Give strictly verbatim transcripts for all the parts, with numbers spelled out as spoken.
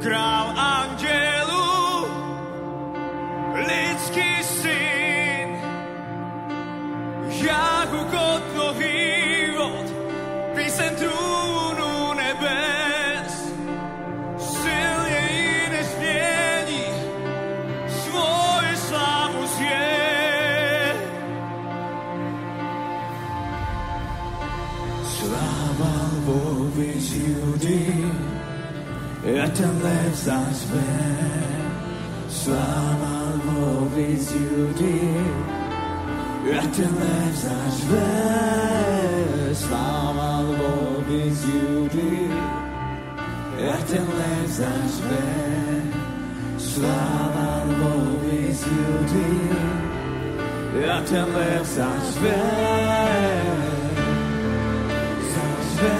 král andělů, lidský syn, jak ukotnový vod, píseň trůnu nebes, silněji než změní svoji slávu zvěd. Sláva Lvovi z Judy, a ten lev zařve. Sláva Lvovi z Judy, a ten lev zařve. Sláva Lvovi z Judy, a ten lev zařve. Sláva Lvovi z Judy, a ten lev zařve. Zařve.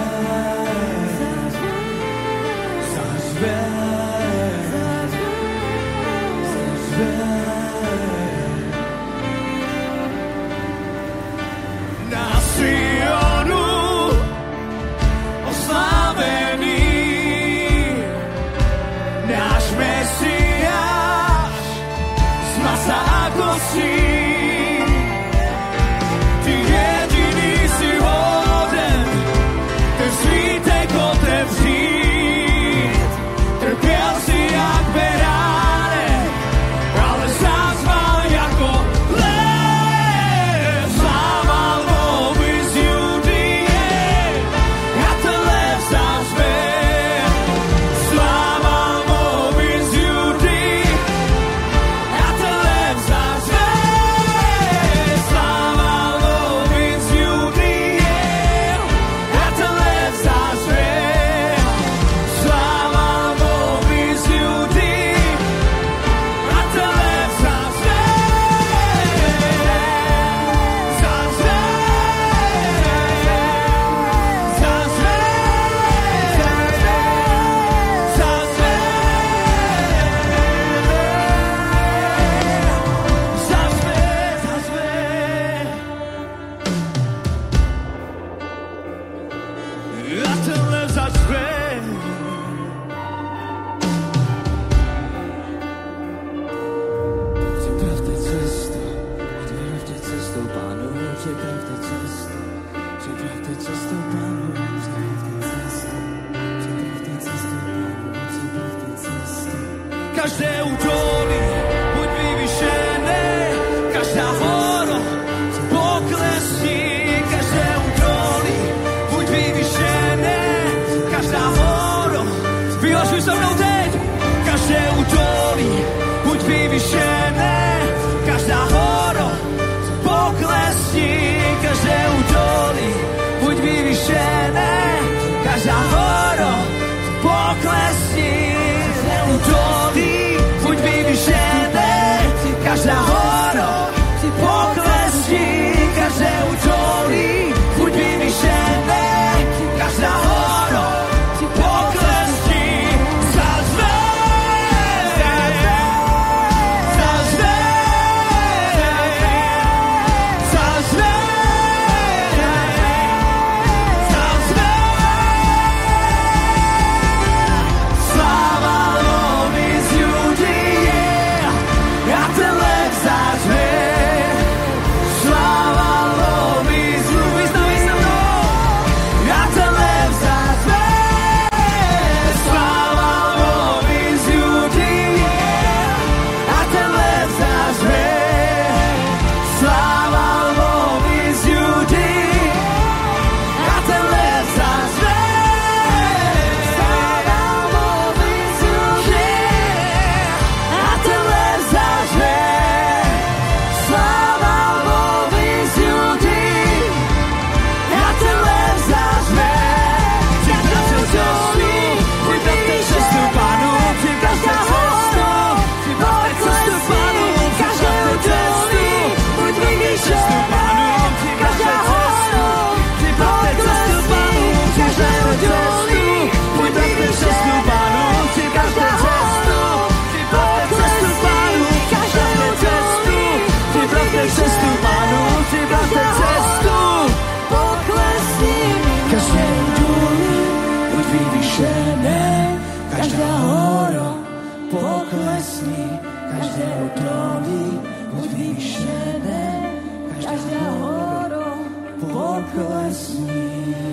Na Sionu oslávený, náš Mesiáš z masa a kostí. Ty jediný si hoden, ten svítek otevřít. Trpěl si jak beránek, ale zazval jako lev. Sláva Lvovi z Judie, a ten lev zařve. Sláva Lvovi z Judie, a ten lev zařve. Sláva Lvovi z Judie, a ten lev zařve. Sláva Lvovi z Judie, a ten lev zařve. Zařve. Zařve. Zařve. Zařve. Zařve. A ten lev zařve. Připravte cestu, připravte cestu Pánu, připravte cestu, připravte cestu Pánu, připravte cestu, připravte cestu Pánu, připravte cestu. Každé údolí buď vyvyšené, každá hora poklesní, každé údolí buď vyvyšené, každá hora, vyhlašuj se mnou teď, každé údolí buď vyvyšené, každá hora poklesní, každé údolí buď vyvyšené, každá hora poklesní, každé údolí buď vyvyšené, každá hora poklesní, každé údolí buď vyvyšené, každá hora poklesní, zařve. poklesni, každé údolí buď vyvýšené, každá horou poklesni.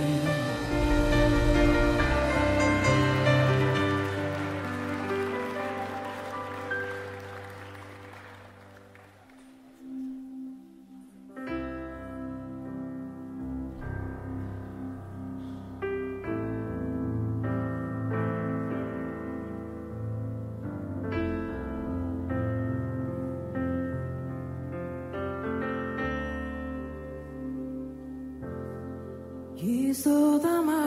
Jistota má,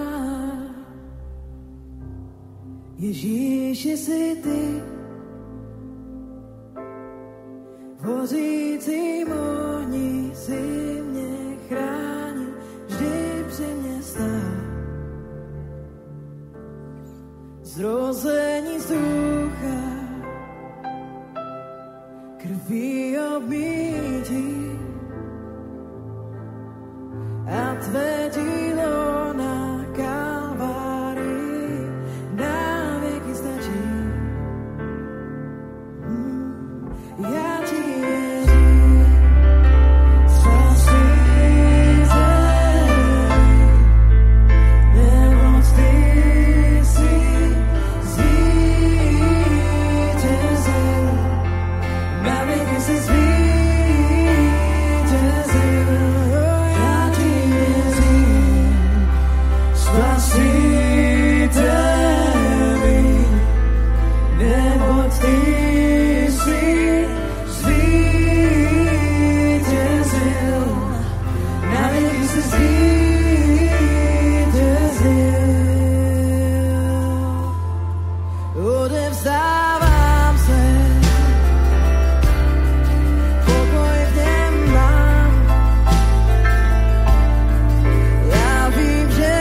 Ježíši si ty, v hořícím ohni si mě chránil, vždy při mě stál. Zrození z ducha, krví obmýtí, a tvé dílo na Kalvárii na věky stačí. Mm, já ti věřím, spasíte, neboť ty jsi zvítězil, na věky jsi zvítězil. Spasiteli, neboť ty jsi zvítězil, na věky jsi zvítězil. Odevzdávám se, pokoj v něm mám. Já vím, že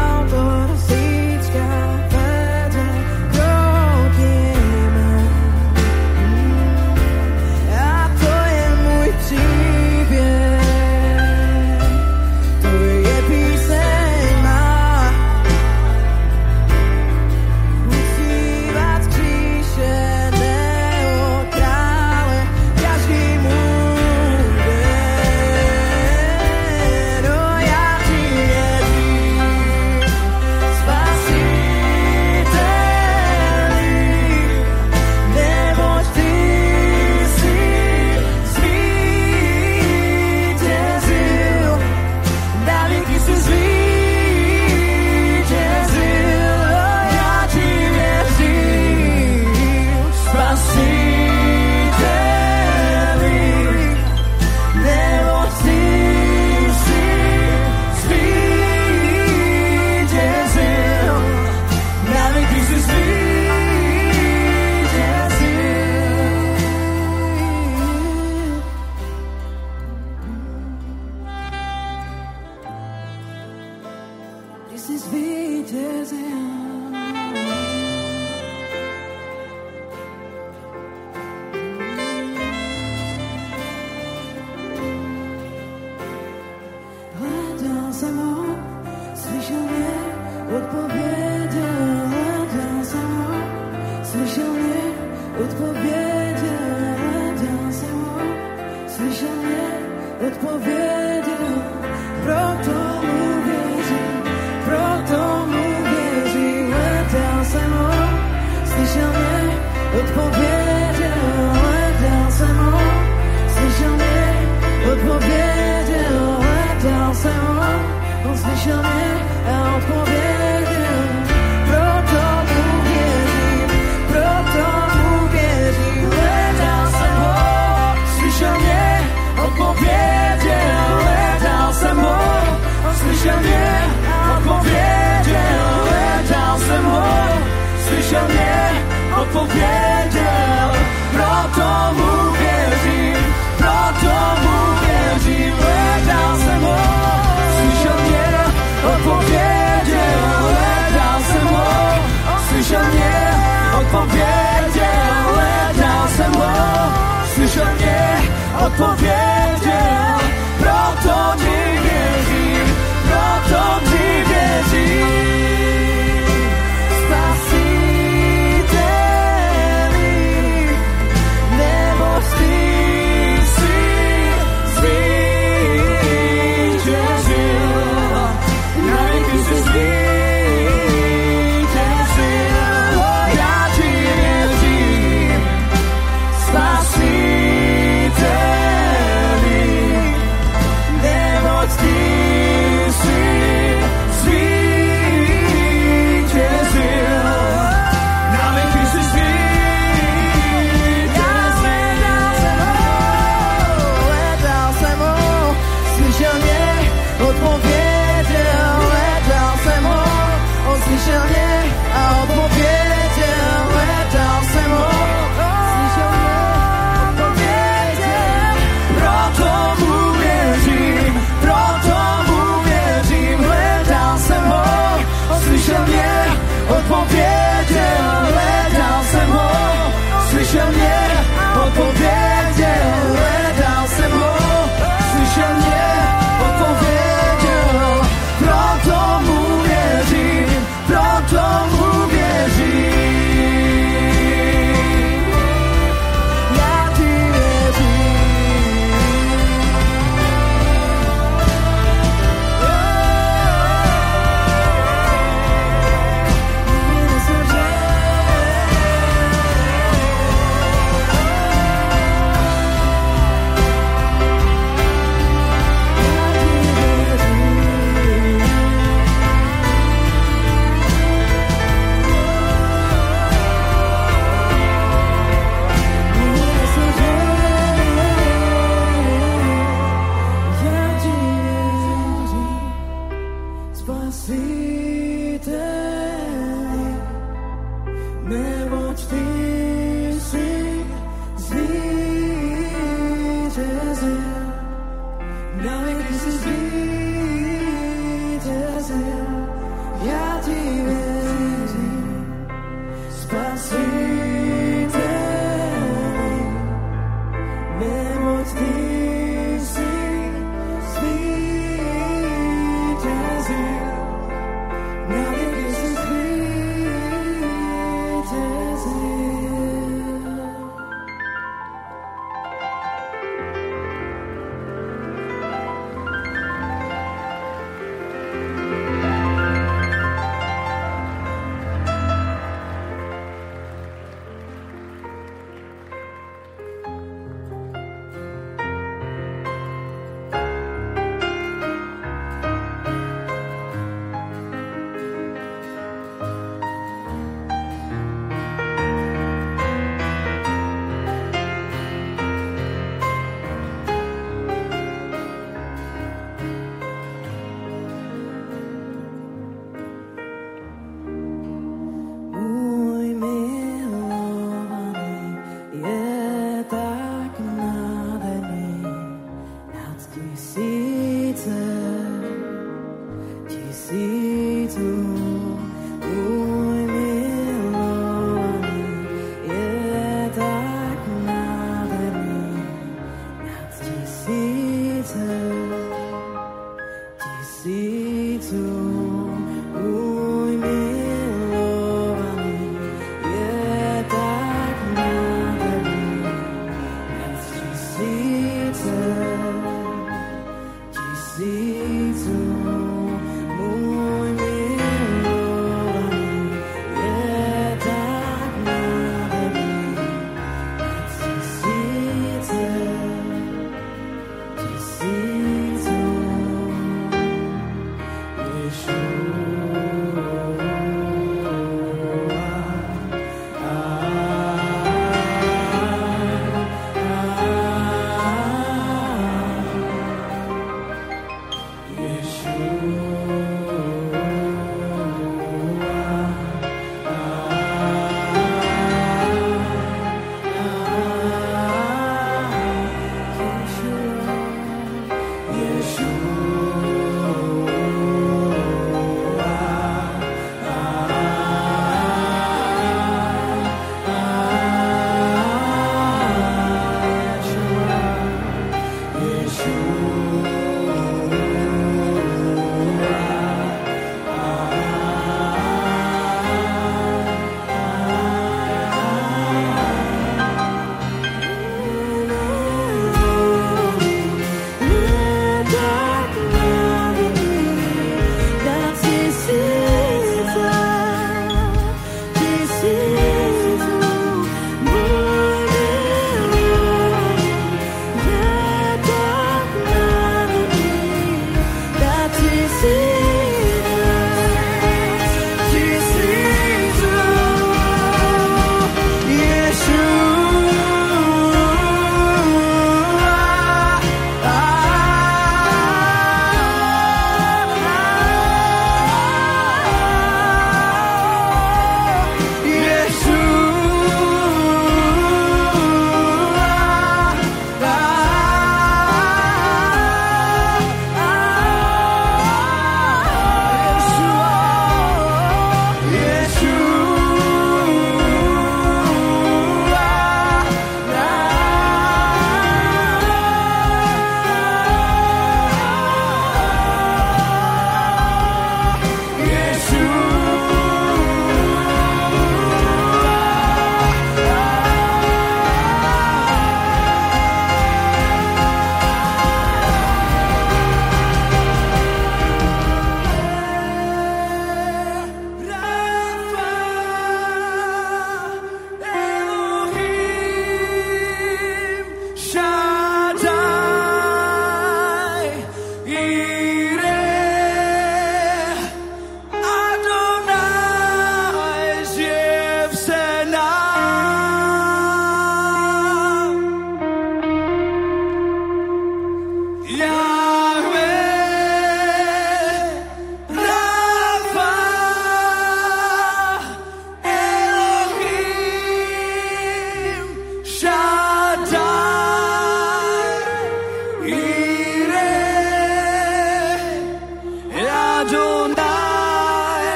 odpověděl, proto mu věřím, proto mu věřím, hledal jsem ho, slyšel mě, odpověděl, hledal jsem ho, slyšel mě, odpověděl, hledal jsem ho, slyšel mě, odpověděl, proto ti věřím, proto ti věřím. Spasiteli, neboť ty si zvítězil, navěky si zvítězil, já ti věřím, Spasiteli, neboť ty si zvítězil, navěky si zvítězil.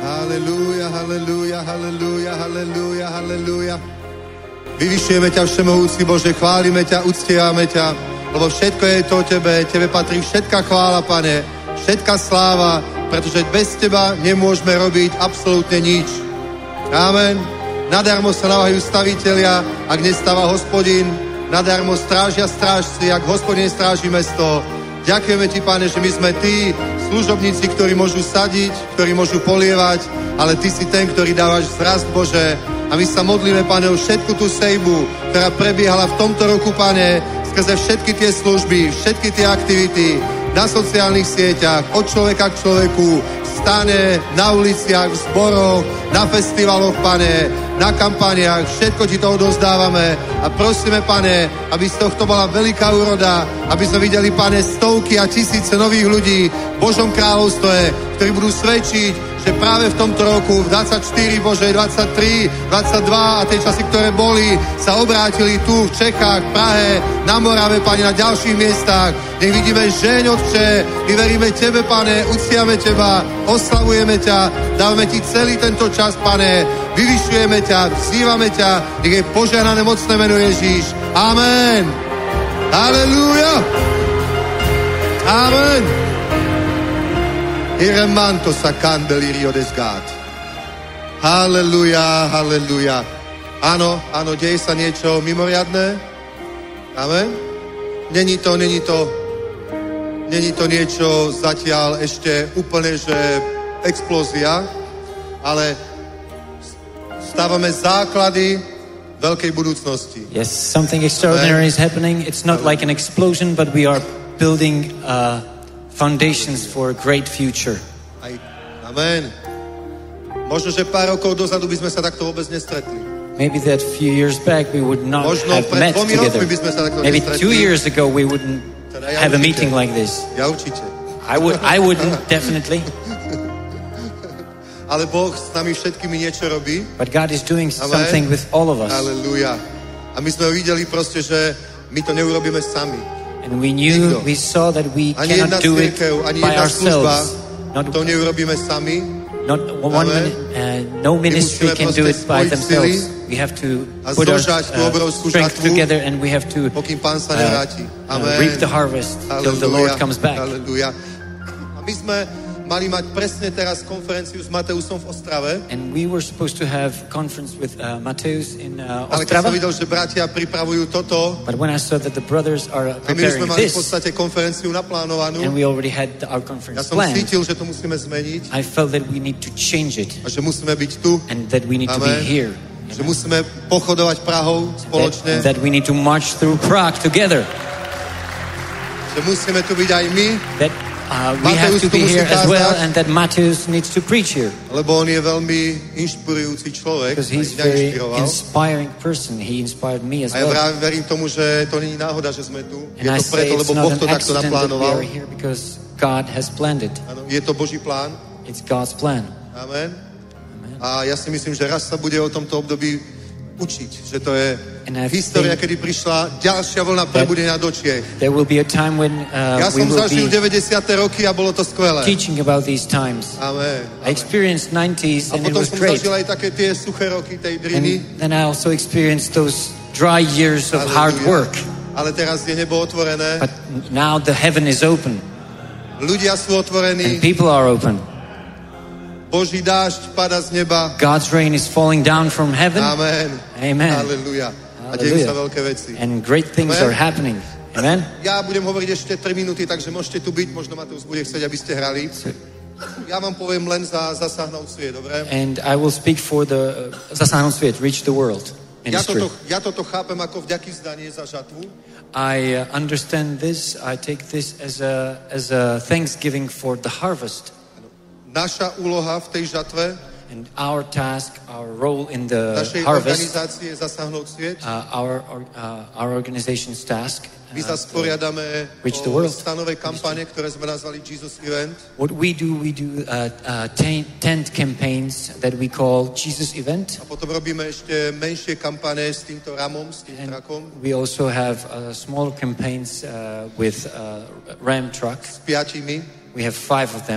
Halelúja, halelúja, halelúja, halelúja, halelúja. Vyvyšujeme ťa, všemohúci Bože, chválime ťa, uctievame ťa, lebo všetko je to o tebe, tebe patrí všetká chvála, Pane, všetká sláva, pretože bez teba nemôžeme robiť absolútne nič. Amen. Nadarmo sa naváhajú stavitelia, ak nestáva Hospodin, nadarmo strážia strážci, ak Hospodin stráži mesto. Ďakujeme ti, Pane, že my sme tí služobníci, ktorí môžu sadiť, ktorí môžu polievať, ale ty si ten, ktorý dávaš zrast, Bože. A my sa modlíme, Pane, o všetku tú sejbu, ktorá prebiehala v tomto roku, Pane, skrze všetky tie služby, všetky tie aktivity na sociálnych sieťach, od človeka k človeku, stane, na uliciach, v zboroch, na festivaloch, Pane, na kampaniách, všetko ti to odovzdávame a prosíme, Pane, aby z tohto bola veľká úroda, aby sme videli, Pane, stovky a tisíce nových ľudí v Božom kráľovstve, ktorí budú svedčiť, že práve v tomto roku, v dvadsaťštyri, Bože, dvadsaťtri, dvadsaťdva a tie časy, ktoré boli, sa obrátili tu v Čechách, v Prahe, na Morave, Pane, na ďalších miestach. Nech vidíme žeň, Otče, my veríme Tebe, Pane, uctiame Teba, oslavujeme ťa, dávame Ti celý tento čas, Pane, vyvyšujeme ťa, vzývame ťa, nech je požehnané mocné meno Ježíš. Amen. Halelúja. Amen. Iremanto sa candelirio desgat. Halelúja, halelúja. Áno, áno, deje sa niečo mimoriadne. Amen. Není to, není to, není to niečo zatiaľ ešte úplne, že explózia, ale stávame základy veľkej budúcnosti. Yes, something extraordinary is happening. It's not like an explosion, but we are building uh, foundations for a great future. Aj, amen. Možno, že pár rokov dozadu by sme sa takto vôbec nestretli. Maybe that few years back we would not Možno have pred met dvomi together. rokmi by sme sa takto Maybe nestretli. two years ago we wouldn't Teda ja have a určite. meeting like this. Ja určite. I would, I wouldn't, definitely. Ale Boh s nami všetkými niečo robí. But God is doing Amen. something with all of us. Halelúja. A my sme videli proste, že my to neurobíme sami. And we knew, Nikto. we saw that we Ani jedna cannot do it cirkev, ani by jedna služba, ourselves. Not, to neurobíme sami. not one, Amen. min- uh, no ministry musíme can do it proste by spojiť themselves. sily We have to a put our zožať tú uh, obrovskú strength žatvu, together and we have to pokým Pán sa uh, nevráti. uh, Amen. reap the harvest till the Lord comes back. Halelúja. A my sme mali mať presne teraz konferenciu s Mateusom v Ostrave, And we were supposed to have conference with uh, Mateus in uh, ale keď som Ostrava. videl, že bratia pripravujú toto, But when I saw that the brothers are a my už sme preparing mali v this, podstate konferenciu naplánovanú, and we already had ja our conference som planned, cítil, že to musíme zmeniť I felt that we need to change it a že musíme byť tu, and that we need to Amen. be here. že musíme pochodovať Prahou That, spoločne, and that we need to march through Prague together. že musíme tu byť aj my, That uh, we have Mateus to tu be musí here as well, kázať. and that Mateus needs to preach here lebo on je veľmi inšpirujúci človek, because a he's mňa very inšpiroval. inspiring person. He inspired me as A ja well. práve verím tomu, že to nie je náhoda, že sme tu. Je And I to say preto, it's lebo not Boh an to takto accident that we naplánoval. are here because God has planned it. Áno, je to Boží plán. It's God's plan. Amen. A ja si myslím, že raz sa bude o tomto období učiť, že to je And I história, think kedy prišla ďalšia vlna prebudenia do Čiech. There will be a time when uh, Ja we som will zažil be deväťdesiate roky a bolo to skvelé. teaching about these times. Amen. I experienced nineties A and it potom was som great. zažil aj také tie suché roky tej driny. And then I also experienced those dry years of hard Halleluja. work. Ale teraz je nebo otvorené. But now the heaven is open Ľudia sú and otvorení. people are open. Boží dážď pada z neba. God's rain is falling down from heaven. Amen. Amen. Halleluja. A dejú sa Hallelujah. veľké veci. And great things Amen. are happening. Amen. Ja budem hovoriť ešte tri minúty, takže môžete tu byť. Možno Mateus bude chcieť, aby ste hrali. Ja vám poviem len za zasáhnout sviet, dobre? And I will speak for the uh, Zasáhnout svět, Reach the World Ja ministry. toto, ja toto chápem ako vďaky zdanie za žatvu. I uh, understand this. I take this as a as a thanksgiving for the harvest. Naša úloha v tej žatve, And our task, our role in the našej harvest, organizácie je zasáhnout sviet. uh, our uh, our organization's task. My uh, sa sporiadame Reach the o world. stanové kampane, ktoré sme nazvali Jesus Event. What we do, we do uh, uh, tent, tent campaigns that we call Jesus Event. A potom robíme ešte menšie kampane s týmto ramom, s tým And trakom, we also have uh, smaller campaigns uh, with uh, Ram trucks. s piatimi. We have five of them.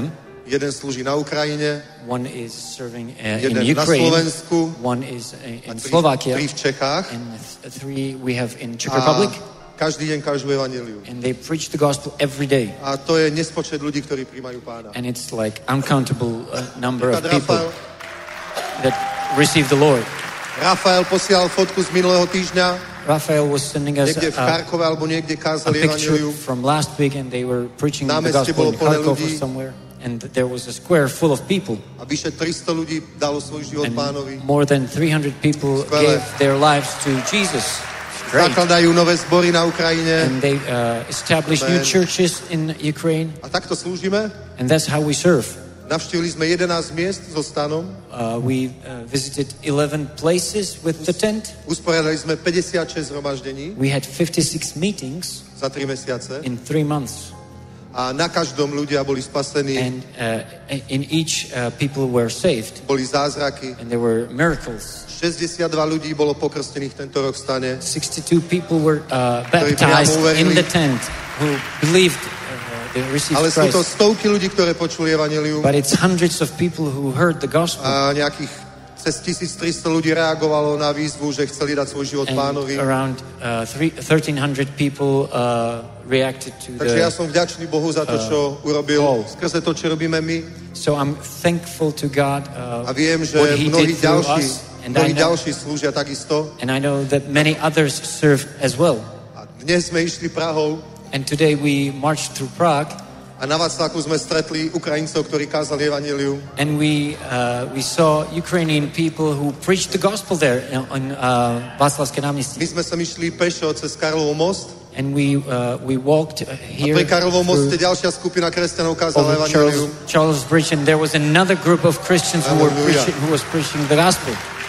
Jeden slúži na Ukrajine. One is serving uh, Jeden in na Ukraine. Slovensku. One is uh, in Tri, Slovakia. tri v Čechách. And th- three we have in Czech A Republic. každý deň každú evanjeliu. And they preach the gospel every day. A to je nespočet ľudí, ktorí príjmajú Pána. And it's like uncountable uh, number of Napríklad people Rafael, that receive the Lord. Rafael posielal fotku z minulého týždňa. Raphael was sending us Niekde v a, Charkove alebo niekde a kázali picture evanjeliu. from last week, and they were preaching the Námestie gospel bolo in plné Kharkov or ľudí. somewhere. And there was a square full of people. A vyše tristo ľudí dalo svoj život And Pánovi. more than three hundred people Skvelé. gave their lives to Jesus. Great. Zakladajú nové zbory na Ukrajine. And they uh, established new Amen. churches in Ukraine. A takto slúžime. And that's how we serve. Navštívili sme jedenásť miest so stanom. Uh, we uh, visited eleven places with the tent. Usporiadali sme päťdesiatšesť zhromaždení We had fifty-six meetings za tri mesiace. in three months. A na každom ľudia boli spasení. And uh, in each, uh, people were saved. Boli zázraky. And there were miracles. šesťdesiatdva ľudí bolo pokrstených tento rok v stane. sixty-two people were uh, Ktorí baptized priamo uverili. in the tent who believed uh, they received Ale sú to Christ. stovky ľudí, ktoré počuli evanjelium. But it's hundreds of people who heard the gospel. A nejakých cez tisíctristo ľudí reagovalo na výzvu, že chceli dať svoj život And Pánovi. around uh, three, thirteen hundred people uh, reacted to Takže ja the... som vďačný Bohu za to, čo urobil skrze to, čo robíme my. So I'm thankful to God uh, A viem, že what He mnohí did through ďalší, us. And I, mnohí know, ďalší slúžia takisto. and I know that many others serve as well. A dnes sme išli Prahou And today we marched through Prague. a na Václaku sme stretli Ukrajincov, ktorí kázali evanjelium. And we uh, we saw Ukrainian people who preached the gospel there on uh, Václavské My náměstí. sme sa išli pešo cez Karlov most. And we uh, we walked uh, A here pri Karlovom moste through ďalšia skupina kresťanov kázala over Charles, evanjelium. Charles Bridge, and there was another group of Christians who were Hallelujah. preaching, who was preaching the gospel.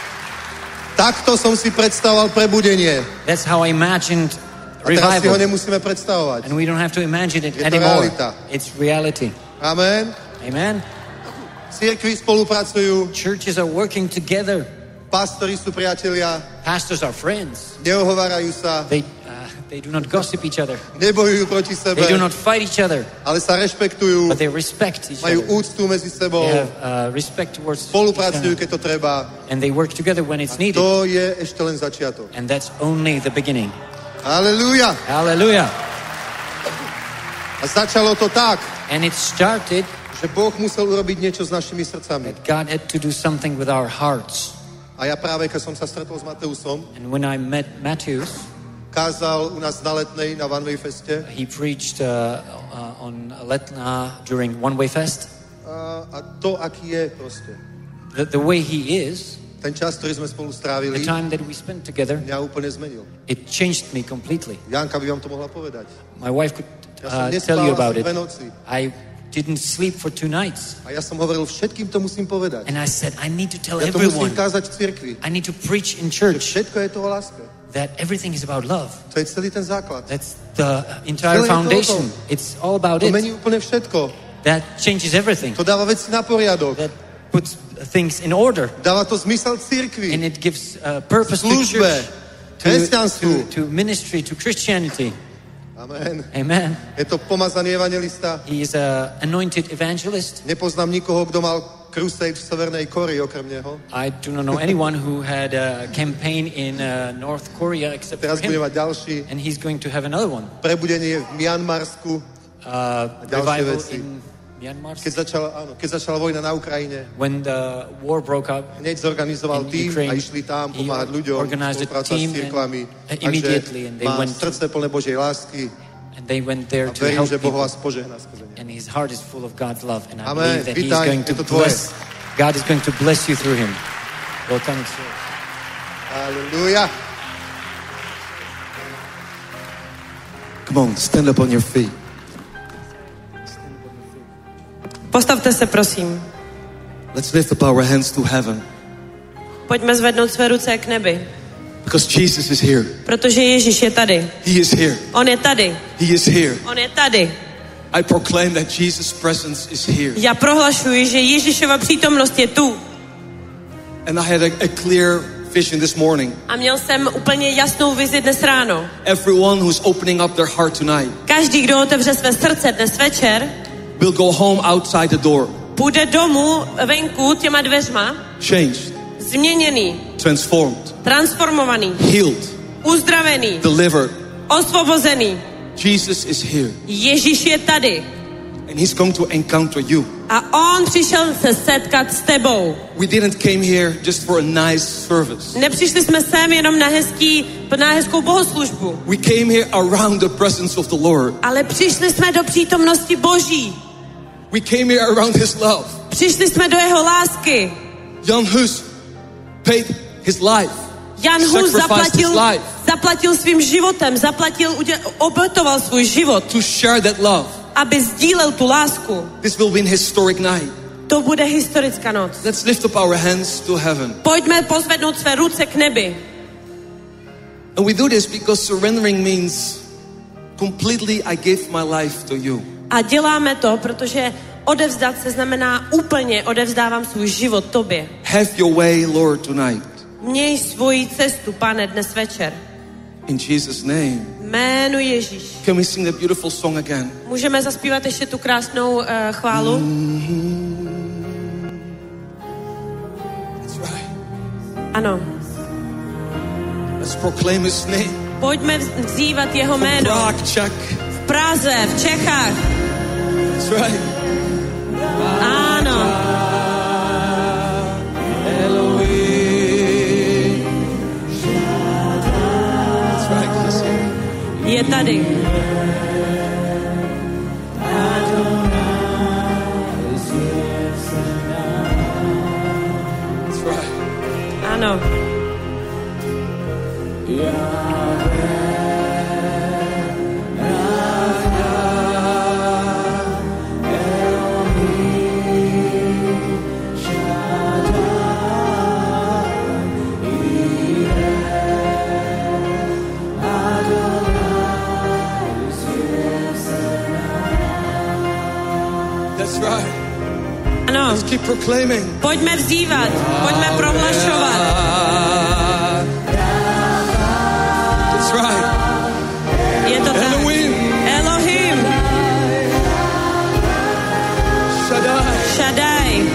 Takto som si predstavoval prebudenie. That's how I imagined A teraz si ho revival. nemusíme predstavovať. And we don't have to imagine it Je to anymore. realita. It's reality. Amen. Amen. Cirkvi spolupracujú, Churches are working together. pastori sú priatelia, Pastors are friends. neohovárajú sa, They uh, they do not gossip each other. nebojujú proti sebe, They do not fight each other, ale sa rešpektujú, but they respect each majú other. úctu medzi sebou, They have uh, respect towards each spolupracujú, other, keď to treba. and they work together when it's needed. To je ešte len začiatok. And that's only the beginning. Halelúja. Hallelujah. A začalo to tak, And it started že Boh musel urobiť niečo s našimi srdcami. that God had to do something with our hearts. A ja práve, keď som sa stretol s Mateusom, And when I met Matthews, kázal u nás na Letnej, na One Way Feste. he preached uh, uh, on Letna during One Way Fest. A, a to, aký je proste. The, the way he is, Ten čas, ktorý sme spolu the strávili, time that we spent together, mňa úplne zmenil. it changed me completely. Janka by vám to mohla povedať. My wife could Ja som uh, nespal tell you asi about it. dve noci. I didn't sleep for two nights. A ja som hovoril, všetkým to musím povedať. And I said, I need to tell Ja to musím everyone. kázať v cirkvi. I need to preach in Že church všetko je to o láske. that everything is about love. To je celý ten základ. That's the entire Celé je to o foundation. tom. It's all about To it. mení úplne všetko. That changes everything. To dáva veci na poriadok. That puts things in order. Dáva to zmysel cirkvi. And it gives uh, purpose to Službe. church, to, Kresťanstvu. to, to ministry, to Christianity. Amen. Amen. Je to pomazaný evangelista. He is an anointed evangelist. Nepoznám nikoho, kto mal crusade v Severnej Kórei okrem neho. I do not know anyone who had a campaign in uh, North Korea except for Teraz bude him. mať ďalší. And he's going to have another one. Prebudenie v Mianmarsku. Uh, ďalšie revival veci. in Myanmar. Keď začala, áno, keď začala vojna na Ukrajine, When the war broke up, hneď zorganizoval In tým Ukraine, a išli tam he pomáhať ľuďom, organized a spolupracovať team s cirkvami. and immediately and they má went to- srdce plné Božej lásky and they went there a to verím, help že Boh people. vás požehná skrze ne. And his heart is full of God's love. And I Amen. believe that he's Vítaj, going to je to tvoje. bless. God is going to bless you through him. Welcome. It's yours. Halleluja. Come on, stand up on your feet. Postavte se, prosím. Let's lift up our hands to heaven. Pojďme zvednout své ruce k nebi, Because Jesus is here. protože Ježíš je tady. He is here. On je tady. He is here. On je tady. I proclaim that Jesus' presence is here. Já prohlašuji, že Ježíšova přítomnost je tu. And I had a, a clear vision this morning. A měl jsem úplně jasnou vizi dnes ráno. Everyone who's opening up their heart tonight Každý, kdo otevře své srdce dnes večer, will go home outside the door. Půjde domů venku těma dveřma. Changed. Změněný. Transformed. Transformovaný. Healed. Uzdravený. Delivered. Osvobozený. Jesus is here. Ježíš je tady. And he's come to encounter you. A on přišel se setkat s tebou. We didn't came here just for a nice service. Nepřišli jsme sem jenom na hezký, na hezkou bohoslužbu. We came here around the presence of the Lord. Ale přišli jsme do přítomnosti Boží. We came here around his love. Přišli jsme do jeho lásky. Jan Hus paid his life. Jan Hus zaplatil, zaplatil svým životem, zaplatil, obětoval svůj život. To share that love. Aby sdílel tu lásku. This will be a historic night. To bude historická noc. Let's lift up our hands to heaven. Pojďme pozvednout své ruce k nebi. And we do this because surrendering means completely I give my life to you. A děláme to, protože odevzdat se znamená úplně odevzdávám svůj život tobě. Have your way, Lord, tonight. Měj svoji cestu, Pane, dnes večer. In Jesus' name. Jménu Ježíš. Can we sing that beautiful song again? Můžeme zaspívat ještě tu krásnou uh, chválu? Mm-hmm. That's right. Ano. Let's proclaim his name. Pojďme vzývat jeho jméno. Prague, Czech. V Praze, v Čechách. That's right. Ano. Je tady. Ano. Ano. Let's keep proclaiming. Pojďme vzývat, pojďme prohlašovat. That's right. Je to tak. Elohim. Elohim. Shaddai. Shaddai.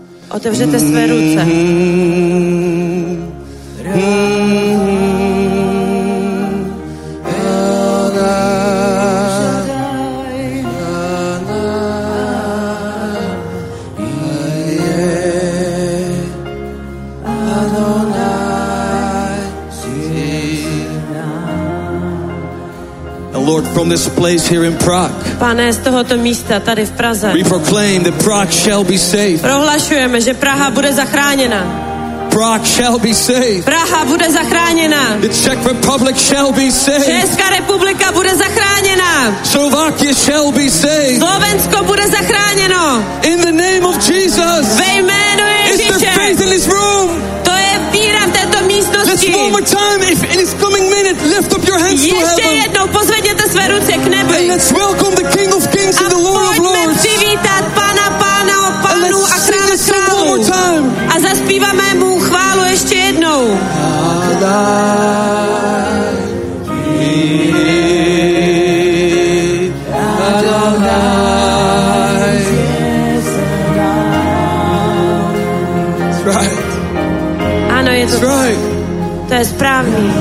Otevřete své ruce. And Lord, from this place here in Prague, Pane, z tohoto místa tady v Praze we proclaim that Prague shall be saved. prohlašujeme, že Praha bude zachráněna. Prague shall be saved. Praha bude zachráněna. The Czech Republic shall be saved. Česká republika bude zachráněna. Slovakia shall be saved. Slovensko bude zachráněno. In the name of Jesus. Ve jménu Is there Ježíše. faith in this room? To je víra v této Let's místnosti. one more time, if in this coming minute, lift up your hands to Ještě heaven. jednou pozvedněte své ruce k And nebi. let's welcome the King of Kings A and the Lord of pojďme Lords. přivítat Pána Pána, And Pánů a let's sing Krále this song one more králů. time. A zaspíváme mu chválu ještě jednou. That's right. Ano, je to, That's right. to je správný.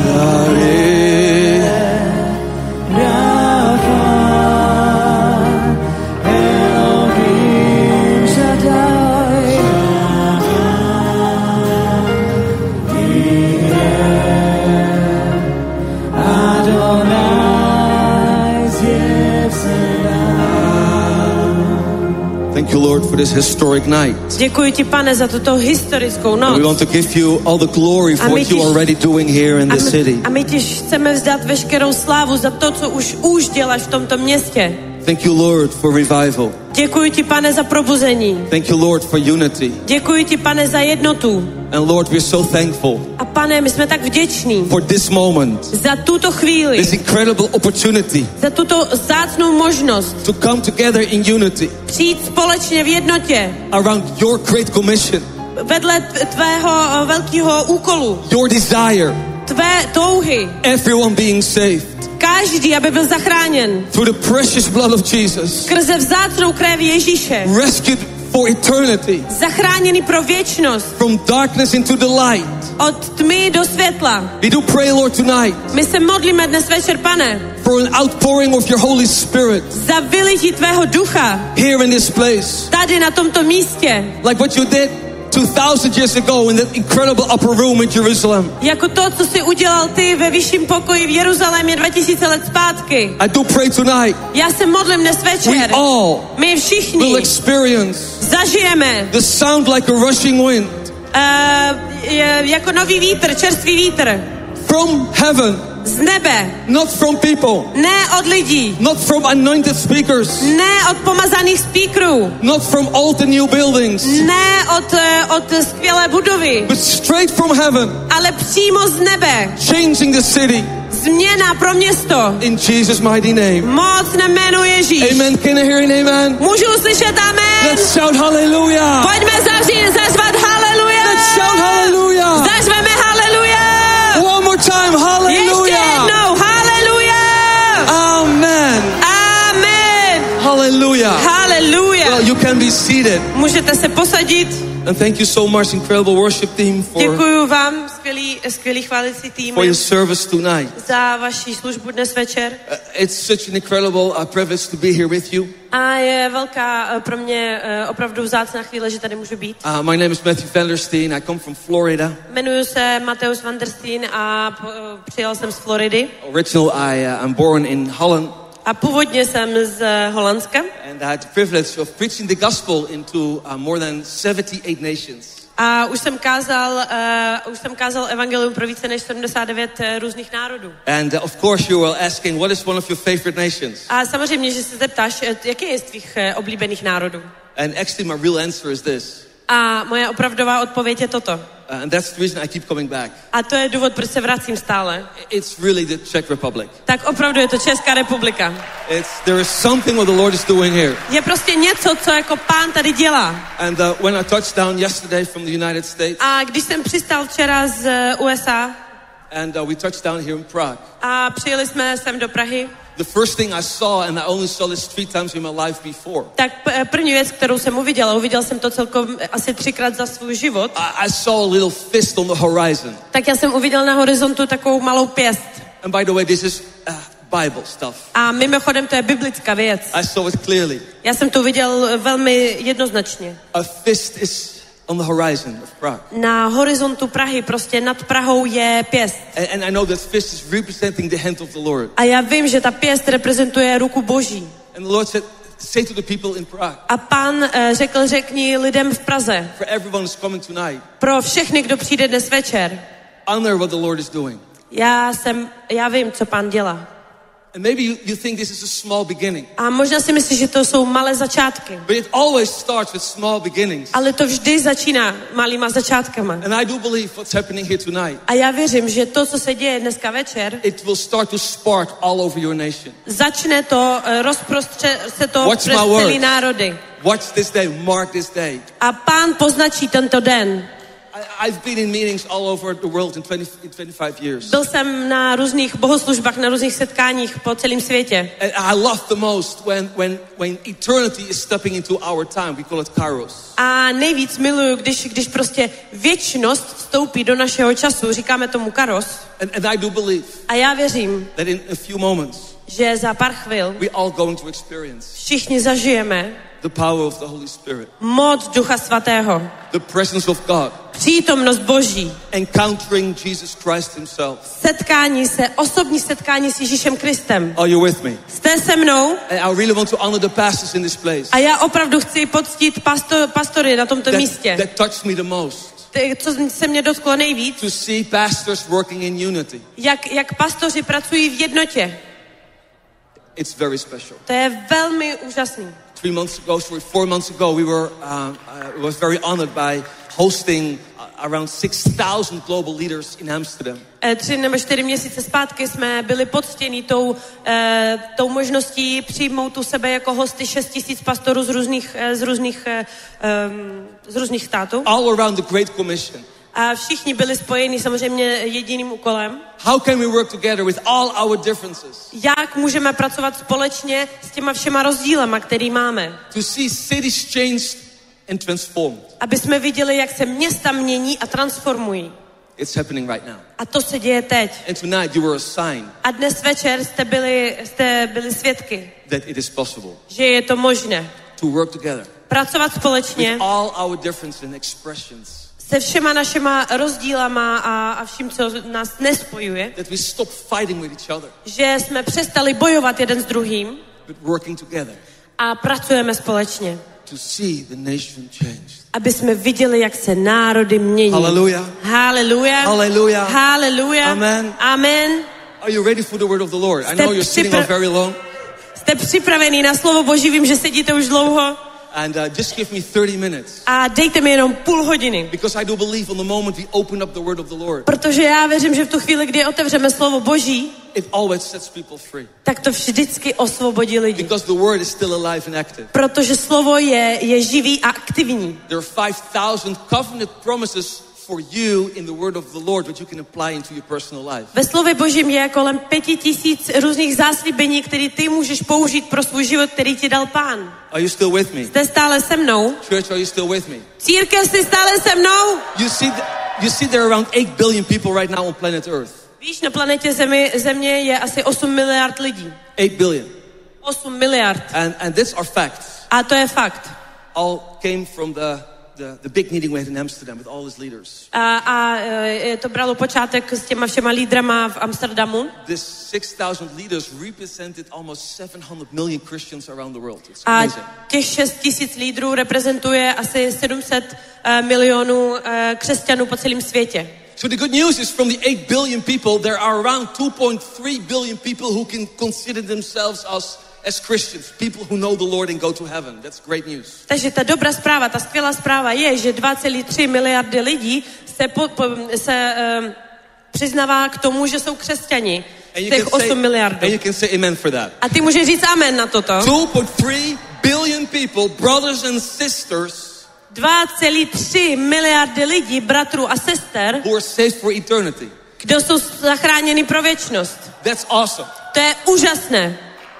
Thank you, Lord, for this historic night. Děkuji ti, Pane, za tuto historickou And we noc. want to give you all the glory for A my what you ti- are already doing here in A this my, city. a my ti chceme vzdát veškerou slávu za to, co už už děláš v tomto městě. Thank you, Lord, for revival. Děkuji ti, Pane, za probuzení. Thank you, Lord, for unity. Děkuji ti, Pane, za jednotu. And Lord, we're so thankful A Pane, my jsme tak vděční for this moment, za tuto chvíli, this incredible opportunity za tuto vzácnou možnost to come together in unity přijít společně v jednotě around your great commission, vedle t- tvého eh, velkého úkolu, your desire, tvé touhy. everyone being saved Každý, aby byl zachráněn through the precious blood of Jesus, skrze vzácnou krev Ježíše. rescued for eternity, Zachráněný pro věčnost. from darkness into the light. Od tmy do světla. We do pray, Lord, tonight My se modlíme dnes večer, Pane, for an outpouring of your Holy Spirit za vylití tvého ducha here in this place, tady na tomto místě. like what you did two thousand years ago in that incredible upper room in Jerusalem. Jako to, co jsi udělal ty ve vyšším pokoji v Jeruzalémě dva tisíce let zpátky. I do pray tonight Já se modlím dnes we večer. all My will všichni experience zažijeme the sound like a rushing wind uh, je, jako nový vítr, čerstvý vítr from heaven, z nebe, not from people, ne od lidí, not from anointed speakers, ne od pomazaných speakerů, not from old and new buildings, ne od, eh, od skvělé budovy, but straight from heaven, ale přímo z nebe. changing the city Změna pro město. in Jesus' mighty name. Moc na jméno Ježíš. Amen. Can I hear an amen? Můžu uslyšet amen? Let's shout hallelujah. Pojďme zavřít, zazvat haleluja. Let's shout hallelujah. Zařveme haleluja. One more time, Ještě hallelujah. jednou, haleluja. Amen. Amen. Hallelujah. Haleluja. Well, you can be seated. Můžete se posadit. And thank you so much, incredible worship team, for, Děkuji vám, skvělý, skvělý chválicí tým, for your service tonight. za vaši službu dnes večer. Uh, it's such an incredible uh, privilege to be here with you. A je velká eh, pro mě eh, opravdu vzácná chvíle, že tady můžu být. Uh, my name is Matthew van der Steen. I come from Florida. Jmenuji se Mateus van der Steen a eh, přijel jsem z Floridy. Original, I, uh, I'm born in Holland. A původně jsem z eh, Holandska. And I had the privilege of preaching the gospel into uh, more than seventy-eight nations. A už jsem kázal, uh, už jsem kázal evangelium pro více než sedmdesát devět uh, různých národů. And uh, of course you were asking, what is one of your favorite nations? A samozřejmě, že se zeptáš, eh, jaký je z tvých uh, oblíbených národů. And actually my real answer is this. A moje opravdová odpověď je toto. Uh, and that's the reason I keep coming back. A to je důvod, proč se vracím stále. It's really the Czech Republic. Tak opravdu je to Česká republika. It's, there is something what the Lord is doing here. Je prostě něco, co jako Pán tady dělá. And uh, when I touched down yesterday from the United States, A když jsem přistál včera z eh, U S A and uh, we touched down here in Prague, a přijeli jsme sem do Prahy, the first thing I saw, and I only saw this three times in my life before, tak p- první věc, kterou jsem uviděla, uviděl jsem to celkom asi třikrát za svůj život, I, I saw a little fist on the horizon. tak já jsem uviděl na horizontu takovou malou pěst. And by the way, this is uh, Bible stuff. A mimochodem to je biblická věc. I saw it clearly. Já jsem to viděl velmi jednoznačně. A fist is On the horizon of Prague. Na horizontu Prahy, prostě nad Prahou je pěst. And, and I know that fist is representing the hand of the Lord. A já vím, že ta pěst reprezentuje ruku Boží. And the Lord said, say to the people in Prague. A Pán uh, řekl, řekni lidem v Praze. For everyone who's coming tonight. Pro všechny, kdo přijde dnes večer. Honor what the Lord is doing. Já jsem, já vím, co Pán dělá. And maybe you, you think this is a small beginning. A možná si myslíš, že to jsou malé začátky. But it always starts with small beginnings. Ale to vždy začíná malýma začátkama. And I do believe what's happening here tonight. A já věřím, že to, co se děje dneska večer, It will start to spark all over your nation. začne to, rozprostře se to Watch přes my celý words. národy. Watch this day, mark this day. A Pán poznačí tento den. I, I've been in meetings all over the world in, twenty, in twenty-five years. Byl jsem na různých bohoslužbách, na různých setkáních po celém světě. And I love the most when, when, when eternity is stepping into our time. We call it kairos. A nejvíc miluju, když, když prostě věčnost vstoupí do našeho času, říkáme tomu kairos. And, and I do believe A já věřím, that in a few moments, že za pár chvil we all going to experience všichni zažijeme the power of the Holy Spirit, moc Ducha Svatého, the presence of God, přítomnost Boží, encountering Jesus Christ himself. setkání se, osobní setkání s Ježíšem Kristem. Are you with me? Jste se mnou? And I really want to honor the pastors in this place. A já opravdu chci poctít pasto, pastory na tomto That, místě. that touched me the most. Ty, co se mě dotklo nejvíc, To see pastors working in unity. jak, jak pastoři pracují v jednotě. It's very special. To je velmi úžasný. Three months ago, sorry, four months ago, we were, uh, I was very honored by hosting uh, around six thousand global leaders in Amsterdam. E, tři nebo čtyři měsíce zpátky jsme byli poctěni tou, e, tou možností přijmout u sebe jako hosty šest tisíc pastorů z různých, e, z různých, e, um, z různých států. All around the Great Commission. A všichni byli spojeni samozřejmě jediným úkolem. How can we work together with all our differences? Jak můžeme pracovat společně s těma všema rozdílama, který máme? To see cities changed and transformed. Aby jsme viděli, jak se města mění a transformují. It's happening right now. A to se děje teď. And tonight you were a sign A dnes večer jste byli, jste byli svědky, that it is possible že je to možné. to work together Pracovat společně with all our differences and expressions. se všema našima rozdílama a, a vším, co nás nespojuje, That we stop fighting with each other, že jsme přestali bojovat jeden s druhým but working together a pracujeme společně, to see the nation changed. aby jsme viděli, jak se národy mění. Hallelujah. Hallelujah. Hallelujah. Hallelujah. Amen. Amen. Are you ready for the word of the Lord? I Jste know you're sitting připra- on very long. Jste připravení na slovo Boží, vím, že sedíte už dlouho. And uh, just give me thirty minutes. A dejte mi jenom půl hodiny. Because I do believe on the moment we open up the word of the Lord, Protože já věřím, že v tu chvíli, kdy otevřeme slovo Boží, it always sets people free. tak to vždycky osvobodí lidi. Because the word is still alive and active. Protože slovo je, je živý a aktivní. There are five thousand covenant promises for you in the word of the Lord that you can apply into your personal life. Ve slově Božím je kolem pěti tisíc různých záslíbení, které ty můžeš použít pro svůj život, který ti dal Pán. Are you still with me? Jste stále se mnou? Church, are you still with me? Církev, jsi stále se mnou? You see, th- you see there are around eight billion people right now on planet Earth. Víš, na planetě Zemi, Země je asi osm miliard lidí. eight billion. osm miliard. And, and these are facts. A to je fakt. All came from the, the, the big meeting we had in Amsterdam with all his leaders. A, a e, to bralo počátek s těma všema lídrama v Amsterdamu. This six thousand leaders represented almost seven hundred million Christians around the world. It's A amazing. těch šest tisíc lídrů reprezentuje asi sedm set uh, milionů uh, křesťanů po celém světě. So the good news is from the eight billion people, there are around two point three billion people who can consider themselves as, as Christians, people who know the Lord and go to heaven. That's great news. Takže ta dobrá zpráva, ta skvělá zpráva je, že dva celé tři miliardy lidí se, po, po, se um, přiznává k tomu, že jsou křesťani. And you, Těch can say, osm miliardů. and you can say amen for that. A ty můžeš říct amen na toto. two point three billion people, brothers and sisters, dva celé tři miliardy lidí, bratrů a sester, who are saved for eternity. kdo jsou zachráněni pro věčnost. That's awesome. To je úžasné.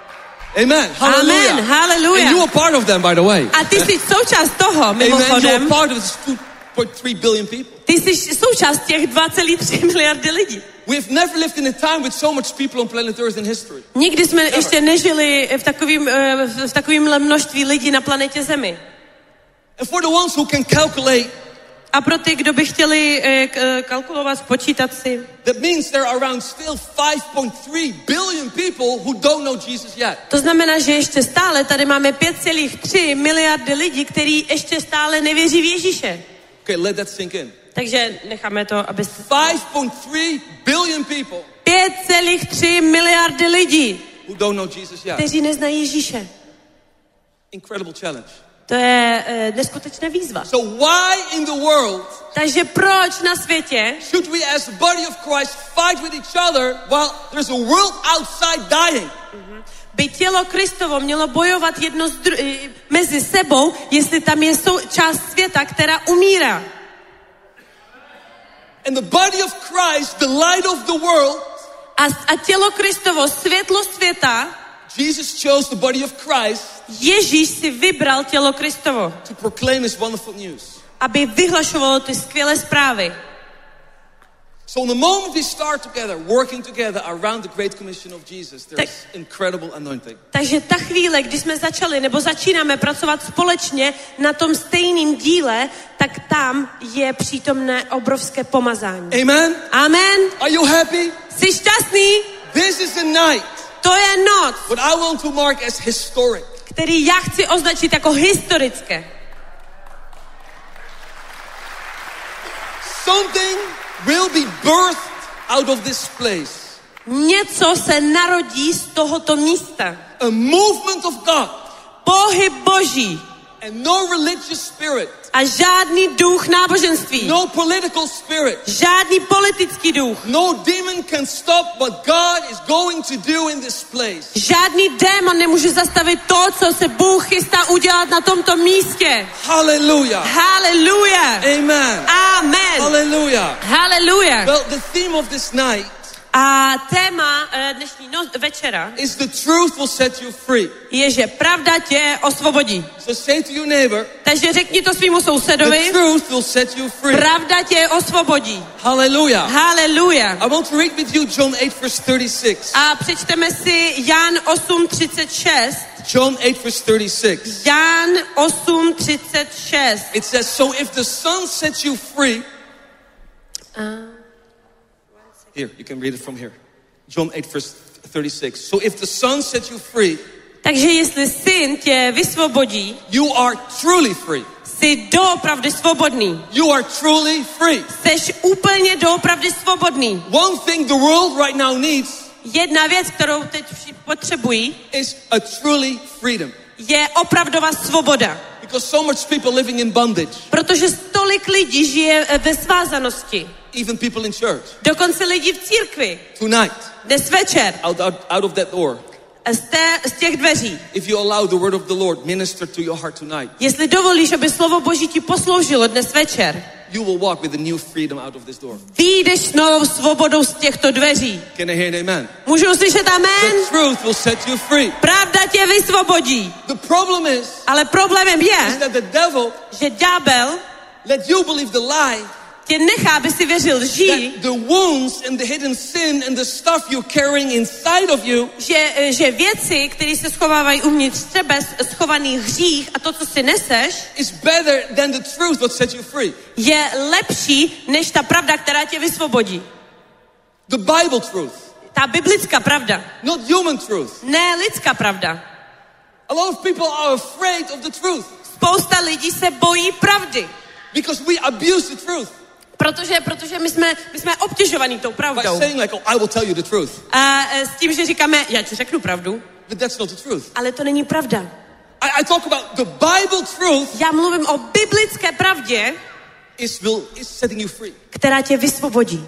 Amen. Hallelujah. Amen. Hallelujah. And you are part of them, by the way. A ty jsi součást toho, Amen. You mimochodem. are part of this two point three billion people. Ty jsi součást těch dva celé tři miliardy lidí. We've never lived in a time with so much people on planet Earth in history. Nikdy jsme ještě nežili v takovým, v takovýmhle množství lidí na planetě Zemi. And for the ones who can calculate A pro ty, kdo by chtěli eh, k- kalkulovat, spočítat si. That means there are around still five point three billion people who don't know Jesus yet. To znamená, že ještě stále tady máme pět celá tři miliardy lidí, kteří ještě stále nevěří v Ježíše. Okay, let that sink in. Takže necháme to, aby... five point three billion people pět celá tři miliardy lidí, who don't know Jesus yet. kteří neznají Ježíše. Incredible challenge. To je e, neskutečná výzva. So why in the world Takže proč na světě should we as the body of Christ fight with each other while there's a world outside dying? by tělo Kristovo mělo bojovat jedno z dru- e, mezi sebou, jestli tam je sou- část světa, která umírá? And the body of Christ, the light of the world, A, a tělo Kristovo, světlo světa, Jesus chose the body of Christ Ježíš si vybral tělo Kristovo, to proclaim his wonderful news. aby vyhlašovalo ty skvělé zprávy. So the moment we start together, working together around the Great Commission of Jesus, there's Tak- incredible anointing. Takže ta chvíle, kdy jsme začali nebo začínáme pracovat společně na tom stejném díle, tak tam je přítomné obrovské pomazání. Amen? Amen. Are you happy? Jsi šťastný? This is a night To je noc, what I want to mark as historic. který já chci označit jako historické. Something will be birthed out of this place. Něco se narodí z tohoto místa. A movement of God Pohyb Boží and no religious spirit, a žádný duch náboženství. no political spirit, Žádný politický duch. no demon can stop what God is going to do in this place. Žádný démon nemůže zastavit to, co se Bůh chystá udělat na tomto místě. Hallelujah. Haleluja. Amen. Amen. Hallelujah. Haleluja. Well, the theme of this night A téma eh, dnešní noc, večera is the truth will set you free. je, že pravda tě osvobodí. So say to your neighbor, Takže řekni to svýmu the sousedovi, truth will set you free. pravda tě osvobodí. Hallelujah. Haleluja. I want to read with you John eight verse thirty-six. A přečteme si Jan osm třicet šest. John eight verse thirty-six. Jan osm třicet šest. It says, so if the Son sets you free, here, you can read it from here. John eight verse thirty-six. So if the Son sets you free, Takže jestli syn tě vysvobodí, you are truly free. jsi doopravdy svobodný. You are truly free. Jsi úplně doopravdy svobodný. One thing the world right now needs Jedna věc, kterou teď všichni potřebují, is a truly freedom. je opravdová svoboda. Because so much people living in bondage, Protože tolik lidí žije eh, ve svázanosti. even people in church. Dokonce lidi v církvi. Tonight, Dnes večer. out, out, out of that door, Z, té, z těch dveří. if you allow the word of the Lord minister to your heart tonight, Jestli dovolíš, aby slovo Boží ti posloužilo dnes večer, you will walk with a new freedom out of this door. vyjdeš s novou svobodou z těchto dveří. Can I hear an amen? Můžu uslyšet amen? The truth will set you free. Pravda tě vysvobodí. The problem is, Ale problémem is je, that the devil že ďábel let you believe the lie tě nechá, aby si věřil lži, that the wounds and the hidden sin and the stuff you're carrying inside of you že, že věci, které se schovávají uvnitř tebe, schovaný hřích a to, co si neseš, is better than the truth that set you free. je lepší než ta pravda, která tě vysvobodí. The Bible truth, Ta biblická pravda, not human truth. ne lidská pravda. A lot of people are afraid of the truth Spousta lidí se bojí pravdy, because we abuse the truth protože, protože my jsme, my jsme obtěžovaní tou by pravdou. saying like, oh, I will tell you the truth. A e, s tím, že říkáme, já ti řeknu pravdu, But that's not the truth. ale to není pravda. I, I talk about the Bible truth Já mluvím o biblické pravdě, is will is setting you free. která tě vysvobodí.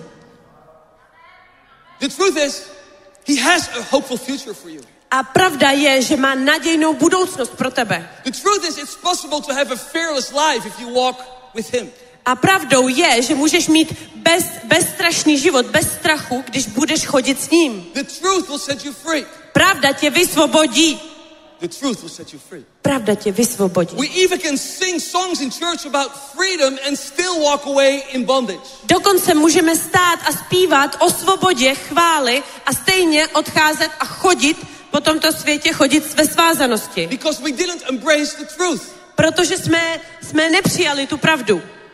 The truth is, he has a hopeful future for you. A pravda je, že má nadějnou budoucnost pro tebe. The truth is, it's possible to have a fearless life if you walk with him. A pravdou je, že můžeš mít bez, bezstrašný život, bez strachu, když budeš chodit s ním. The truth will set you free. Pravda tě vysvobodí. The truth will set you free. Pravda tě vysvobodí. We even can sing songs in church about freedom and still walk away in bondage. Dokonce můžeme stát a zpívat o svobodě, chvály a stejně odcházet a chodit po tomto světě, chodit ve svázanosti. Because we didn't embrace the truth. Protože jsme, jsme nepřijali tu pravdu.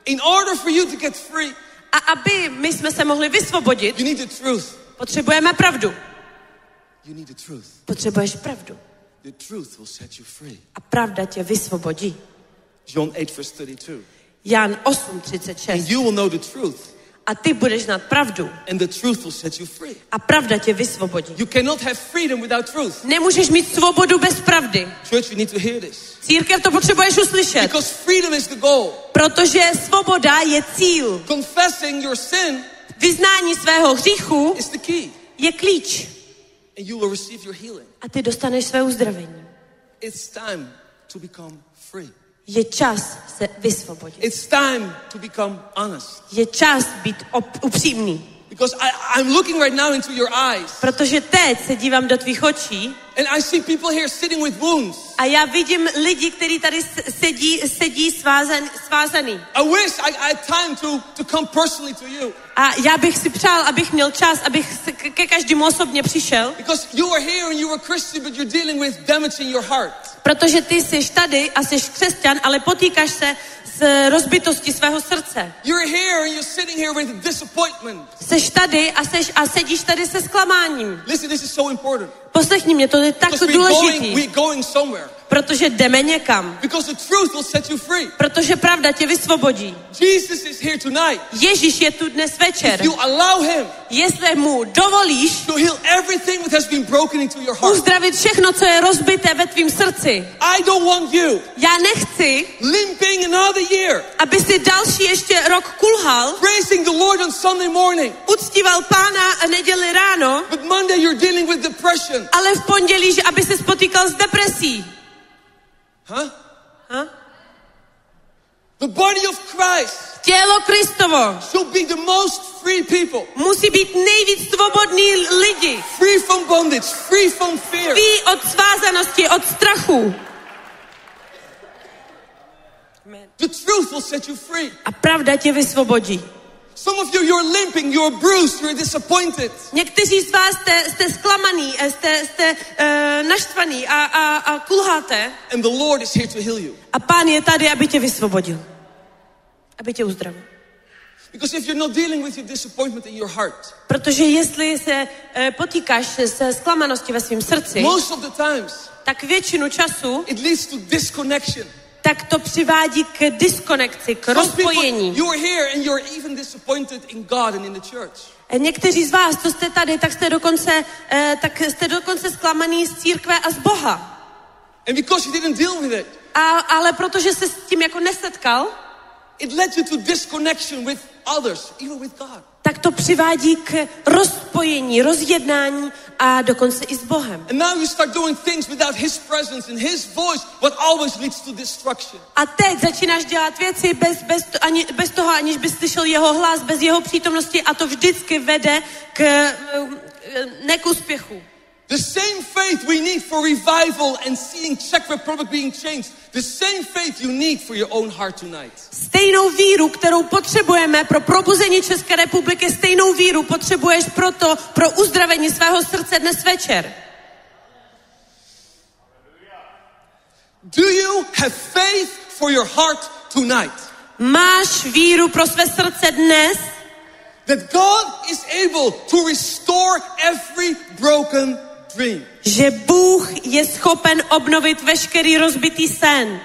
In order for you to get free, A aby my jsme se mohli vysvobodit, you need the truth. potřebujeme pravdu. You need the truth. Potřebuješ pravdu. The truth will set you free. A pravda tě vysvobodí. John eight verse thirty-two. Jan osm třicet šest. And you will know the truth. A ty budeš znát pravdu. And the truth will set you free. A pravda tě vysvobodí. You cannot have freedom without truth. Nemůžeš mít svobodu bez pravdy. Church, you need to hear this. Církev, to potřebuješ uslyšet. Because freedom is the goal. Protože svoboda je cíl. Confessing your sin Vyznání svého hříchu is the key. je klíč. And you will receive your healing. A ty dostaneš své uzdravení. It's time to become free. Je čas se vysvobodit. It's time to become honest. Je čas být op- upřímný. Because I, I'm looking right now into your eyes. Protože teď se dívám do tvých očí And I see people here sitting with wounds. a já vidím lidi, kteří tady sedí, sedí svázaný, svázaný. I wish I, I had time to, to come personally to you. A já bych si přál, abych měl čas, abych se k- ke každému osobně přišel. Because you are here and you are Christian, but you're dealing with damage in your heart. Protože ty jsi tady a jsi křesťan, ale potýkáš se s rozbitostí svého srdce. You're here and you're sitting here with disappointment. Jsi tady a, seš, a sedíš tady se zklamáním. Listen, this is so important. Poslechni mě, to je tak Because we're going, důležitý. we're going somewhere. Protože jdeme někam. Because the truth will set you free. Protože pravda tě vysvobodí. Jesus is here tonight. Ježíš je tu dnes večer. If you allow him Jestli mu dovolíš to heal everything that has been broken into your heart. uzdravit všechno, co je rozbité ve tvým srdci. I don't want you Já nechci, limping another year, aby si další ještě rok kulhal, praising the Lord on Sunday morning, uctíval Pána a neděli ráno, but Monday you're dealing with depression. ale v pondělí, že aby se spotýkal s depresí. Huh? Ha? The body of Christ Tělo Kristovo should be the most free people. musí být nejvíc svobodný lidi. Free from bondage, free from fear. Ví od svázanosti, od strachu. The truth will set you free. A pravda tě vysvobodí. Some of you, you're limping, you're bruised, you're disappointed. Někteří z vás jste, jste zklamaný, jste, jste uh, naštvaný a, a, a kulháte. And the Lord is here to heal you. A Pán je tady, aby tě vysvobodil. Aby tě uzdravil. Because if you're not dealing with your disappointment in your heart, Protože jestli se uh, potýkáš se zklamaností ve svém srdci, most of the times tak většinu času it leads to disconnection. tak to přivádí k diskonekci, k Some people, rozpojení. you are here and you're even disappointed in God and in the church. Někteří z vás, co jste tady, tak jste dokonce, eh, tak jste dokonce zklamaný z církve a z Boha. And because you didn't deal with it, A, ale protože se s tím jako nesetkal, it led you to disconnection with others, even with God. tak to přivádí k rozpojení, rozjednání a dokonce i s Bohem. And now you start doing things without His presence and His voice, what always leads to destruction. A teď začínáš dělat věci bez, bez, ani, bez toho, aniž bys slyšel jeho hlas, bez jeho přítomnosti a to vždycky vede k, ne k úspěchu. The same faith we need for revival and seeing Czech Republic being changed, the same faith you need for your own heart tonight. Stejnou víru, kterou potřebujeme pro probuzení České republiky, stejnou víru potřebuješ proto, pro uzdravení svého srdce dnes večer. Do you have faith for your heart tonight? Máš víru pro své srdce dnes, That God is able to restore every broken dream. že Bůh je schopen obnovit veškerý rozbitý sen.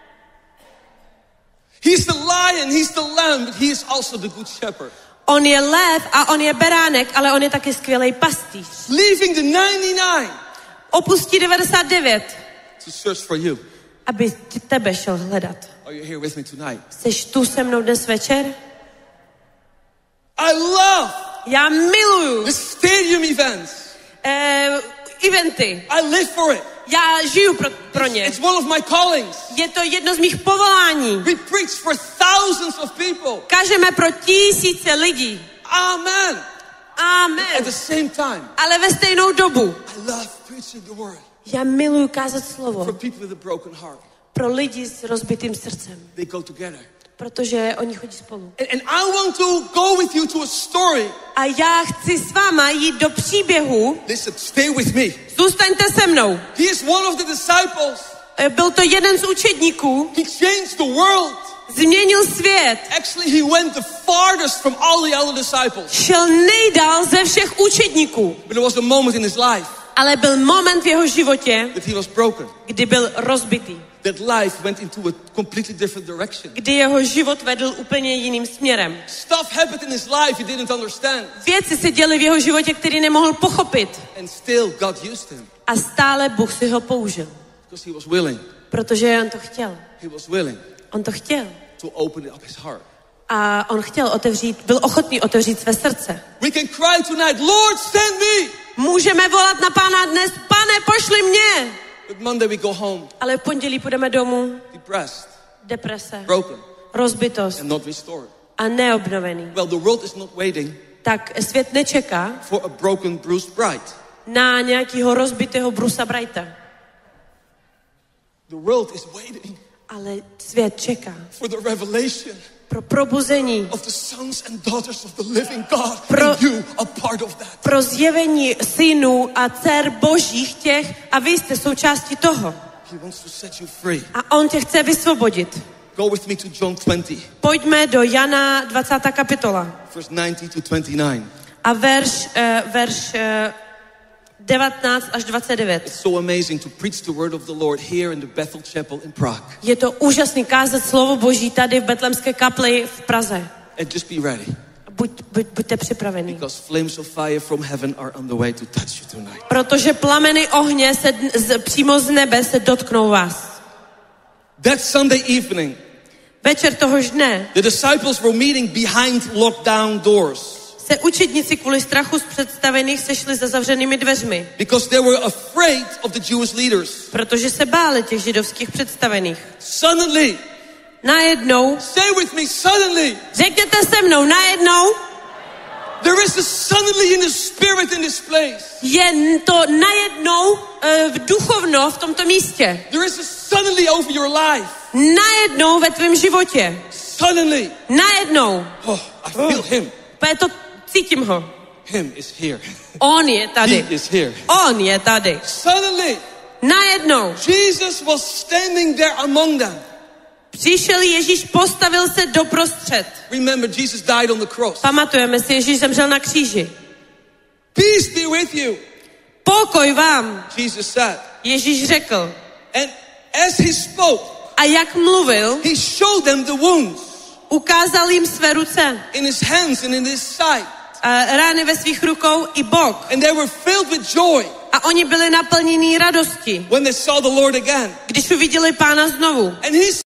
He's the lion, he's the lamb, but he is also the good shepherd. On je lev a on je beránek, ale on je taky skvělý pastýř. Leaving the ninety-nine Opustí devadesát devět, to search for you. aby tebe šel hledat. Are you here with me tonight? Jseš tu se mnou dnes večer? I love Já miluju the stadium events. eh, eventy. I live for it. Já žiju pro, pro ně. It's one of my callings. Je to jedno z mých povolání. We preach for thousands of people. Kážeme pro tisíce lidí. Amen. At Amen. the same time, Ale ve stejnou dobu I love preaching the word já miluju kázat for slovo people with a broken heart. pro lidi s rozbitým srdcem. They go together. Protože oni chodí spolu. And, and I want to go with you to a story. A já chci s váma jít do příběhu. Listen, stay with me. Zůstaňte se mnou. He is one of the disciples. Eh, Byl to jeden z učedníků, He changed the world. změnil svět. Actually, he went the farthest from all the other disciples. Šel nejdál ze všech učedníků. But there was a moment in his life Ale byl moment v jeho životě, that he was broken. kdy byl rozbitý. That life went into a completely different direction. Kdy jeho život vedl úplně jiným směrem. Stuff happened in his life he didn't understand. Věci se děly v jeho životě, který nemohl pochopit. And still God used him. A stále Bůh si ho použil. Because he was willing. Protože on to chtěl. He was willing On to chtěl. to open up his heart. A on chtěl otevřít, byl ochotný otevřít své srdce. We can cry tonight, Lord, send me. Můžeme volat na Pána dnes, Pane, pošli mě. But Monday we go home Ale v pondělí půjdeme domů, depressed, deprese, broken, rozbitost and not restored. a neobnovený. Well, the world is not waiting Tak svět nečeká for a broken, bruised bride. na nějakého rozbitého Brusa Brighta. The world is waiting Ale svět čeká for the revelation pro probuzení, of the sons and daughters of the living God. Pro- and you are part of that. pro zjevení synů a dcer božích těch a vy jste součástí toho. He wants to set you free. A on tě chce vysvobodit. Go with me to John twenty, Pojďme do Jana dvacátá kapitola verse nineteen to twenty-nine. a verš, uh, verš uh, devatenáct až dvacet devět. It's so amazing to preach the word of the Lord here in the Bethel Chapel in Prague. Je to úžasný kázat slovo Boží tady v Betlemské kapli v Praze. And just be ready, Buď, buď, buďte připravení. because flames of fire from heaven are on the way to touch you tonight. Protože plameny ohně se dn- z, přímo z nebe se dotknou vás. That Sunday evening, Večer tohož dne the disciples were meeting behind locked down doors se učedníci kvůli strachu z představených sešli za zavřenými dveřmi, because they were afraid of the Jewish leaders. protože se báli těch židovských představených. Suddenly, Najednou, say with me, suddenly, řekněte se mnou, najednou there is a suddenly in the spirit in this place. je to najednou uh, v duchovno v tomto místě. There is a suddenly over your life. Najednou ve tvém životě. Suddenly, Najednou. oh, I feel him. To cítím ho. Him is here. On je tady. He is here. On je tady. Suddenly, Najednou Jesus was standing there among them. přišel Ježíš, postavil se doprostřed. Remember, Jesus died on the cross. Pamatujeme si, Ježíš zemřel na kříži. Peace be with you, Pokoj vám, Jesus said. Ježíš řekl. And as he spoke, A jak mluvil, he showed them the wounds ukázal jim své ruce, in his hands and in his side. a rány ve svých rukou i bok. And they were filled with joy A oni byli naplnění radosti, when they saw the Lord again. když uviděli Pána znovu. And he said,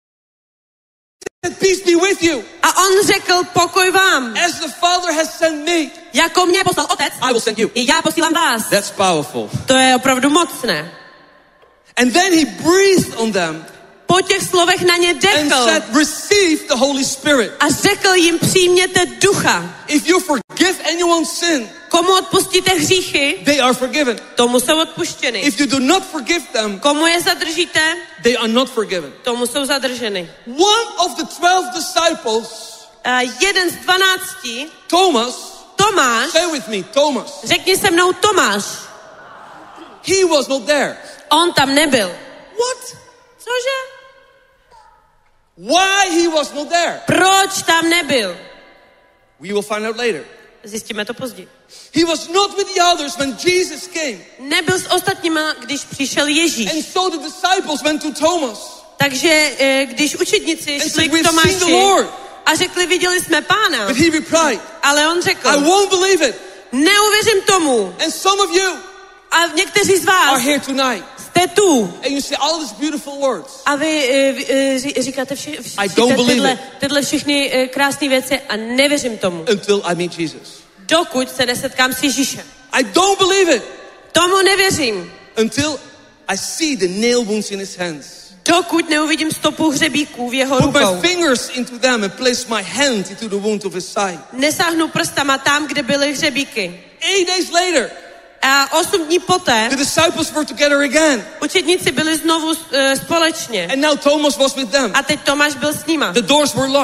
peace be with you. A on řekl, pokoj vám. As the Father has sent me, Jako mě poslal Otec, I will send you. i já posílám vás. That's powerful. To je opravdu mocné. And then he breathed on them Po těch slovech na ně and dechl said, receive the Holy Spirit. a řekl jim, přijměte ducha. If you forgive anyone's sin, Komu odpustíte hříchy, they are forgiven. tomu jsou odpuštěny. If you do not forgive them, Komu je zadržíte, they are not forgiven. tomu jsou zadrženy. One of the twelve disciples, A jeden z dvanácti, Thomas, Tomáš, say with me, Thomas, řekni se mnou Tomáš, he was not there. on tam nebyl. What? Cože? Why he was not there? Proč tam nebyl? We will find out later. Zjistíme to později. He was not with the others when Jesus came. Nebyl s ostatníma, když přišel Ježíš. And so the disciples went to Thomas Takže eh, když učedníci and šli said, k we've seen the Tomáši Lord. a řekli, viděli jsme Pána, But he replied, ale on řekl, I won't believe it. neuvěřím tomu. And some of you A někteří z are vás here tonight. jste tu. And you say all these beautiful words. A vy, eh, vy eh, ří- říkáte vši, vši, I don't believe tyhle, it. tyhle všechny eh, krásné věci a nevěřím tomu. Until I meet Jesus. Dokud se nesetkám s Ježíšem. I don't believe it. Tomu nevěřím. Until I see the nail wounds in his hands. Dokud neuvidím stopu hřebíků v jeho Put my rukou. fingers into them and place my hand into the wound of his side. Nesáhnu prstama tam, kde byly hřebíky. Eight days later, A osm dní poté the disciples were together again. učedníci byli znovu uh, společně. And now Thomas was with them. A teď Tomáš byl s nima. The doors were locked.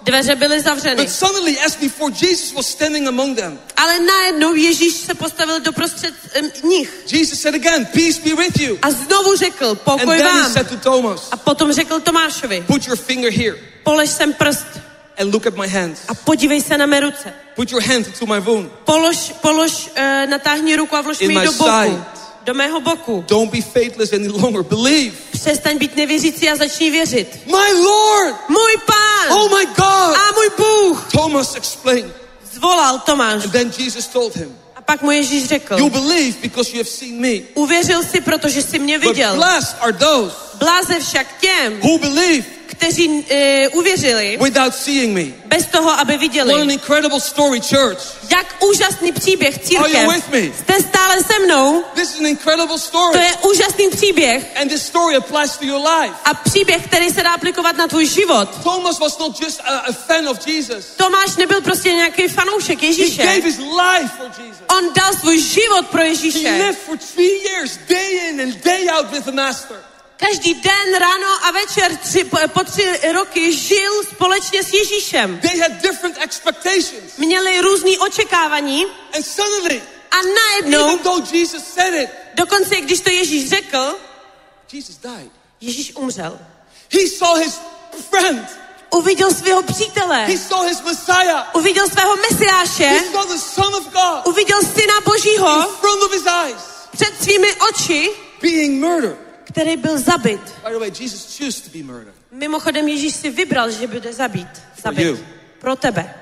Dveře byly zavřeny. But suddenly, as before, Jesus was standing among them. Ale najednou Ježíš se postavil doprostřed um, nich. Jesus said again, peace be with you. A znovu řekl, And pokoj then he vám. said to Thomas, A potom řekl Tomášovi, put your finger here polož sem prst and look at my hands. a podívej se na mé ruce. Put your hand into my wound. Polož, polož, uh, natáhni ruku a vlož In mi ji my do boku. side. Do mého boku. Don't be faithless any longer. Believe. Přestaň být nevěřící a začni věřit. My Lord! Můj Pán! Oh my God! A můj Bůh! Thomas explained. Zvolal Tomáš. And then Jesus told him, A pak mu Ježíš řekl, you believe because you have seen me. uvěřil jsi, protože jsi mě But viděl. blessed are those Bláze však těm, who believe kteří uh, uvěřili without seeing me. bez toho, aby What an viděli. incredible story, church. Jak úžasný příběh, Are you církev. with me? Jste stále se mnou? This is an incredible To story. je úžasný příběh And this story applies to your life. a příběh, který se dá aplikovat na tvůj život. Thomas was not just a, a fan of Jesus. Tomáš nebyl prostě nějaký fanoušek He Ježíše. gave his life for Jesus. On dal svůj život pro He Ježíše. lived for three years, day in and day out with the Master. Každý den, ráno a večer tři, po, po tři roky žil společně s Ježíšem. They had different expectations. Měli různý očekávání And suddenly, a najednou, even though Jesus said it, dokonce když to Ježíš řekl, Jesus died. Ježíš umřel. He saw his friend. Uviděl svého přítele. He saw his Messiah. Uviděl svého mesiáše. He saw the Son of God Uviděl syna in Božího front of his eyes před svými oči, being murdered. který byl zabit. By the way, Jesus chose to be murdered. Mimochodem Ježíš si vybral, že bude zabít. For you. Zabit. Pro tebe.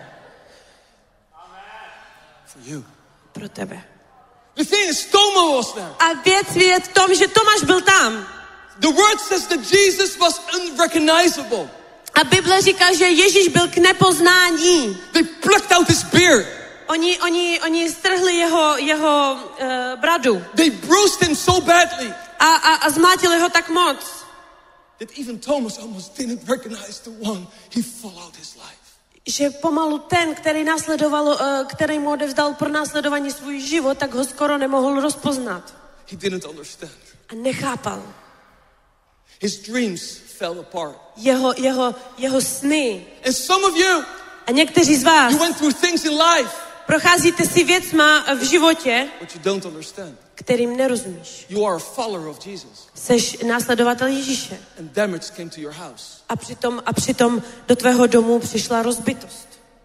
For you. Pro tebe. The thing is, Thomas was there. A věc je v tom, že Tomáš byl tam. The word says that Jesus was unrecognizable. A Bible říká, že Ježíš byl k nepoznání. They plucked out his beard. Oni, oni, oni strhli jeho, jeho uh, bradu They bruised him so badly a, a, a zmlátili ho tak moc, that even Thomas almost didn't recognize the one he followed his life. že pomalu ten, který následoval, uh, který mu odevzdal pro následování svůj život, tak ho skoro nemohl rozpoznat. He didn't understand. A nechápal. His dreams fell apart. Jeho, jeho, jeho sny. And some of you, A někteří z vás you went through things in life, procházíte si věcma v životě, but you don't understand. kterým nerozumíš. You are a follower of Jesus. Seš následovatel Ježíše. And damage came to your house. A přitom, a přitom do tvého domu přišla rozbitost.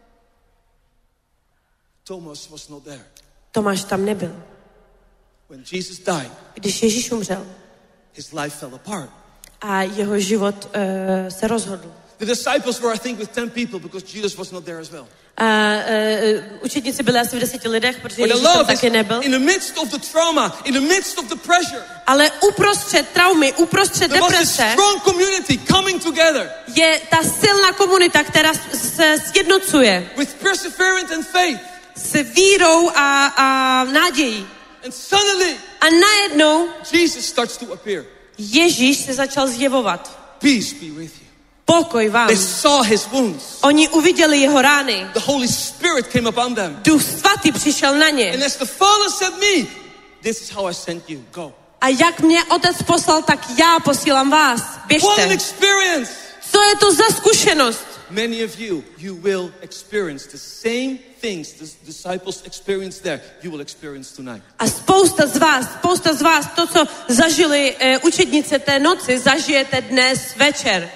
Thomas was not there. Tomáš tam nebyl. When Jesus died, Když Ježíš umřel his life fell apart. a jeho život uh, se rozhodl. The disciples were, I think, with ten people because Jesus was not there as well. A uh, učedníci byli asi v deseti lidech, protože But I Ježíš tam love is taky nebyl. in the midst of the trauma, in the midst of the pressure, Ale uprostřed traumy, uprostřed there was a deprese strong community coming together je ta silná komunita, která se sjednocuje with perseverance and faith. s vírou a, a nádějí. And suddenly, A najednou Jesus starts to appear. Ježíš se začal zjevovat. Peace be with you. Pokoj vám. They saw his wounds. Oni uviděli jeho rány. The Holy Spirit came upon them. Duch svatý přišel na ně. And as the Father sent me, this is how I sent you. Go. A jak mě otec poslal, tak já posílám vás. What an Běžte. experience! Co je to za zkušenost? Many of you, you will experience the same things the disciples experienced there, you will experience tonight. A spousta z vás, spousta z vás, to, co zažili e, učednice té noci, zažijete dnes večer.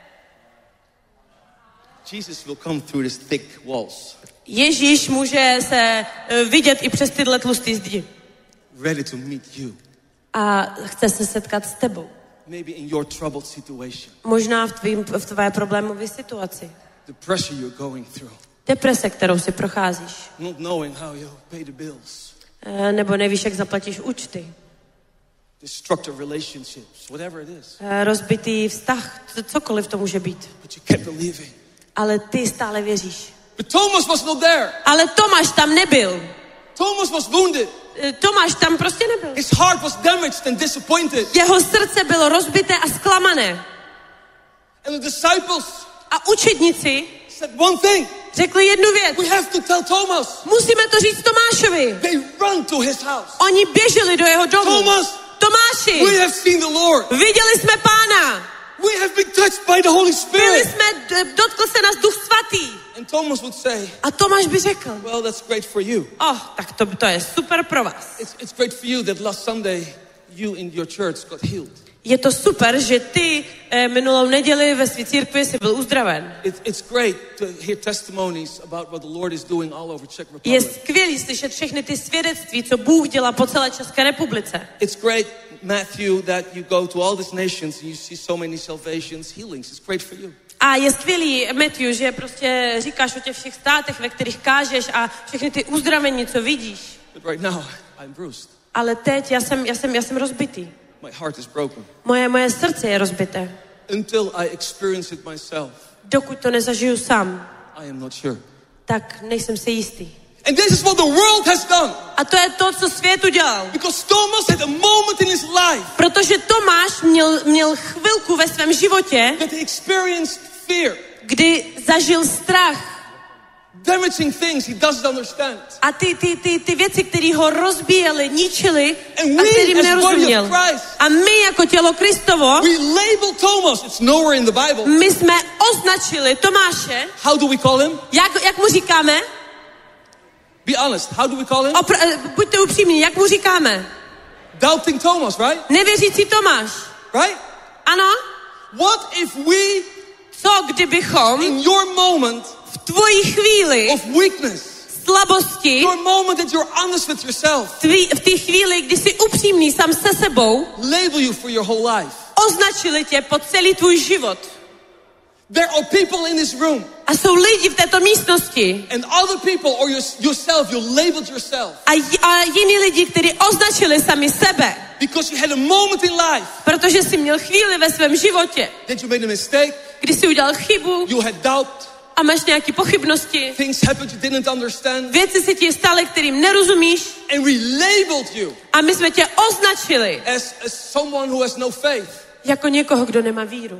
Jesus will come through these thick walls, Ježíš může se e, vidět i přes tyhle tlusté zdi. ready to meet you. A chce se setkat s tebou. Maybe in your troubled situation, Možná v, tvým, v tvé problémové situaci. the pressure you're going through, Deprese, kterou si procházíš. not knowing how you'll pay the bills, E, nebo nevíš, jak zaplatíš účty. destructive relationships, whatever it is. E, rozbitý vztah, c- cokoliv to může být. But you kept believing. Ale ty stále věříš. But Thomas was not there. Ale Tomáš tam nebyl. Thomas was wounded. E, Tomáš tam prostě nebyl. His heart was damaged and disappointed. Jeho srdce bylo rozbité a zklamané. And the disciples A učedníci said one thing. řekli jednu věc. We have to tell Thomas. Musíme to říct Tomášovi. They run to his house. Oni běželi do jeho domu. Thomas, Tomáši, we have seen the Lord. viděli jsme Pána. We have been touched by the Holy Byli Spirit. jsme, dotkl se nás Duch Svatý. And Thomas would say, A Tomáš by řekl, well, that's great for you. oh, tak to, to je super pro vás. It's, it's great for you that last Sunday you in your church got healed. Je to super, že ty eh, minulou neděli ve své církvi jsi byl uzdraven. It, it's great to hear testimonies about what the Lord is doing all over Czech Je Republic. skvělý slyšet všechny ty svědectví, co Bůh dělá po celé České republice. It's great, Matthew, that you go to all these nations and you see so many salvations, healings. It's great for you. A je skvělý, Matthew, že prostě říkáš o těch všech státech, ve kterých kážeš a všechny ty uzdravení, co vidíš. But right now, I'm bruised. Ale teď já jsem, já jsem, já jsem rozbitý. My heart is broken. Moje, moje srdce je rozbité. Until I experience it myself, Dokud to nezažiju sám, I am not sure. tak nejsem si jistý. And this is what the world has done. A to je to, co svět udělal. Because Thomas had a moment in his life Protože Tomáš měl, měl chvilku ve svém životě, that he experienced fear, kdy zažil strach. damaging things he doesn't understand. A ty, ty, ty, ty věci, které ho rozbíjely, ničily And a we kterým as body of nerozuměl. Christ, A my jako tělo Kristovo, we label Thomas. It's nowhere in the Bible. my jsme označili Tomáše, How do we call him? jak, jak mu říkáme? Be honest. How do we call him? Opr- eh, buďte upřímní, jak mu říkáme? Doubting Thomas, right? Nevěřící Tomáš. Right? Ano? What if we, Co kdybychom in your moment v tvojí chvíli of weakness, slabosti, your moment that you're honest with yourself, tví, v té chvíli, kdy jsi upřímný sám se sebou, label you for your whole life? označili tě po celý tvůj život. There are people in this room, A jsou lidi v této místnosti and other people or your, yourself, you labeled yourself a, j- a jiní lidi, kteří označili sami sebe, because you had a moment in life protože jsi měl chvíli ve svém životě, that you made a mistake, kdy jsi udělal chybu you had doubt, a máš nějaké pochybnosti, things happened you didn't understand, věci se ti staly, kterým nerozumíš and we labeled you a my jsme tě označili as, as someone who has no faith, jako někoho, kdo nemá víru.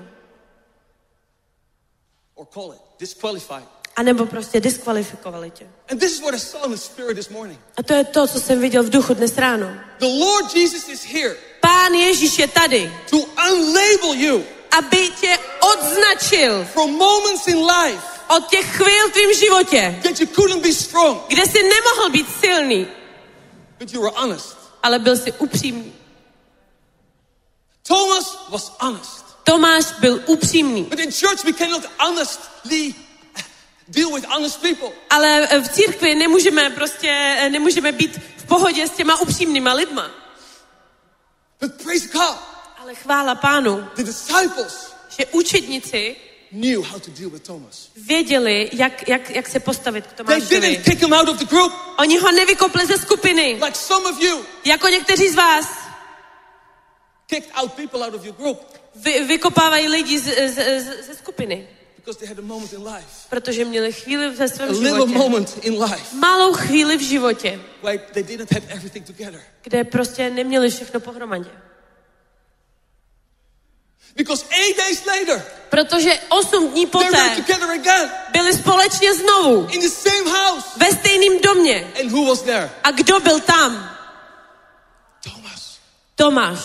or call it disqualified. A nebo prostě diskvalifikovali tě. And this is what I saw in the Spirit this morning. A to je to, co jsem viděl v duchu dnes ráno. The Lord Jesus is here Pán Ježíš je tady, to unlabel you aby tě odznačil from moments in life od těch chvíl v tvým životě, that you couldn't be strong, kde jsi nemohl být silný, but you were honest. ale byl jsi upřímný. Thomas was honest. Tomáš byl upřímný. But in church we cannot honestly deal with honest people. Ale v církvi nemůžeme prostě, nemůžeme být v pohodě s těma upřímnýma lidma. But praise God, Ale chvála Pánu, the disciples že učedníci knew how to deal with Thomas. věděli, jak, jak, jak se postavit k They Tomášovi. didn't kick him out of the group Oni ho nevykopli ze skupiny, like some of you jako někteří z vás kicked out people out of your group vy, vykopávají lidi z, z, z, ze skupiny. because they had a moment in life, Protože měli chvíli ve a svém little životě. moment in life Malou chvíli v životě, where they didn't have everything together. kde prostě neměli všechno pohromadě. Because eight days later, Protože osm dní they were poté together again byli společně znovu in the same house. ve stejném domě. And who was there? A kdo byl tam? Thomas. Tomáš.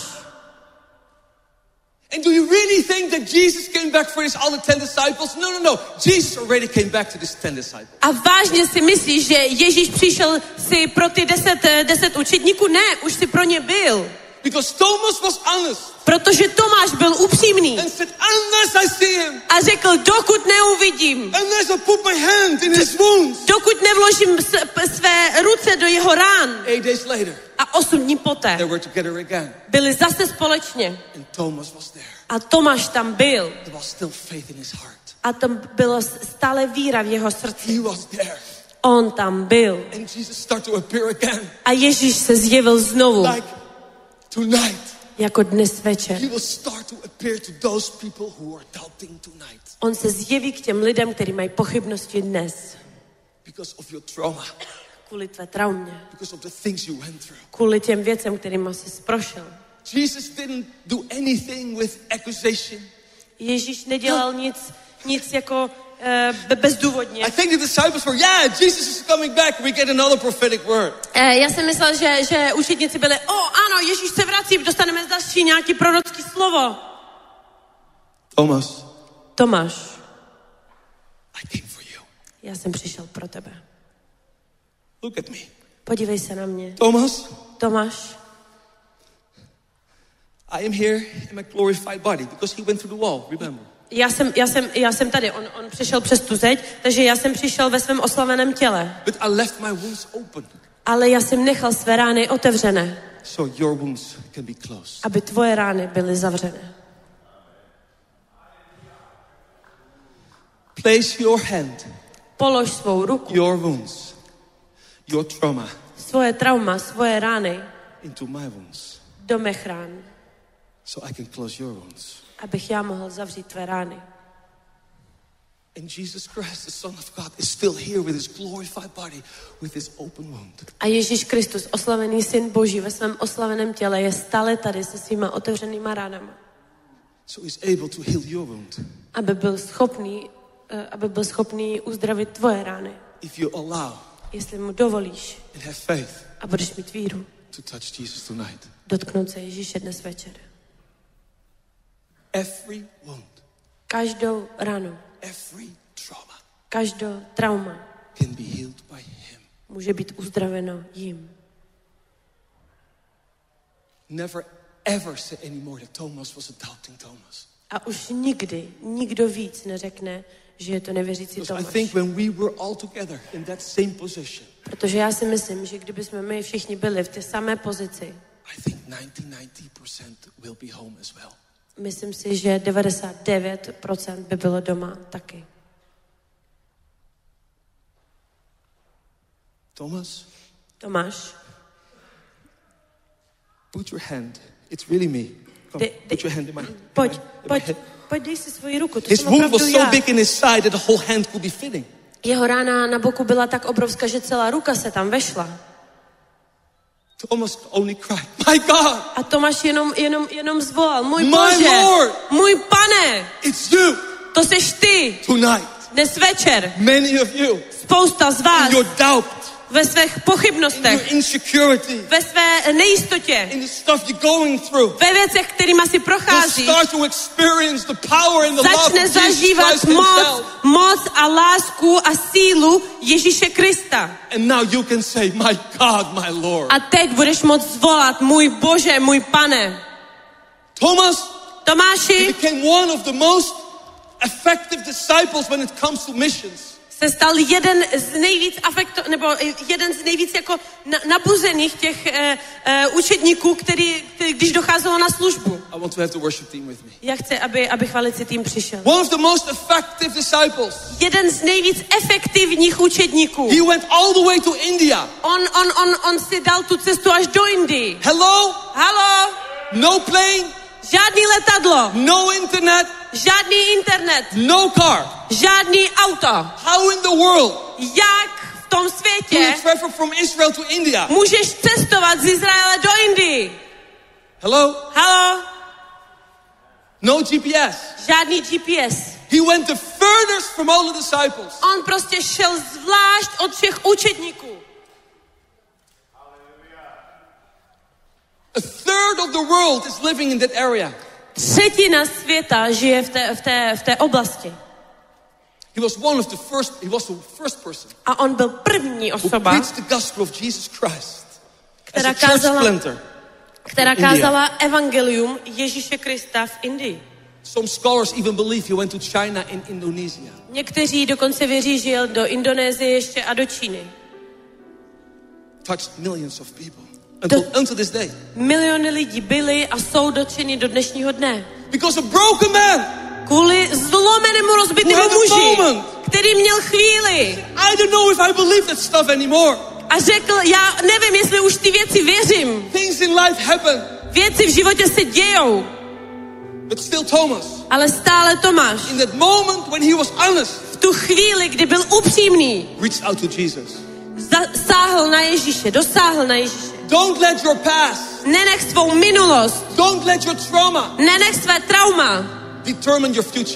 And do you really think that Jesus came back for his other ten disciples? No, no, no. Jesus already came back to his ten disciples. A vážně si myslíš, že Ježíš přišel si pro ty deset, deset učedníků? Ne, už si pro ně byl. Because Thomas was honest Protože Tomáš byl upřímný and said, unless I see him, a řekl, dokud neuvidím, unless I put my hand in his wounds. dokud nevložím s- své ruce do jeho rán. Eight days later, A osm dní poté they were together again. byli zase společně. And Thomas was there. A Tomáš tam byl. There was still faith in his heart. A tam byla stále víra v jeho srdci. He was there. On tam byl. And Jesus started to appear again. A Ježíš se zjevil znovu, Like tonight, jako dnes večer. he will start to appear to those people who are doubting tonight On se zjeví k těm lidem, kteří mají pochybnosti dnes. because of your trauma, Kvůli tvé traumě. because of the things you went through. Kvůli těm věcem, kterým jsi prošel. Jesus didn't do anything with accusation. Ježíš nedělal nic, nic jako uh, bezdůvodně. I think the disciples were, yeah, Jesus is coming back. We get another prophetic word. Uh, já jsem myslel, že, že učedníci byli, o ano, Ježíš se vrací, dostaneme další nějaký prorocký slovo. Thomas, Tomáš, I came for you. já jsem přišel pro tebe. Look at me. Podívej se na mě. Thomas, Tomáš, I am here in my glorified body because he went through the wall, remember? já jsem, já jsem, já jsem tady. On, on přišel přes tu zeď, takže já jsem přišel ve svém oslaveném těle. But I left my wounds open Ale já jsem nechal své rány otevřené, so your wounds can be closed. aby tvoje rány byly zavřené. Place your hand, Polož svou ruku, your wounds, your trauma svoje trauma, svoje rány into my wounds do mých rán, so I can close your wounds. abych já mohl zavřít tvé rány. And Jesus Christ, the Son of God, is still here with his glorified body, with his open wound. A Ježíš Kristus, oslavený syn Boží ve svém oslaveném těle, je stále tady se svýma otevřenýma ránama. So he's able to heal your wound. Aby byl schopný, eh, aby byl schopný uzdravit tvoje rány. If you allow Jestli mu dovolíš and have faith a budeš mít víru, to touch Jesus tonight. dotknout se Ježíše dnes večer. Every wound, Každou ránu, every trauma každou trauma can be healed by him. může být uzdraveno jím. Never ever say anymore that Thomas was a doubting Thomas. A už nikdy nikdo víc neřekne, že je to nevěřící Because I Tomáš. think when we were all together in that same position, Protože já si myslím, že kdyby jsme my všichni byli v té samé pozici, I think ninety percent will be home as well. myslím si, že devadesát devět procent by bylo doma taky. Thomas, Tomáš, put your hand. It's really me. Come, Dej- put dej- your hand in my, in pojď, my, in my pojď, hand. pojď, dej si svoji ruku, to His jsem wound opravdu was so já. big in his side that the whole hand could be fitting. Jeho rána na boku byla tak obrovská, že celá ruka se tam vešla. Thomas only cried, "My God, A Tomáš jenom, jenom, jenom zvolal, můj My Bože, Lord. můj Pane, it's you to seš ty, tonight." dnes večer. Many of you, Spousta z vás in your doubt, ve svých in pochybnostech, your insecurity, ve své nejistotě, in the stuff you're going through, ve věcech, kterýma si will prochází, start to experience the power and the love of začne Jesus zažívat Christ moc, himself. moc a lásku a sílu Ježíše Krista. And now you can say, "My God, my Lord." A teď budeš moct zvolat, můj Bože, můj Pane. Thomas Tomáši became one of the most effective disciples when it comes to missions. se stal jeden z nejvíc afekto, nebo jeden z nejvíc jako na, nabuzených těch eh, eh, učedníků, který, který, když docházelo na službu. I want to have the worship team with me. Já chci, aby, aby chvalicí tým přišel. One of the most effective disciples. Jeden z nejvíc efektivních učedníků. He went all the way to India. On, on, on, on si dal tu cestu až do Indii. Hello? Halo? No plane, Žádný letadlo, no internet, žádný internet, no car. žádný auto. How in the world Jak v tom do světě you travel from Israel to India? můžeš cestovat z Izraele do Indii? Hello? Halo? No G P S. Žádný G P S. He went the furthest from all the disciples. On prostě šel zvlášť od všech učedníků. A third of the world is living in that area. Třetina světa žije v té, v té, v té oblasti. He was one of the first, he was the first person A on byl první who osoba, preached the gospel of Jesus Christ as která a church kázala, planter. která in India. kázala evangelium Ježíše Krista v Indii. Some scholars even believe he went to China and Indonesia. Někteří dokonce věří, že jel do Indonésie ještě a do Číny. Touched millions of people until, until this day. Miliony lidí byli a jsou dotčeni do dnešního dne. Because a broken man Kvůli zlomenému rozbitému Who had a muži, moment. který měl chvíli I don't know if I believe that stuff anymore. a řekl, já nevím, jestli už ty věci věřím. Things in life happen. Věci v životě se dějou, But still Thomas, ale stále Tomáš in that moment when he was honest, v tu chvíli, kdy byl upřímný, reached out to Jesus. sáhl na Ježíše, dosáhl na Ježíše. Don't let your past, Nenech svou minulost, don't let your trauma nenech své trauma determine your future.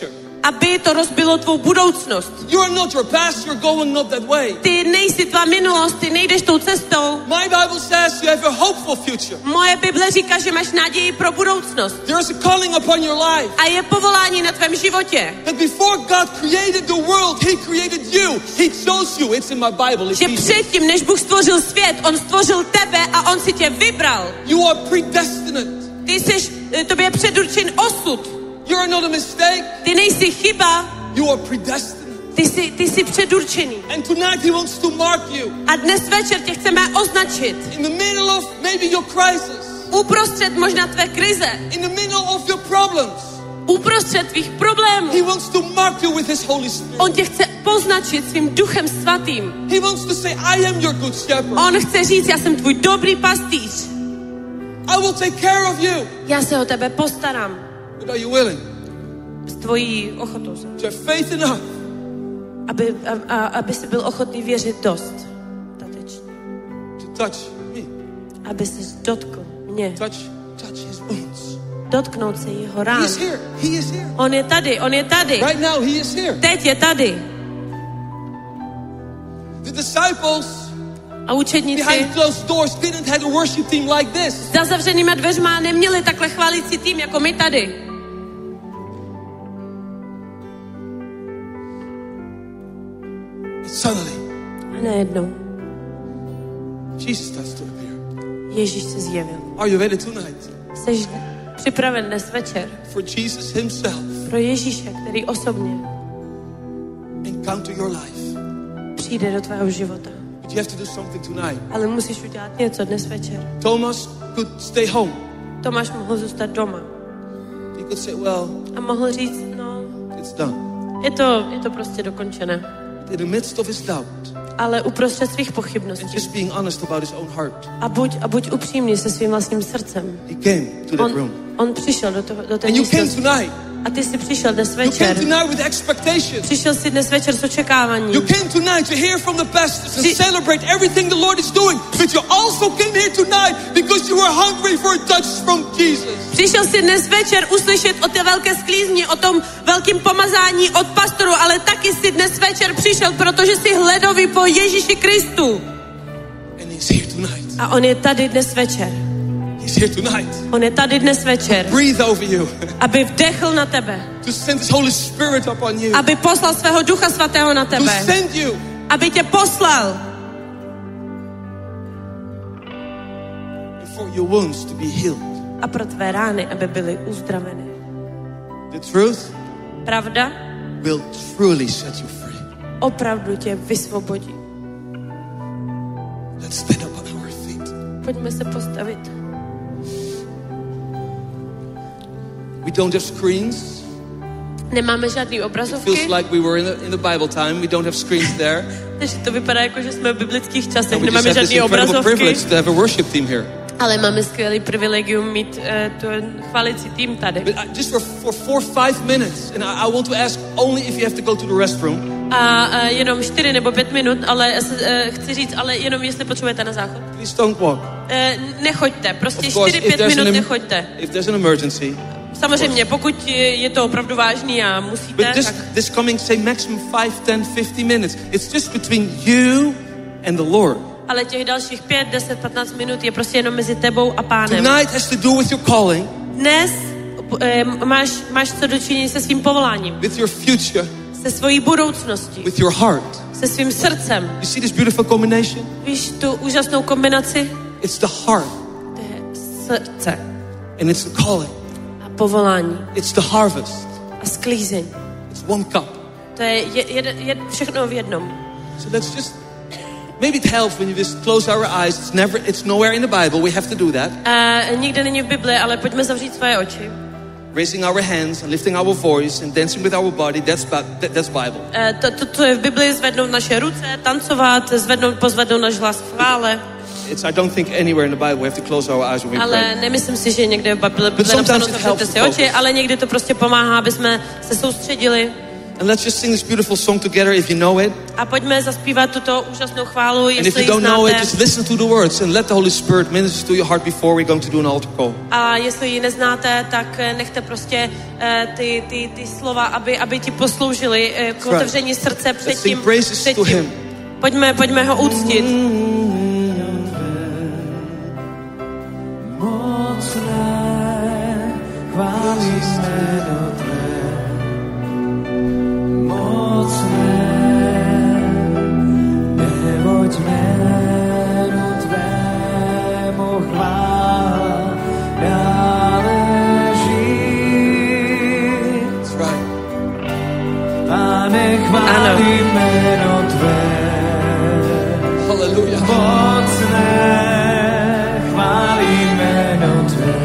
aby to rozbilo tvou budoucnost. You are not your past, you're going not that way. Ty nejsi tvá minulost, ty nejdeš tou cestou. My Bible says you have a hopeful future. Moje Bible říká, že máš naději pro budoucnost. There is a calling upon your life. A je povolání na tvém životě. That before God created the world, He created you. He chose you. It's in my Bible. Že předtím, než Bůh stvořil svět, On stvořil tebe a On si tě vybral. You are predestinate. Ty jsi, tobě je předurčen osud. You are not a mistake. Ty nejsi chyba. You are predestinate. Ty jsi, ty jsi předurčený. And tonight He wants to mark you. A dnes večer tě chceme označit. In the middle of maybe your crisis. Uprostřed možná tvé krize. In the middle of your problems. Uprostřed tvých problémů. He wants to mark you with His Holy Spirit. On tě chce poznačit svým duchem svatým. He wants to say, I am your good shepherd. On chce říct, já jsem tvůj dobrý pastýř. I will take care of you. Já se o tebe postarám. But are you willing? S tvojí ochotou. To have faith enough. Aby, a, a, aby jsi byl ochotný věřit dost. Tatečně. To touch me. Aby se dotkl mě. Touch, touch His wounds. Dotknout se jeho He rán. is here. He is here. On je tady, on je tady. Right now He is here. Teď je tady. The disciples A učedníci behind closed doors didn't have a worship team like this. za zavřenýma dveřma neměli takhle chválící tým, jako my tady. Suddenly, A najednou Jesus starts to appear. Ježíš se zjevil. Are you ready tonight? Jsi připraven dnes večer For Jesus Himself pro Ježíše, který osobně encounter your life. přijde do tvého života. But you have to do something tonight. Ale musíš udělat něco dnes večer. Thomas could stay home. Tomáš mohl zůstat doma. He could say, well, A mohl říct, no, it's done. je to, je to prostě dokončené. In the midst of his doubt Ale uprostřed svých and pochybností. just being honest about his own heart, A buď, a buď upřímný se svým vlastním srdcem. he came to that On, room. on přišel do, toho, do té And you came místnosti. tonight. A ty jsi přišel dnes You came večer. tonight with expectation. Přišel jsi dnes večer s očekáváním. You came tonight to hear from the pastors and Při- celebrate everything the Lord is doing. But you also came here tonight because you were hungry for a touch from Jesus. Přišel jsi dnes večer uslyšet o té velké sklízni, o tom velkém pomazání od pastoru, ale taky jsi dnes večer přišel, protože jsi hledový po Ježíši Kristu. And He's here tonight. A on je tady dnes večer. He's here tonight. On je tady dnes večer, Breathe over you. aby vdechl na tebe, To send His Holy Spirit upon you. aby poslal svého Ducha Svatého na To tebe, send you. aby tě poslal And for your wounds to be healed. a pro tvé rány, aby byly uzdraveny. The truth Pravda will truly set you free. opravdu tě vysvobodí. Let's stand up on our feet. Pojďme se postavit. We don't have screens. Nemáme žádný It obrazovky, feels like we were in the, in the Bible time. We don't have screens there. takže to vypadá jako, že jsme v biblických časech, And we just nemáme have this žádný incredible obrazovky, privilege to have a worship team here. ale máme skvělý privilegium mít uh, tu chválící tým tady. But I, just for, for four, five minutes, and I, I want to ask only if you have to go to the restroom. A uh, jenom čtyři nebo pět minut, ale uh, chci říct, ale jenom jestli potřebujete na záchod. Please don't walk. Uh, nechoďte, prostě Of course, čtyři if pět there's minut an em- nechoďte. if there's an emergency. Samozřejmě, pokud je je to opravdu vážný a But musíte, this, tak this coming, say, maximum five, ten, fifty minutes, it's just between you and the Lord. ale těch dalších pět, deset, patnáct minut je prostě jenom mezi tebou a Pánem. Tonight has to do with your calling, Dnes uh, máš, máš co dočinění se svým povoláním, with your future, se svojí budoucností, with your heart. se svým srdcem. You see this beautiful combination? Víš tu úžasnou kombinaci? It's the heart To je srdce and it's the calling. a povolání It's the harvest. a sklízeň. It's one cup. To je je, je, je všechno v jednom. So let's just, maybe it helps when you just close our eyes. It's never, it's nowhere in the Bible. We have to do that. Uh, nikde není v Bibli, ale pojďme zavřít svoje oči. Raising our hands and lifting our voice and dancing with our body. That's Bi- that, that's Bible. Uh, to, to, to je v Bibli, zvednout naše ruce, tancovat, zvednout, pozvednout náš hlas v chvále. It's, I don't think anywhere in the Bible we have to close our eyes when we Ale pray. nemyslím si, že někde v Bibli But je napsáno, sometimes it zavřete helps si to oči, focus. ale někdy to prostě pomáhá, aby jsme se soustředili. And let's just sing this beautiful song together if you know it. A pojďme zaspívat tuto úžasnou chválu, And if jestli you ji don't know it, znáte. just listen to the words and let the Holy Spirit minister to your heart before we're going to do an altar call. A jestli ji neznáte, tak eh, nechte prostě eh, ty, ty, ty slova, aby, aby ti posloužily eh, k right. otevření srdce před Let's sing tím. praises před to tím. him. Pojďme, pojďme ho úctit. Mocné, chválí jméno tvé. Mocné, neboť jménu tvému chvála náleží. That's right. Pane, chválí jméno tvé. Hallelujah. Mocné, chválí jméno tvé.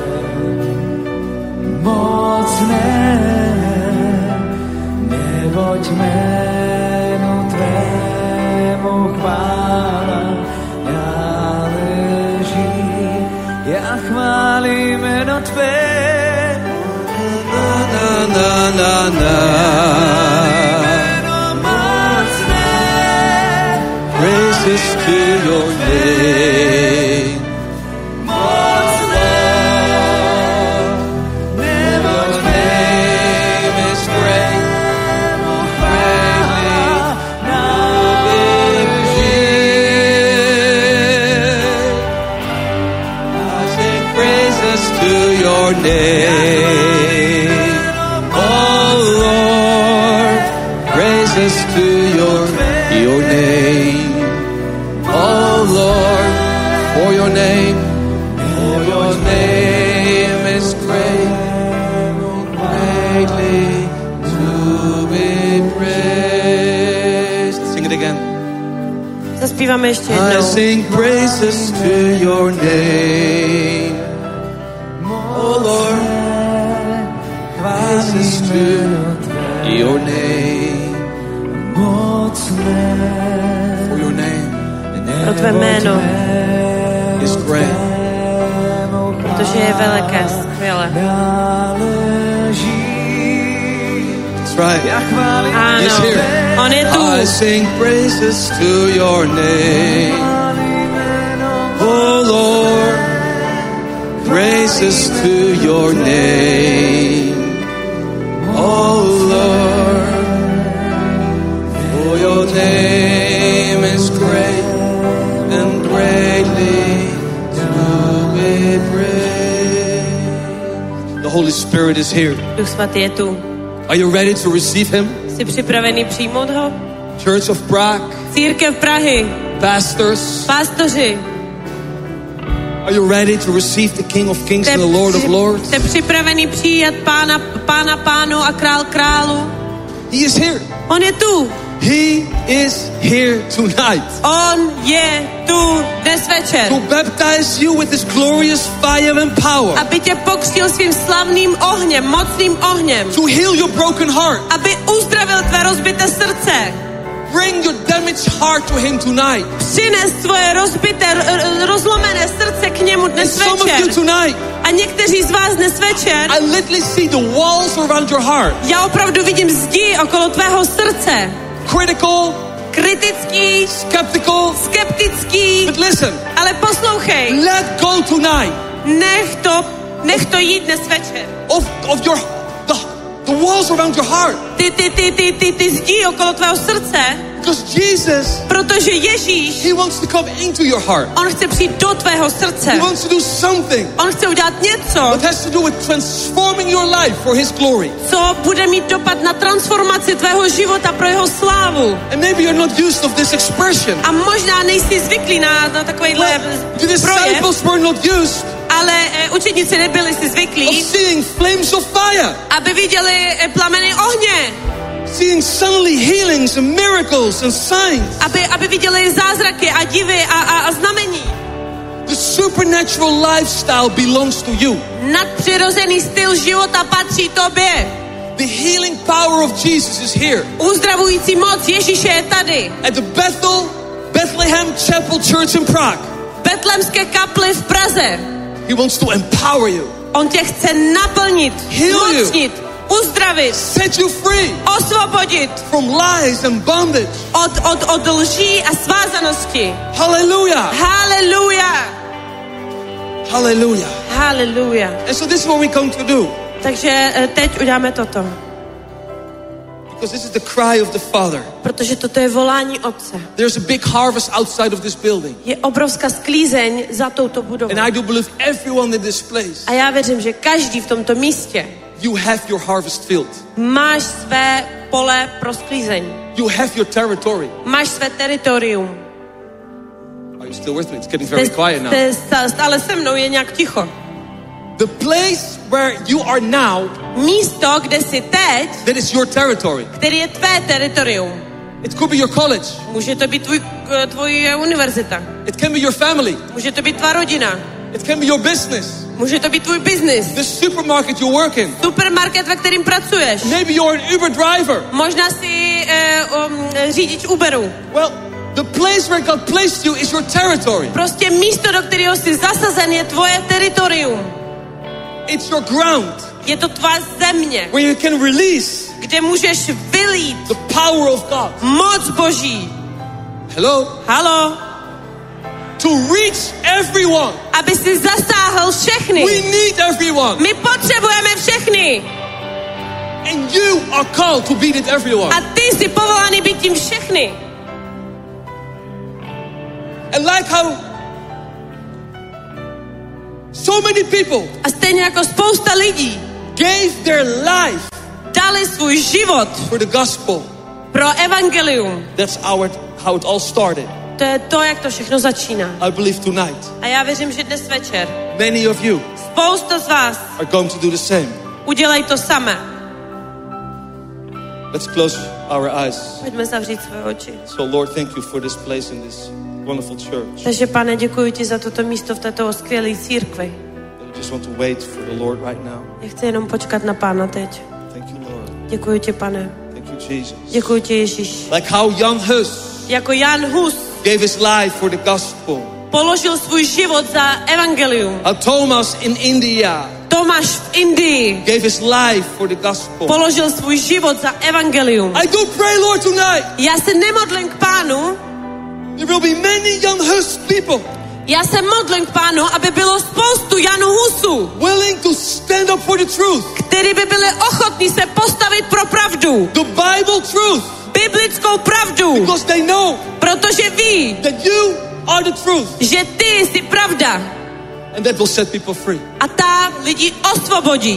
Mocné, neboť jménu tvému chvála náleží. Já chválím jméno tvé. Na, na, na, na. Jméno mocné, Praises to your name. mocné, neboť Your name is great. tvému chvála náleží. I sing praises to your name. Oh Lord, praises to your, your name. Oh Lord, for your name, for your name is great, greatly to be praised. Sing it again. Zaspíváme ještě I jednou. sing praises to your name. Oh Lord, praises to your name. For your name Pro tvé jméno, is great. protože je veliké, skvěle. That's right. He's Ano, here. on je tu. I sing praises to your name. Oh Lord, praises to your name. Oh Lord, for your name is great and greatly to be praised. The Holy Spirit is here. Duch svatý je tu. Are you ready to receive him? Jsi připravený přijmout ho? Church of Prague, Církev Prahy, pastors, pástoři, are you ready to receive the King of Kings and the Lord of Lords? jste připravený přijat pána, pána pánu a král králu? He is here. On je tu. He is here tonight On je tu dnes večer. to baptize you with his glorious fire and power, Aby tě pokřtil svým slavným ohněm, mocným ohněm. to heal your broken heart. Aby uzdravil tvé rozbité srdce. Bring your damaged heart to him tonight. Přines svoje rozbité, r- rozlomené srdce k němu And dnes some of večer. you tonight, A někteří z vás dnes večer, I literally see the walls around your heart. já opravdu vidím zdi okolo tvého srdce. Critical, Kritický, skeptical. skeptický, But listen, ale poslouchej, let go tonight nech to, nech to jít dnes večer. of, of your the, the walls around your heart. Ty, ty, ty, ty, ty, ty zdi okolo tvého srdce, Because Jesus, protože Ježíš, he wants to come into your heart. on chce přijít do tvého srdce. He wants to do something On chce udělat něco, that has to do with transforming your life for his glory. co bude mít dopad na transformaci tvého života pro jeho slávu. And maybe you're not used of this expression. A možná nejsi zvyklý na, na takovýhle The projev, disciples were not used ale e, učedníci nebyli si of zvyklí, seeing flames of fire, aby viděli e, plameny ohně, seeing suddenly healings and miracles and signs. aby, aby viděli zázraky a divy a, a, a znamení. The supernatural lifestyle belongs to you. Nadpřirozený styl života patří tobě. The healing power of Jesus is here. Uzdravující moc Ježíše je tady. At the Bethel, Bethlehem Chapel Church in Prague. Betlemské kapli v Praze. He wants to empower you. On tě chce naplnit, Heal you. mocnit, uzdravit, set you free osvobodit from lies and bondage. od, od, od lží a svázanosti. Hallelujah. Hallelujah. Hallelujah. Hallelujah. And so this is what we come to do. Takže eh, teď uděláme toto. Because this is the cry of the Father. Protože toto je volání Otce. There's a big harvest outside of this building. Je obrovská sklízeň za touto budovou. And I do believe everyone in this place, A já věřím, že každý v tomto místě you have your harvest field. máš své pole pro sklízeň. You have your territory. Máš své teritorium. Are you still with me? It's getting very quiet now. Jste stále se mnou, je nějak ticho. The place where you are now, Místo, kde jsi teď, that is your territory. který je tvé teritorium. It could be your college. Může to být tvůj, eh, tvoje univerzita. It can be your family. Může to být tvá rodina. It can be your business. Může to být tvůj biznis. The supermarket you work in. Supermarket, ve kterým pracuješ. Maybe you're an Uber driver. Možná jsi eh, um, řidič Uberu. Well, the place where God placed you is your territory. Prostě místo, do kterého jsi zasazen, je tvoje teritorium. It's your ground Je to tvá země, where you can release kde můžeš vylít the power of God. moc Boží. Hello? Halo? To reach everyone. Aby si zasáhl všechny. We need everyone. My potřebujeme všechny. And you are called to be with everyone. A ty jsi povolaný být tím všechny. And like how so many people A stejně jako spousta lidí gave their life dali svůj život for the gospel. pro evangelium. That's how it, how it all started. To je to, jak to všechno začíná. I believe tonight A já věřím, že dnes večer many of you spousta z vás are going to do the same. udělají to samé. Let's close our eyes. Pojďme zavřít své oči. So Lord, thank you for this place in this wonderful church. Takže, Pane, děkuji ti za toto místo v této skvělé církvi. I just want to wait for the Lord right now. Já chci jenom počkat na Pána teď. Thank you, Lord. Děkuji ti, Pane. Thank you, Jesus. Děkuji ti, Ježíš. Like how young Hus Jako Jan Hus gave his life for the gospel. položil svůj život za evangelium. How Thomas in India Tomáš v Indii gave his life for the gospel. položil svůj život za evangelium. I do pray, Lord, tonight Já se nemodlím k Pánu, there will be many young Hus people já se modlím k Pánu, aby bylo spoustu Janů Husů, willing to stand up for the truth. kteří by byli ochotní se postavit pro pravdu. The Bible truth. Biblickou pravdu. Because they know Protože ví, that you are the truth. že ty jsi pravda. And that will set people free. A ta lidi osvobodí.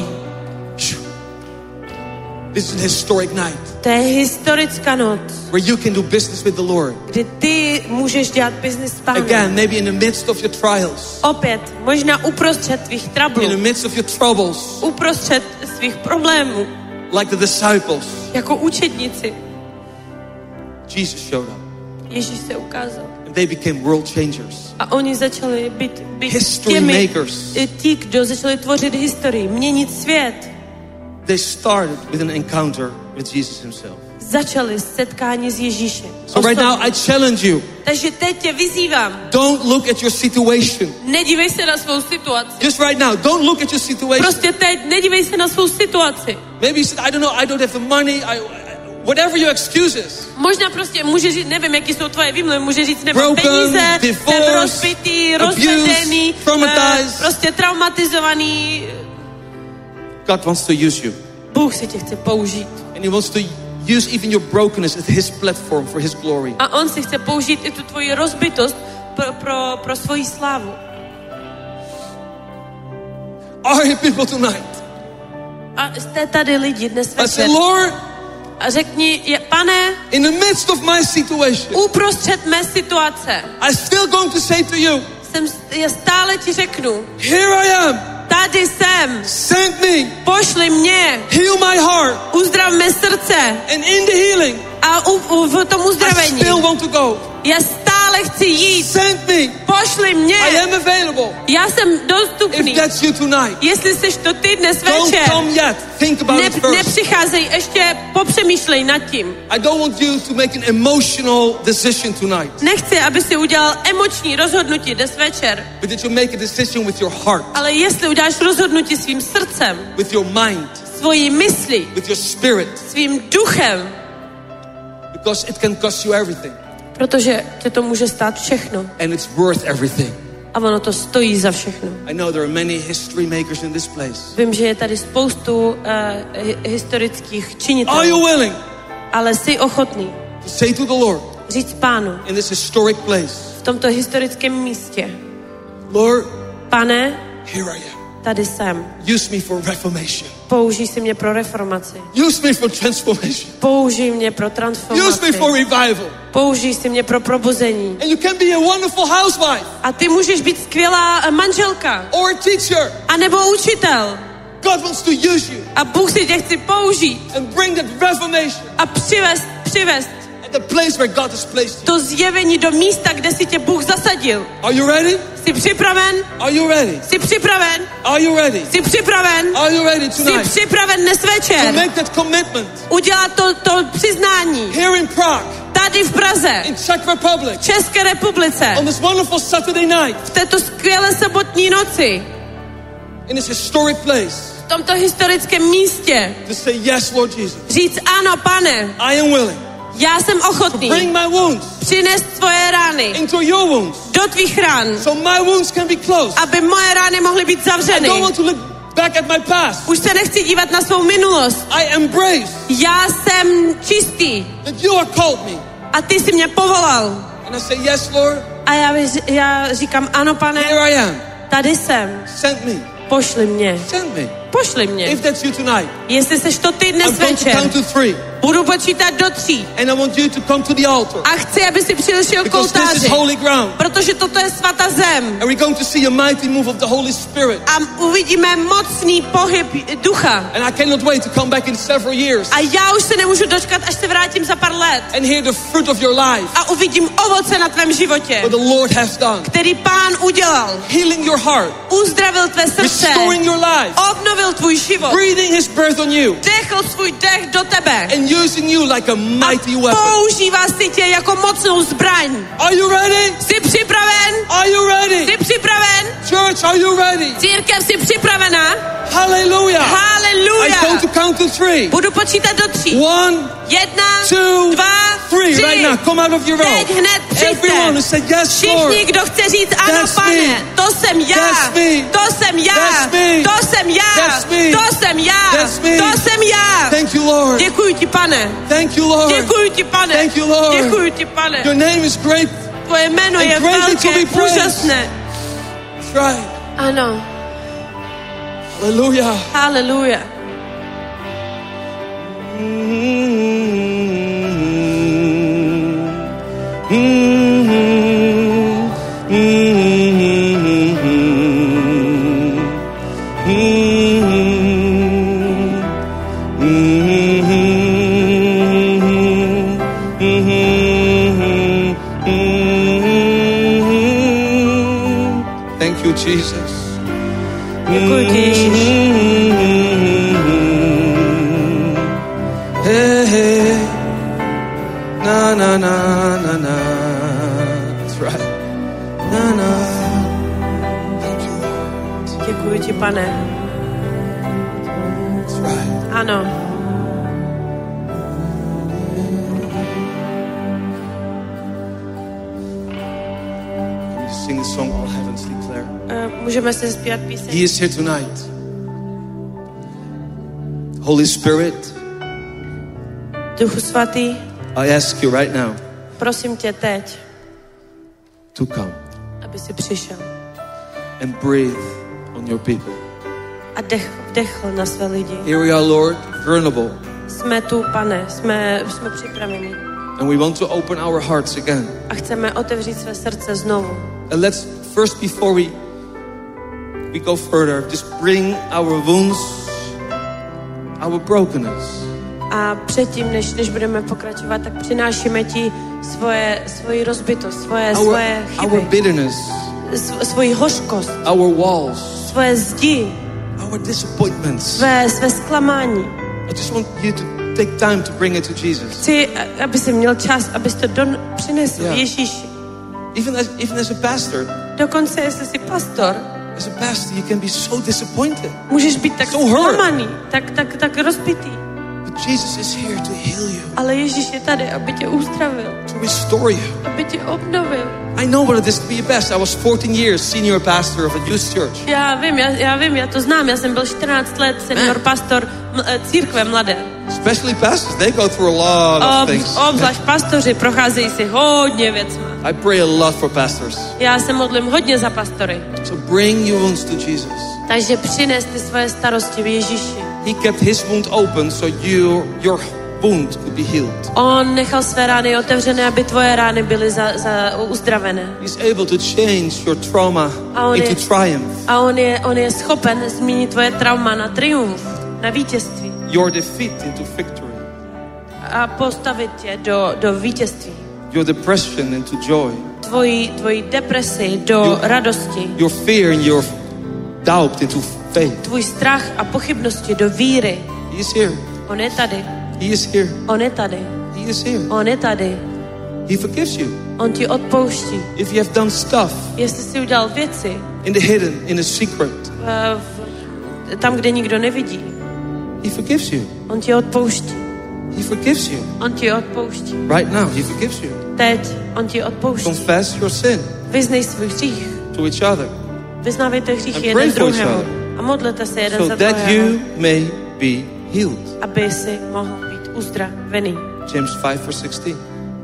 This is a historic night To je historická noc, where you can do business with the Lord. kdy ty můžeš dělat business s Pánem. Again, maybe in the midst of your trials, Opět, možná uprostřed tvých in the trablů, midst of your troubles, uprostřed svých problémů, like the disciples, jako učedníci. Jesus showed up. Ježíš se ukázal. And they became world changers. A oni začali být, být History těmi, makers. ti, kdo začali tvořit historii, měnit svět. They started with an encounter with Jesus himself. Začali setkání s Ježíšem. So right now I challenge you. Takže teď tě vyzývám. Don't look at your situation. Nedívej se na svou situaci. Just right now, don't look at your situation. Prostě teď nedívej se na svou situaci. Maybe you said, I don't know, I don't have the money, I, whatever your excuses. Možná prostě může říct, nevím, jaký jsou tvoje výmluvy, může říct, nemám Broken, peníze, jsem divorced, rozbitý, abused, rozvedený, traumatized. eh, prostě traumatizovaný. God wants to use you. Bůh si tě chce použít. And he wants to use even your brokenness as his platform for his glory. A on si chce použít i tu tvoji rozbitost pro, pro, pro svoji slávu. Are you people tonight? A jste tady lidi dnes I say, večer. Lord, A řekni, je, Pane, in the midst of my situation, uprostřed mé situace I'm still going to say to you, jsem, já stále ti řeknu, here I am, tady jsem, send me, pošli mě, heal my heart, uzdrav mé srdce. and in the healing, A u, u, v tom I uzdravení still want to go. já stále chci jít. Send me, Pošli mě. I am available. Já jsem If dostupný. that's you tonight, Jestli jsi to ty dnes don't večer, come yet. Think about ne, it first. nepřicházej, ještě popřemýšlej nad tím. I don't want you to make an emotional decision tonight, Nechci, aby si udělal emoční rozhodnutí dnes večer, but that you make a decision with your heart, ale jestli uděláš rozhodnutí svým srdcem, with your mind, svou svojí myslí, with your spirit, svým duchem, because it can cost you everything. protože tě to může stát všechno. And it's worth everything. A ono to stojí za všechno. I know there are many history makers in this place. Vím, že je tady spoustu uh, hi- historických činitelů. Are you willing Ale jsi ochotný to say to the Lord říct Pánu in this historic place, v tomto historickém místě: Lord, Pane, here I am. tady jsem. Use me for reformation. Použij si mě pro reformaci. Use me for transformation. Použij mě pro Use me transformaci. for revival. Použij si mě pro probuzení. And you can be a wonderful housewife A ty můžeš být skvělá manželka. or a teacher. A nebo učitel. God wants to use you A Bůh si tě chce použít and bring that reformation a přivést, přivést at the place where God has placed you. to zjevení do místa, kde si tě Bůh zasadil. Are you ready? Jsi připraven? Are you ready? Jsi připraven? Are you ready? Jsi připraven? Are you ready Jsi tonight připraven dnes to večer make that commitment udělat to, to přiznání here in Prague, tady v Praze, in Czech Republic, v České republice, on this wonderful Saturday night, v této skvělé sobotní noci, in this historic place, v tomto historickém místě, to say yes, Lord Jesus. říct ano, Pane, I am willing já jsem to ochotný bring my wounds přinést tvoje rány into your wounds, do tvých rán, so my wounds can be closed. aby moje rány mohly být I zavřeny. don't want to look back at my past. Už se nechci dívat na svou minulost. I embrace Já jsem čistý that you have called me. a ty jsi mě povolal. And I say, yes, Lord, A já, já říkám, ano, Pane, here I am. tady jsem, Send me. pošli mě, Send me. pošli mě. If that's you tonight, Jestli seš to ty dnes I'm going to večer, count to three. budu počítat do tří And I want you to come to the altar. a chci, aby si přišel k Because this is oltáři, holy ground. protože toto je svatá zem And we're going to see a mighty move of the Holy Spirit. a uvidíme mocný pohyb ducha. And I cannot wait to come back in several years A já už se nemůžu dočkat, až se vrátím za pár let and hear the fruit of your life, a uvidím ovoce na tvém životě, what the Lord has done. který Pán udělal. Healing your heart, Uzdravil tvé srdce, restoring your life, obnovil tvůj život, breathing His breath on you, dechl svůj dech do tebe and using you like a mighty a weapon. používá si tě jako mocnou zbraň. Are you ready? Jsi připraven? Are you ready? Jsi připraven? Church, are you ready? Církev, jsi připravená? Hallelujah. Hallelujah. I'm going to count to three. Budu počítat do tří. One, Jedna, two, dva, three. tři. Right now, come out of your Teď row. hned Everyone who přijďte. said yes, Lord. Všichni, kdo chce říct ano, That's Pane, me. to jsem já, That's me. to jsem já, That's me. to jsem já, That's me. to jsem já, That's me. to jsem já. Thank you, Lord. Děkuji ti, Pane. Thank you, Lord. Děkuji ti, Pane. Thank you, Lord. Děkuji ti, Pane. Your name is great. Tvoje jméno and je greatly to velké, be praised. úžasné. That's right. Ano. Hallelujah. Hallelujah. Thank you, Jesus. Děkuji ti, Ježíš. Hey, hey. Na, na, na, na, na. That's right. Na, na. Thank you, Lord. Děkuji ti, Pane. That's right. Ano. Can you sing the song All Heavens Declare? Uh, můžeme si zpívat He píseň. is here tonight. Holy Spirit, Duchu svatý, I ask you right now prosím tě teď, to come aby si přišel and breathe on your people. a dech, vdechl na své lidi. Here we are, Lord, vulnerable. Jsme tu, Pane, jsme, jsme připraveni And we want to open our hearts again. a chceme otevřít své srdce znovu. And let's first, before we we go further, just bring our wounds, our brokenness. A předtím, než, než budeme pokračovat, tak přinášíme ti svoje, svoji rozbitost, svoje, Our, svoje our chyby, bitterness, sv, svoji hořkost, our walls, svoje zdi, our disappointments. své, své zklamání. I just want you to take time to bring it to Jesus. Chci, aby jsi měl čas, abys to don, přinesl Yeah. Ježíši. Even as, even as a pastor, Dokonce, jestli jsi pastor, As a pastor, you can be so disappointed. Můžeš být tak So hurt. zklamaný, tak, tak, tak rozbitý. But Jesus is here to heal you, Ale Ježíš je tady, aby tě uzdravil, to restore you. aby tě obnovil. I know what it is to be a pastor. I was fourteen years senior pastor of a youth church. Já vím, já, já vím, já to znám. Já jsem byl čtrnáct let senior pastor m- církve mladé. Especially pastors, they go through a lot of Ob, things. obzvlášť pastoři procházejí si hodně věcma. I pray a lot for pastors. Já se modlím hodně za pastory. So bring your wounds to Jesus. Takže přines ty svoje starosti v Ježíši. He kept his wound open so you, your wound could be healed. On nechal své rány otevřené, aby tvoje rány byly za, za uzdravené. He's able to change your trauma A on into je, triumph. a on je, on je schopen změnit tvoje trauma na triumf, na vítězství. Your defeat into victory. A postavit tě do, do vítězství. Your depression into joy. Tvoji, tvoji depresi do Your- radosti. Your fear and your doubt into faith. Tvůj strach a pochybnosti do víry. He is here. On je tady. He is here. On je tady. He is here. On je tady. He forgives you. On ti odpouští. If you have done stuff Jestli jsi udělal věci in the hidden, in the secret, uh, v, tam, kde nikdo nevidí, he forgives you. on ti odpouští. He forgives you. On ti odpouští. Right now, he forgives you. Teď on ti odpouští. Confess your sin Vyznej svůj hřích. to each other Vyznávejte hřích And jeden pray for each druhému. other. A modlete se jeden so za that druhého, you may be healed. aby si mohl být uzdravený. James five verse sixteen.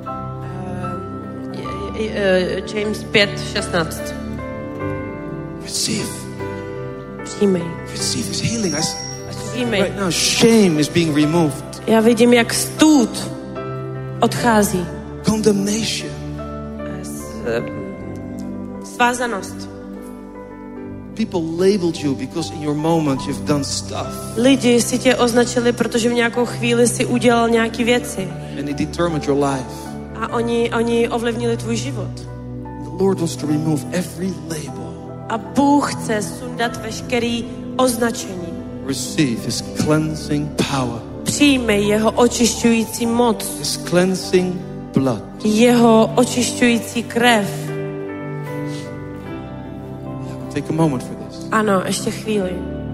Je- je- James pět šestnáct. Receive. Přijmej. Receive his healing. I, s- I see Přijmej. right now shame is being removed. Já vidím, jak stůd odchází. Condemnation. S- eh, Svázanost. People labeled you because in your moment you've done stuff Lidi si tě označili, protože v nějakou chvíli si udělal nějaký věci. and it determined your life. A oni, oni ovlivnili tvůj život. The Lord wants to remove every label. A Bůh chce sundat veškerý označení. Receive his cleansing power, Přijmej jeho očišťující moc, his cleansing blood. jeho očišťující krev. Take a moment for this. Ano, ještě chvíli.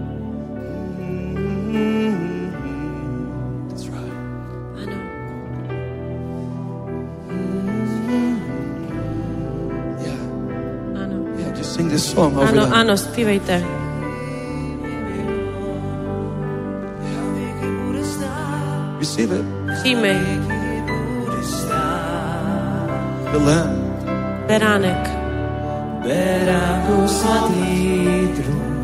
That's right. Ano. Yeah. Ano. Yeah, just sing this song over Ano, them. ano, zpívejte. Receive it. Přijmej. The Lamb. Beránek. Beránku svatý trůn.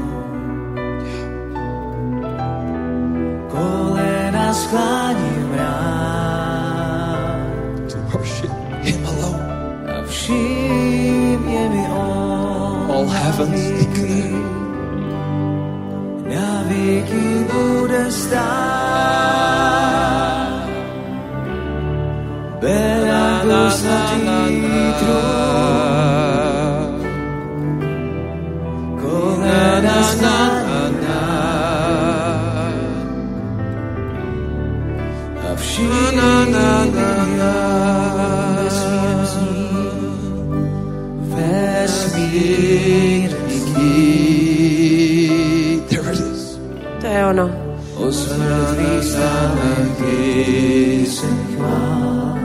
Kolena skláním rád To worship him alone. a vším je mi on. All heavens declare. Na věky bude stát. Beránku svatý trůn. Kolena skláním a vším vesmír There it is. To je ono. o smrtvých stánech píseň chvál.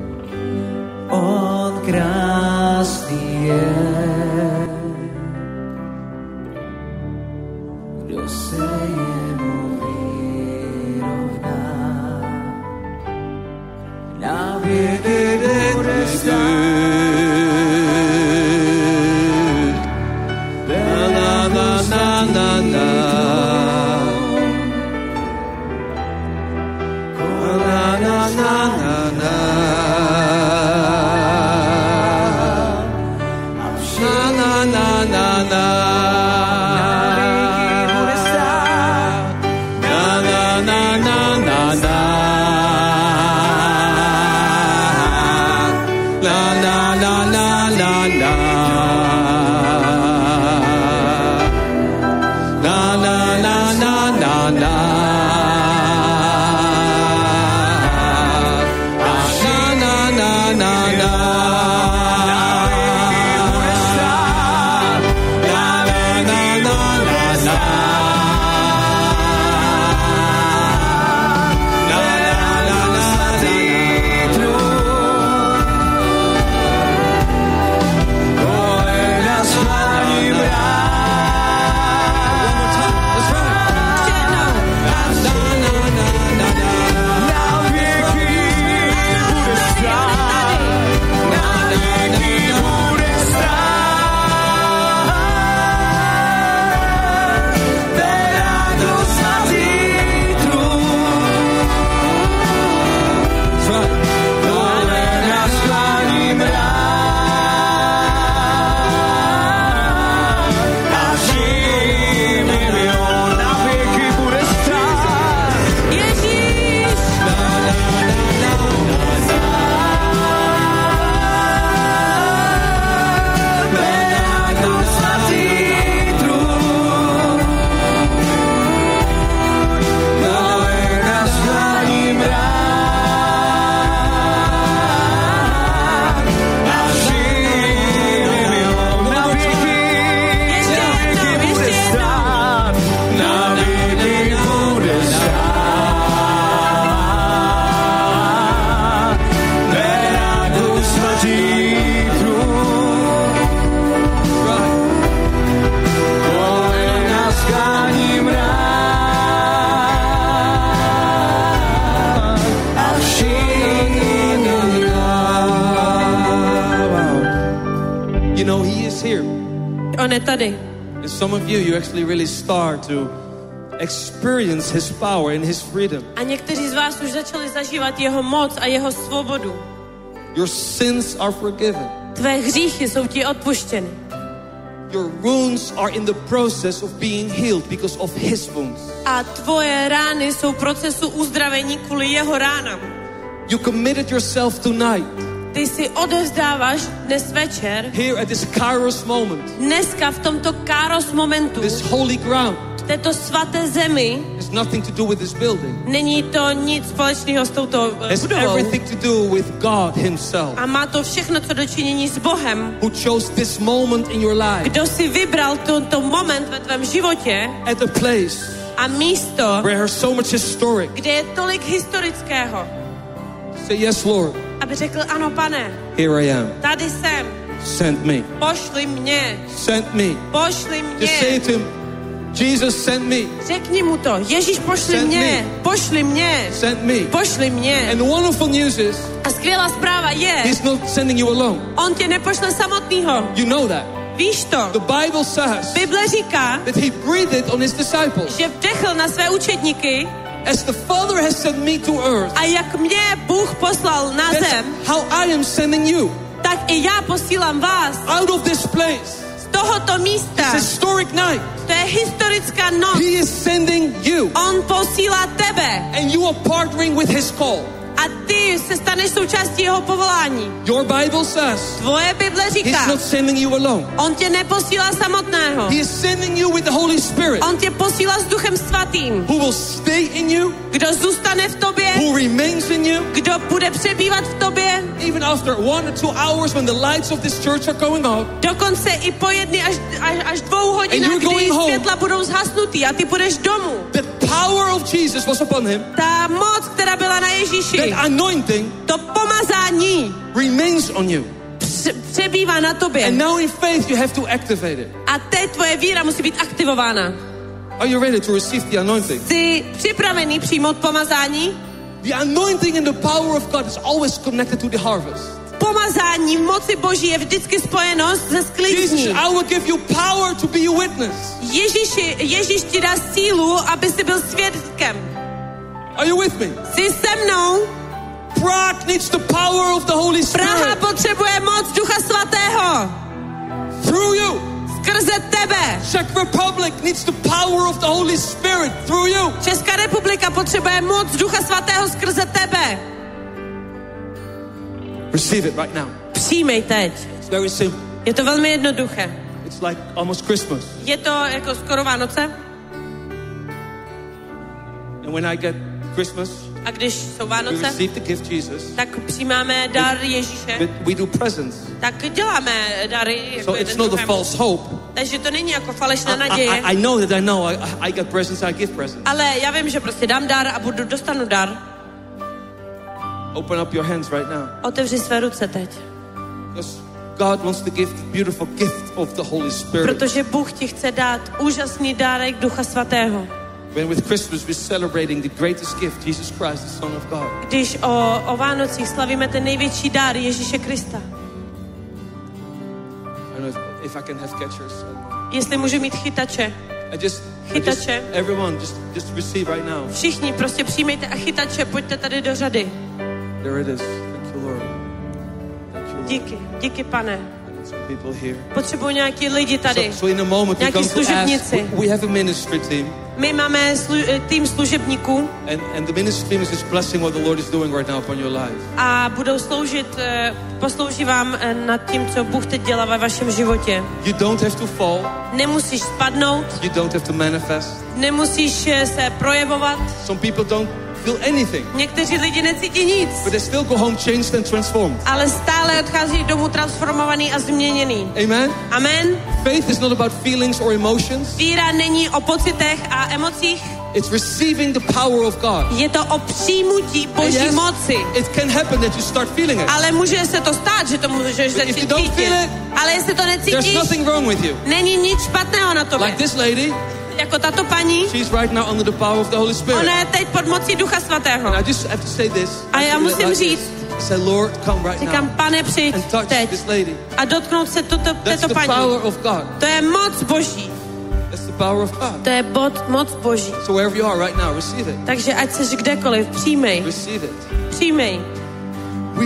On krásný je, kdo se jemu vyrovná. Na věky bude stát. Na, na, na, na, na. Na, na, na, na, na. A on je tady. And some of you, you actually really start to experience his power and his freedom. A někteří z vás už začali zažívat jeho moc a jeho svobodu. Your sins are forgiven. Tvé hříchy jsou ti odpuštěny. Your wounds are in the process of being healed because of his wounds. A tvoje rány jsou v procesu uzdravení kvůli jeho ránám. You committed yourself tonight. Ty si odevzdáváš dnes večer, Here at this Kairos moment. dneska v tomto Kairos momentu, This holy ground. této svaté zemi, Has nothing to do with this building. není to nic společného s touto uh, Has budovou. everything to do with God himself. A má to všechno co dočinění s Bohem, Who chose this moment in your life. kdo si vybral tento moment ve tvém životě At a place a místo, where there's so much historic. kde je tolik historického, Say yes, Lord. aby řekl ano, pane, Here I am. tady jsem, Send me. pošli mě, Send me. pošli Just say mě. to him, Jesus, send me. Řekni mu to, Ježíš, pošli Send mě, me. pošli mě, Send me. pošli mě. And the wonderful news is, A skvělá zpráva je, he's not sending you alone. on tě nepošle samotnýho. You know that. Víš to? The Bible says Bible říká, that he breathed on his disciples. že vdechl na své učedníky As the Father has sent me to earth, a jak mě Bůh poslal na that's zem, how I am sending you. tak i já posílám vás Out of this place. z tohoto místa. It's historic night. To je historická noc. He is sending you. On posílá tebe And you are partnering with his call. a ty se staneš součástí jeho povolání. Your Bible says Tvoje Bible he's říká, not sending you alone. on tě neposílá samotného. He is sending you with the Holy Spirit, On tě posílá s Duchem Svatým, who will stay in you, kdo zůstane v tobě, who remains in you, kdo bude přebývat v tobě, even after one or two hours when the lights of this church are going out. dokonce i po jedny až, až, až dvou hodinách, And you're kdy going home. světla budou zhasnutý a ty půjdeš domů. The power of Jesus was upon him. Ta moc, která byla na Ježíši, That anointing to pomazání remains on you. pře- přebývá na tobě. And now in faith you have to activate it. A teď tvoje víra musí být aktivována. Are you ready to receive the anointing? Jsi připravený přijmout pomazání? The anointing and the power of God is always connected to the harvest. Pomazání moci Boží je vždycky spojeno se Jesus, sklizní. I will give you power to be a witness. Ježíši, Ježíš ti dá sílu, aby si byl svědkem. Are you with me? Jsi se mnou? Prague needs the power of the Holy Praha Spirit potřebuje moc Ducha Svatého. through you. Skrze tebe. Czech Republic needs the power of the Holy Spirit through you. Česká republika potřebuje moc Ducha Svatého skrze tebe. Receive it right now. Přijmej teď. It's very simple. Je to velmi jednoduché. It's like almost Christmas. Je to jako skoro Vánoce. And when I get Christmas, A když jsou we Vánoce, receive the gift Jesus. tak přijímáme dar Ježíše. But we do presents. Tak děláme dary jako So it's jeden not a druhému. false hope. Takže to není jako falešná I, naděje. I, I know that I know I, I get presents, I give presents. Ale já vím, že prostě dám dar a budu, dostanu dar. Open up your hands right now. Otevři své ruce teď. Because God wants to give the beautiful gift of the Holy Spirit. Protože Bůh ti chce dát úžasný dárek Ducha Svatého. When with Christmas we're celebrating the greatest gift, Jesus Christ, the Son of God. Když o, o Vánocích slavíme ten největší dár Ježíše Krista. I don't know if, if I can have catchers. Jestli můžu mít chytače. I just, I just Chytače. everyone, just, just receive right now. Všichni prostě přijmejte a chytače, pojďte tady do řady. There it is. Thank you, Lord. Thank you, Lord. Díky, díky pane. I got some people here. Potřebuji nějaký lidi tady. So, so in a moment we're Nějaký going to ask, služebníci. we, we have a ministry team. My máme slu- tým služebníků And, and the ministry team is just blessing what the Lord is doing right now upon your life. a budou sloužit, eh, poslouží vám eh, nad tím, co Bůh teď dělá ve vašem životě. You don't have to fall. Nemusíš spadnout, You don't have to manifest. nemusíš eh, se projevovat. Some people don't feel anything, Někteří lidi necítí nic, but they still go home changed and transformed. ale stále odchází domů transformovaný a změněný. Amen? Amen. Faith is not about feelings or emotions. Víra není o pocitech a emocích, It's receiving the power of God. je to o přijmutí And Boží yes, moci. it can happen that you start feeling it. Ale může se to stát, že to můžeš But if začít you don't cítit. feel it, Ale jestli to There's necítíš, nothing wrong with you. není nic špatného na tobě. Like this lady, Jako tato paní, she's right now under the power of the Holy Spirit. ona je teď pod mocí Ducha Svatého. And I just have to say this. A já musím Like this. říct, Say, Lord, come right Říkám, now Pane, přijď and touch teď this lady. a dotknout se tuto, That's této the paní. power of God. To je moc Boží. That's the power of God. To je bod, moc Boží. So wherever you are right now, receive it. Takže ať seš kdekoliv, přijmej. Receive it. Přijmej. We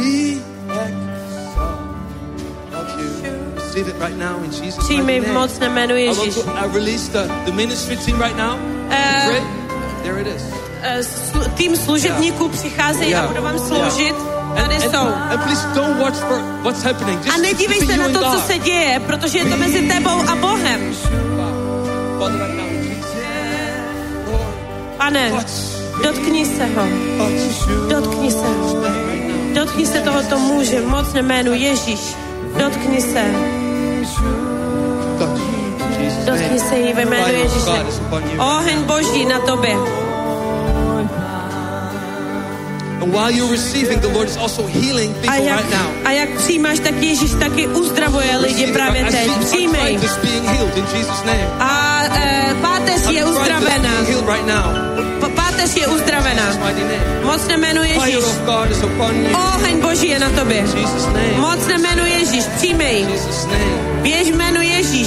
exalt you. Receive it right now in Jesus' Přijmej mighty v name. mocném jménu I want Ježíš. to I release the, the ministry team right now. Eh, Pray. There it is. Eh, slu- Tým služebníků přicházejí a Yeah. budou vám sloužit. Tady And, jsou. and please don't watch for what's happening. Just A nedívej between se you na and to, co God. se děje, protože je to mezi tebou a Bohem. Father, right now, Jesus. Lord, Pane, touch, dotkni se ho. touch. Dotkni se ho. Dotkni se tohoto muže v mocném jménu Ježíš. Dotkni se. Touch. Jesus' Dotkni name. se jí ve jménu Fire of Ježíše. God is upon you. Oheň Boží na tobě. And while you're receiving, the Lord is also healing A people jak, right now. a jak přijímáš, tak Ježíš taky uzdravuje lidi Receive it. právě I teď. see Přijmej. arthritis being healed in Jesus' name. A e, páteř je Arthritis uzdravena. being healed right now. P- páteř je uzdravena. In Jesus' mighty name. Mocné jméno Fire Ježíš. of God is upon you. Oheň Boží je na tobě. In Jesus' name. Mocné jméno Ježíš. Přijmej. In Jesus' name. Běž jméno Ježíš.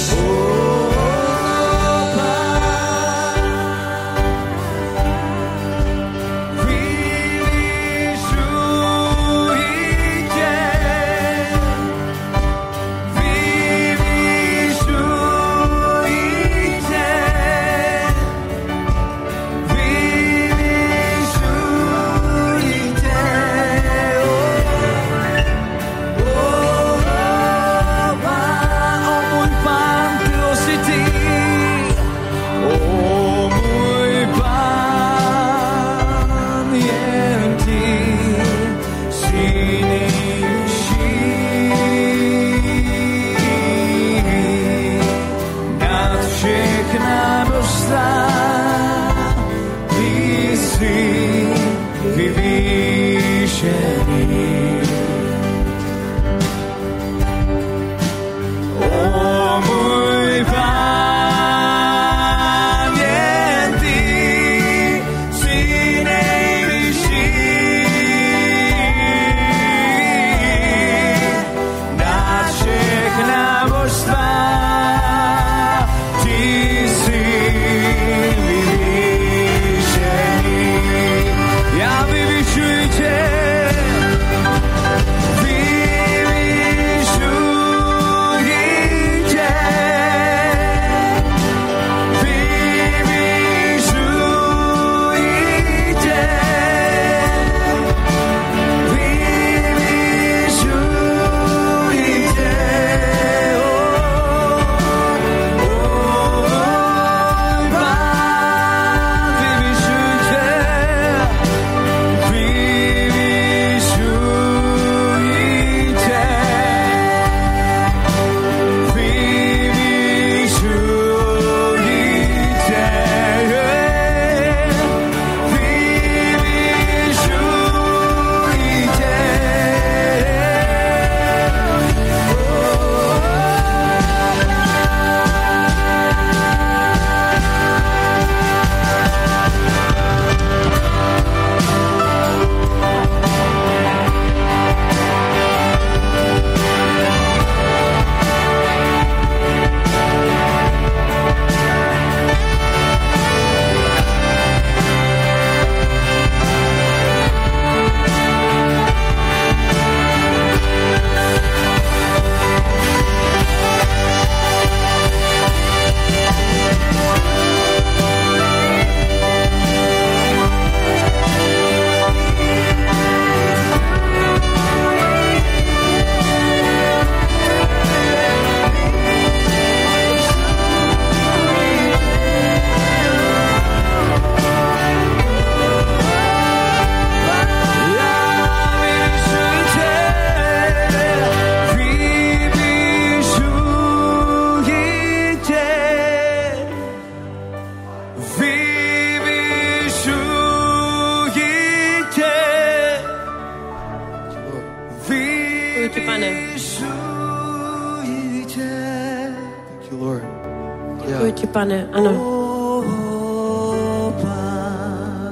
Děkuji ti, Pane. Ano.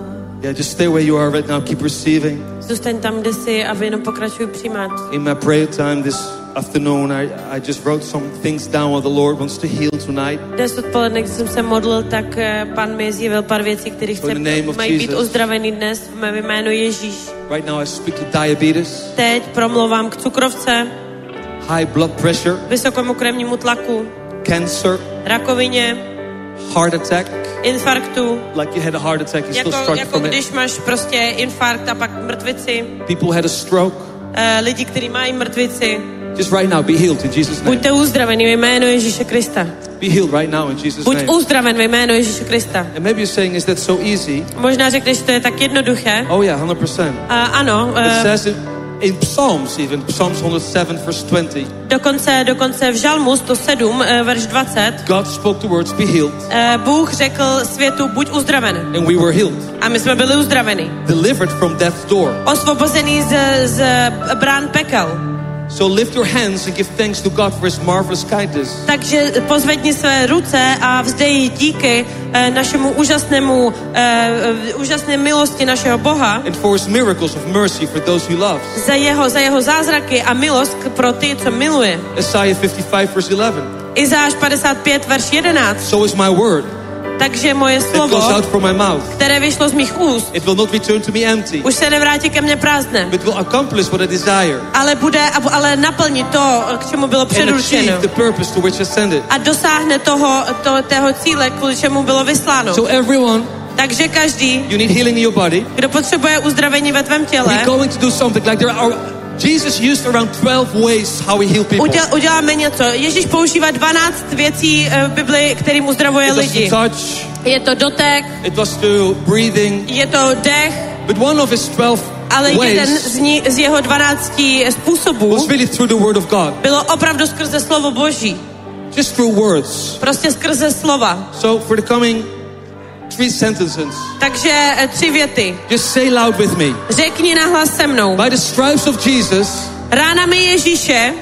Yeah, just stay where you are right now. Keep receiving. Zůstaň tam, kde jsi a vy jenom pokračuj přijímat. In my prayer time this afternoon, I, I just wrote some things down what the Lord wants to heal tonight. Dnes odpoledne, když jsem se modlil, tak Pan mi zjevil pár věcí, které chce, mají být uzdravený dnes v mém jménu Ježíš. Right now I speak to diabetes. Teď promlouvám k cukrovce, high blood pressure, vysokému krevnímu tlaku, cancer, rakovině, heart attack, infarktu, like you had a heart attack, you jako, still struggle jako from když it. máš prostě infarkt a pak mrtvici, People had a stroke. uh, lidi, kteří mají mrtvici, Just right now, be healed in Jesus' name. buďte uzdravený ve jménu Ježíše Krista. Be healed right now in Jesus' Buď name. uzdraven ve jménu Ježíše Krista. And maybe you're saying, is that so easy? Možná řekneš, že to je tak jednoduché. Oh yeah, one hundred percent. Uh, ano, uh, It says it in Psalms even, Psalms one oh seven verse twenty. dokonce, dokonce v Žalmu sto sedm, uh, verš dvacet, God spoke the words, be healed. uh, Bůh řekl světu, buď uzdraven. And we were healed. A my jsme byli uzdraveni. Delivered from death's door. Osvobozený z, z brán pekel. So lift your hands and give thanks to God for his marvelous kindness. Takže pozvedni své ruce a vzdej díky uh, našemu úžasnému, uh, uh, úžasné milosti našeho Boha. And for his miracles of mercy for those he loves. Za jeho, za jeho zázraky a milost pro ty, co miluje. Isaiah fifty-five verse eleven. Izáš padesát pět, verš jedenáct. So is my word. Takže moje It goes slovo, out from my mouth. které vyšlo z mých úst, It will not return to me empty. už se nevrátí ke mně prázdné, But will accomplish what I desire. ale bude, ale naplní to, k čemu bylo And předurčeno. achieve the purpose to which I sent it. A dosáhne toho, to, tého cíle, kvůli čemu bylo vysláno. So everyone, Takže každý, you need healing in your body. kdo potřebuje uzdravení ve tvém těle, We're going to do something like there are. Jesus used around twelve ways how he healed people. uděl, uděláme něco. Ježíš používá dvanáct věcí v Bibli, kterým uzdravuje It was lidi. to touch. Je to dotek, It was to breathing. je to dech, But one of his twelve ale jeden ways z, ní, z jeho dvanácti způsobů was really through the word of God. bylo opravdu skrze slovo Boží. Just through words. Prostě skrze slova. So for the coming three sentences, Takže eh, tři věty. just say loud with me. Řekni nahlas se mnou. By the stripes of Jesus, Ránami Ježíše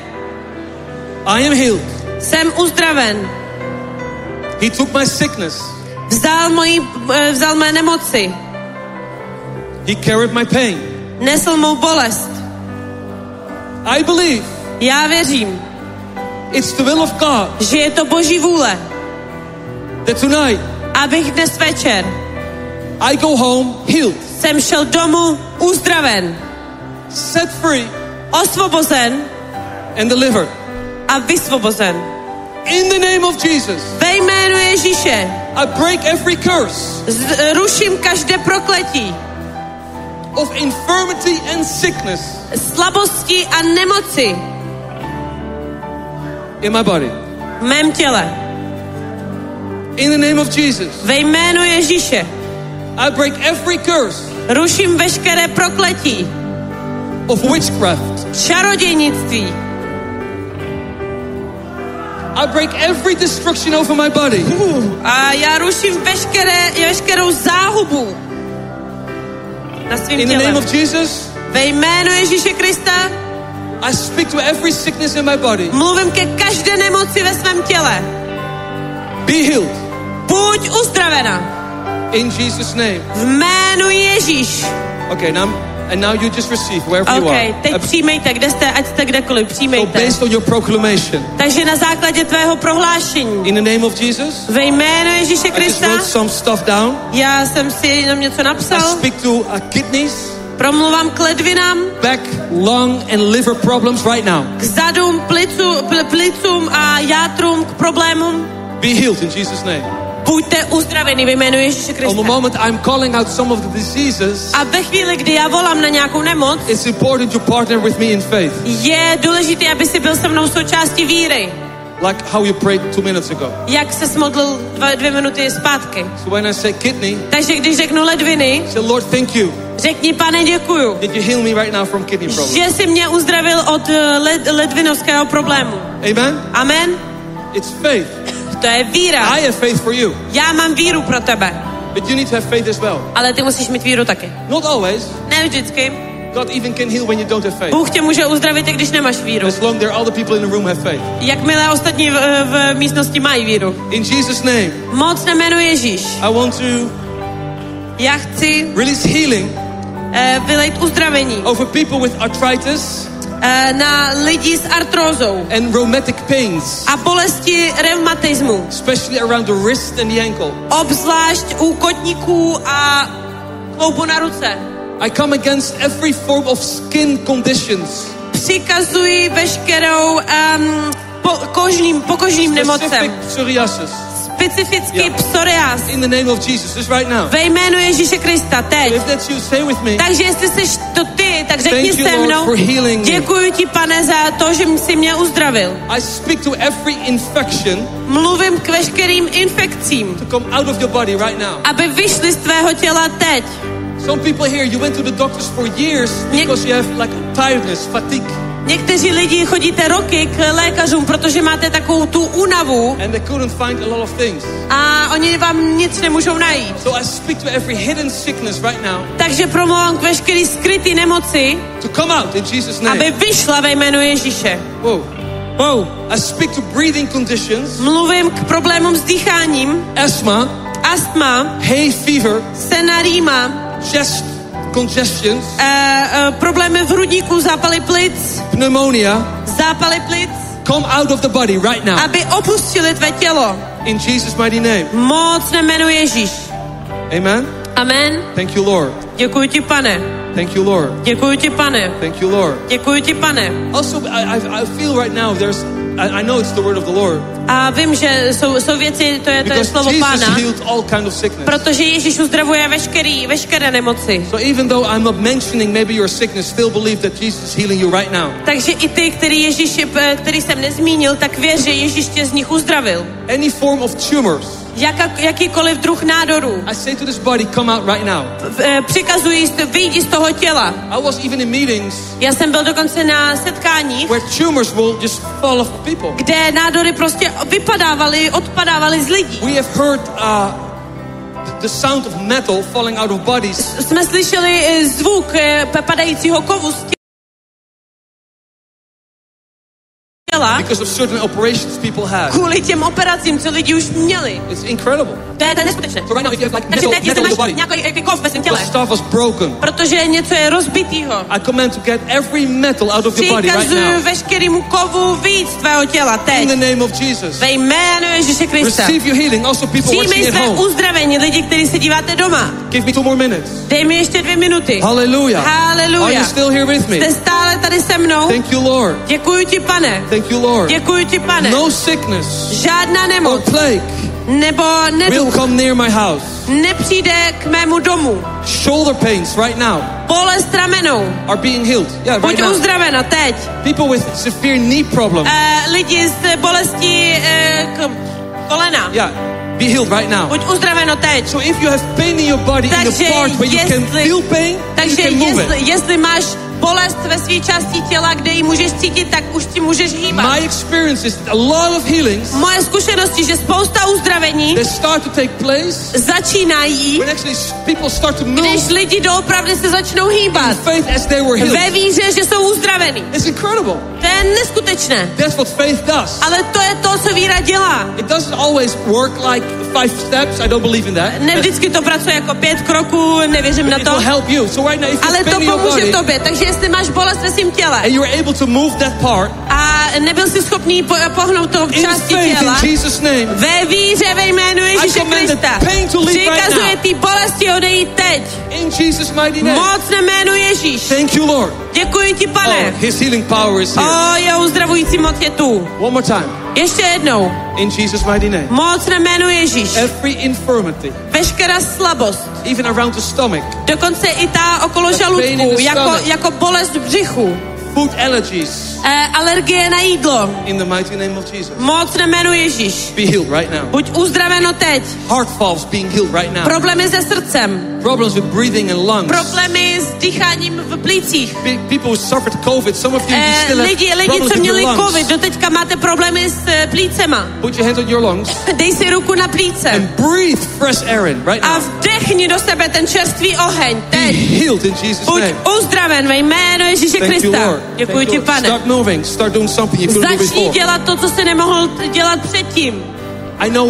I am healed. jsem uzdraven. He took my sickness. Vzdal, moji, eh, vzal mé nemoci. He carried my pain. Nesl mou bolest. I believe Já věřím, it's the will of God že je to Boží vůle, that tonight abych dnes večer I go home healed, jsem šel domů uzdraven, set free, osvobozen and delivered. a vysvobozen. In the name of Jesus, Ve jménu Ježíše I break every curse z- ruším každé prokletí, of infirmity and sickness slabosti a nemoci in my body. v mém těle. In the name of Jesus, Ve jménu Ježíše I break every curse ruším veškeré prokletí, of witchcraft. čarodějnictví. I break every destruction over my body. A já ruším veškeré, veškerou záhubu na svým In the name tělem. of Jesus, Ve jménu Ježíše Krista I speak to every sickness in my body. mluvím ke každé nemoci ve svém těle. Be healed Buď uzdravena in Jesus' name. v jménu Ježíš. Okay, now and now you just receive wherever you OK, are. teď Uh, přijmejte, kde jste, ať jste kdekoliv, So přijmejte. based on your proclamation, Takže na základě tvého prohlášení in the name of Jesus, ve jménu Ježíše I just Krista, wrote some stuff down. já jsem si jenom něco I napsal, speak to uh, kidneys, promluvám k ledvinám, back, lung, and liver problems right now. k zadům, plicu, pl, plicům a játrům, k problémům. Be healed in Jesus' name. Buďte uzdraveni ve jménu Ježíše On the Krista. moment I'm calling out some of the diseases, A ve chvíli, kdy já volám na nějakou nemoc, it's important to partner with me in faith, je důležité, aby si byl se mnou součástí víry. like how you prayed two minutes ago. Jak se modlil dva, dvě minuty zpátky. So when I say kidney, Takže když řeknu ledviny, say, Lord, thank you. řekni, Pane, děkuju, Did you heal me right now from kidney problems? že jsi mě uzdravil od eh, led, ledvinovského problému. Amen? Amen? It's faith. To je víra. I have faith for you. Já mám víru pro tebe. But you need to have faith as well. Ale ty musíš mít víru taky. Not always. Ne vždycky. God even can heal when you don't have faith. Bůh tě může uzdravit, i když nemáš víru. As long there are other people in the room have faith. Jakmile ostatní v, v místnosti mají víru. In Jesus' name, Moc na jméno Ježíš. I want to Já chci release healing uh, vylejt uzdravení over people with arthritis uh, na lidi s artrózou and rheumatic pains, a bolesti reumatismu. especially around the wrist and the ankle. Obzvlášť u kotníků a kloubu na ruce. I come against every form of skin conditions, Přikazuji veškerou um, po, kožním, pokožním nemocem. specific psoriasis, Specificky Yeah. psoriáz. in the name of Jesus, just right now. Ve jménu Ježíše Krista, teď. If that's you, say with me. Takže jestli jsi to ty, tak řekni Thank you, se Lord, mnou. for healing me. Děkuji ti, Pane, za to, že jsi mě uzdravil. I speak to every infection Mluvím k veškerým infekcím, to come out of your body right now. aby vyšly z tvého těla teď. Some people here, you went to the doctors for years because you have like tiredness, fatigue, Někteří lidi chodíte roky k lékařům, protože máte takovou tu únavu and they couldn't find a lot of things. a oni vám nic nemůžou najít. So I speak to every hidden sickness right now Takže promluvám k veškerý skrytý nemoci, to come out in Jesus' name. aby vyšla ve jménu Ježíše. Whoa. Wow. I speak to breathing conditions, Mluvím k problémům s dýcháním, asthma, astma, hay fever, senarýma, chest congestions, uh, uh, problémy v hrudníku, zápaly plic, pneumonia. zápaly plic, Come out of the body right now aby opustili tvé tělo. in Jesus' mighty name. Moc jménu Ježíš. Amen. Amen. Thank you, Lord. Děkuji ti, Pane. Thank you, Lord. Děkuji ti, Pane. Thank you, Lord. Děkuji ti, Pane. Also, I, I, I feel right now there's, I, I know it's the word of the Lord. A vím, že jsou, jsou věci, to je, to je Because slovo Jesus Pána, healed all kind of sickness. protože Ježíš uzdravuje veškerý, veškeré nemoci. So even though I'm not mentioning maybe your sickness, still believe that Jesus is healing you right now. Takže i ty, který, Ježíš, který jsem nezmínil, tak věř, že Ježíš tě z nich uzdravil. Any form of tumors, Jaka, jakýkoliv druh nádoru. I say to this body, come out right now. E, Přikazuji, vyjdi z toho těla. I was even in meetings Já jsem byl dokonce na setkáních, where tumors will just fall off people. kde nádory prostě vypadávaly, odpadávaly z lidí. We have heard uh, the sound of metal falling out of bodies Jsme slyšeli e, zvuk e, padajícího kovu z těla because of certain operations people had. kvůli těm operacím, co lidi už měli. It's incredible. To je, to je neskutečné. So right now, if you have like Takže metal, teď, jestli metal in máš your body, nějaký kov ve svém the těle, stuff was broken. protože něco je rozbitýho, I command to get every metal out of your body right přikazuju now. veškerému kovu víc z tvého těla In teď. the name of Jesus. Ve jménu Ježíše Krista. Receive your healing. Also people watching Přijmej at své home. uzdravení, lidi, kteří se díváte doma. Give me two more minutes. Dej mi ještě dvě minuty. Hallelujah. Hallelujah. Are you still here with me? Jste stále tady se mnou? Thank you, Lord. Děkuji ti, Pane. Thank you, Lord. Děkuji ti, Pane. No sickness Žádná or nemoc plague nebo will neduch come near my house. nepřijde k mému domu. Shoulder pains right now Bolest ramenou. are being healed. Yeah, right Buď now. uzdravena teď. People with severe knee problems. Uh, lidi s bolestí uh, k kolena. Yeah, be healed right now. Buď uzdraveno teď. So if you have pain in your body in Takže the part where you can jestli- feel pain, you Takže can move jestli, it. jestli máš bolest ve své části těla, kde ji můžeš cítit, tak už ti můžeš hýbat. My experience is a lot of healings Moje zkušenosti, že spousta uzdravení that start to take place začínají, when actually people start to move když lidi doopravdy se začnou hýbat. faith as they were Ve healed. víře, že jsou uzdravený. It's incredible. To je neskutečné. That's what faith does. Ale to je to, co víra dělá. It doesn't always work like five steps. I don't believe in that. Ne vždycky to pracuje jako pět kroků, nevěřím na It to. will help you. So right now, if you Ale have to pain in your pomůže body tobě. Takže jestli máš bolest ve svém těle and you're able to move that part a nebyl jsi schopný po, pohnout tou in části faith těla, in Jesus' name, ve víře ve jménu Ježíše command the Krista pain to leave right přikazuje now. ty bolesti odejít teď. in Jesus' mighty name. Moc na jménu Ježíš. Thank you, Lord. Děkuji ti, Oh, Pane. His healing power is here. O, jeho uzdravující moc je tu. One more time. Ještě jednou. In Jesus' mighty name. Moc na jménu Ježíš. Every infirmity, Veškerá slabost, even around the stomach, dokonce i ta okolo pain in žaludku, the jako, stomach. jako bolest v břichu, food allergies, e, alergie na jídlo. in the mighty name of Jesus. Moc na jménu Ježíš. Be healed right now. Buď uzdraveno teď. Heart valves being healed right now. Problémy se srdcem, Problems with breathing and lungs. problémy s dýcháním v plících. Pe- People who suffered COVID, some of you, you E, still have lidi, lidi, problems co with your měli lungs. covid, doteďka máte problémy s e, plícema. Put your hands on your lungs Dej si ruku na plíce and breathe fresh air in right a now. vdechni do sebe ten čerstvý oheň. Be Teď. healed in Jesus' Buď name. uzdraven ve jménu Ježíše Thank you, Krista. Lord. Děkuji Thank ti, you. Pane. Start moving. Start doing something you couldn't do Začni before. dělat to, co jsi nemohl t- dělat předtím. I know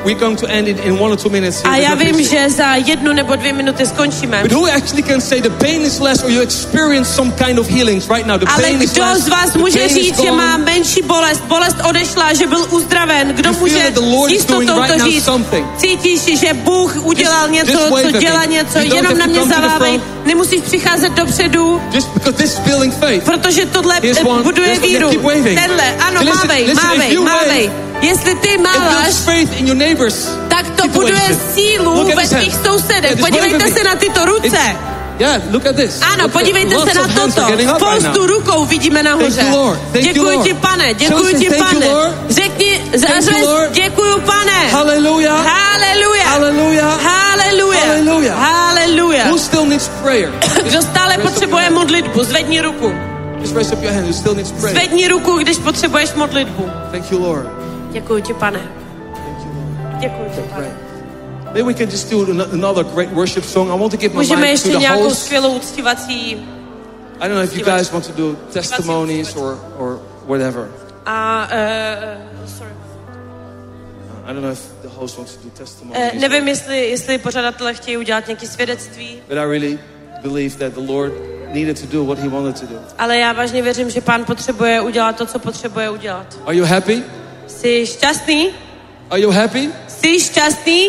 we're going to end it in one or two minutes. A Here. já There's no vím, busy. že za jednu nebo dvě minuty skončíme. But who actually can say the pain is less, or you experience some kind of healings right now? The Ale pain is kdo less. z vás the může pain is říct, že gone. má menší bolest, bolest odešla, že byl uzdraven? Kdo You feel může that the Lord s is doing jistotou right to now říct? something. Cítíš, že Bůh udělal Just- něco, just wave co at dělá me. něco, You don't jenom have na to mě come to the zavávej. front. Nemusíš přicházet dopředu, Just because this is building faith. protože tohle Here's eh, one. buduje Here's one. víru. Keep waving. Tenhle, ano, Listen, mávej, listen, if mávej, you wave, mávej. Jestli ty It máváš, builds faith in your neighbors. tak to buduje situation. sílu Look at ve his tvých hand. sousedech. Yeah, just Podívejte wave at se me. na tyto ruce. It- Yeah, look at this. Ano, Look at- podívejte lots se na of hands toto. are getting up right Spoustu now. rukou vidíme Thank nahoře. you, Lord. Thank you, Děkuji Lord. ti, pane. Shall we Děkuji say ti, thank you, pane. Lord? Řekni, Thank you, Lord. děkuji, pane. Hallelujah. Haleluja. Hallelujah. Haleluja. Hallelujah. Haleluja. Who still needs prayer? Kdo stále potřebuje modlitbu, zvedni ruku. Just raise up your hand. Who still needs prayer? Zvedni ruku, když potřebuješ modlitbu. Thank you, Lord. Děkuji ti, pane. Thank you, Lord. Děkuji ti, pane. Great. Maybe we can just do an- another great worship song. I want to give my Můžeme mic to ještě the nějakou host. skvělou uctívací I don't know if you guys want to do testimonies or, or whatever. a uh, sorry. I don't know if the host wants to do testimonies. Uh, nevím, jestli, jestli pořadatelé chtějí udělat nějaké svědectví, But I really believe that the Lord needed to do what he wanted to do. ale já vážně věřím, že Pán potřebuje udělat to, co potřebuje udělat. Are you happy? Jsi šťastný? Are you happy? Jsi šťastný?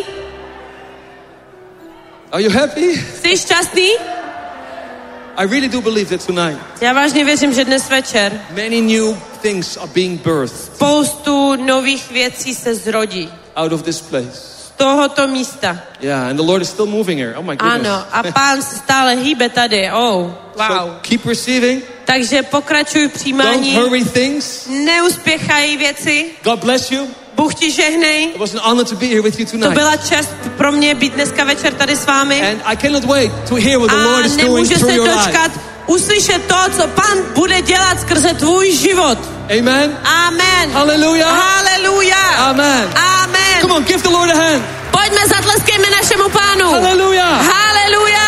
Are you happy? Jsi šťastný? I really do believe that tonight Já vážně věřím, že dnes večer many new things are being birthed spoustu nových věcí se zrodí out of this place. z tohoto místa. Yeah, and the Lord is still moving here. Oh my goodness. Ano, a Pán se stále hýbe tady. Oh, wow. So keep receiving. Takže pokračuj v Don't přijímání. hurry things. Neuspěchají věci. God bless you. Bůh ti žehnej. It was an honor to be here with you To tonight. byla čest pro mě být dneska večer tady s vámi. And I cannot wait to hear what the Lord A is doing nemůžu through se your life. dočkat uslyšet to, co Pán bude dělat skrze tvůj život. Amen. Amen. Hallelujah. Haleluja. Amen. Amen. Come on, give the Lord a hand. Pojďme, zatleskejme našemu Pánu. Hallelujah. Haleluja.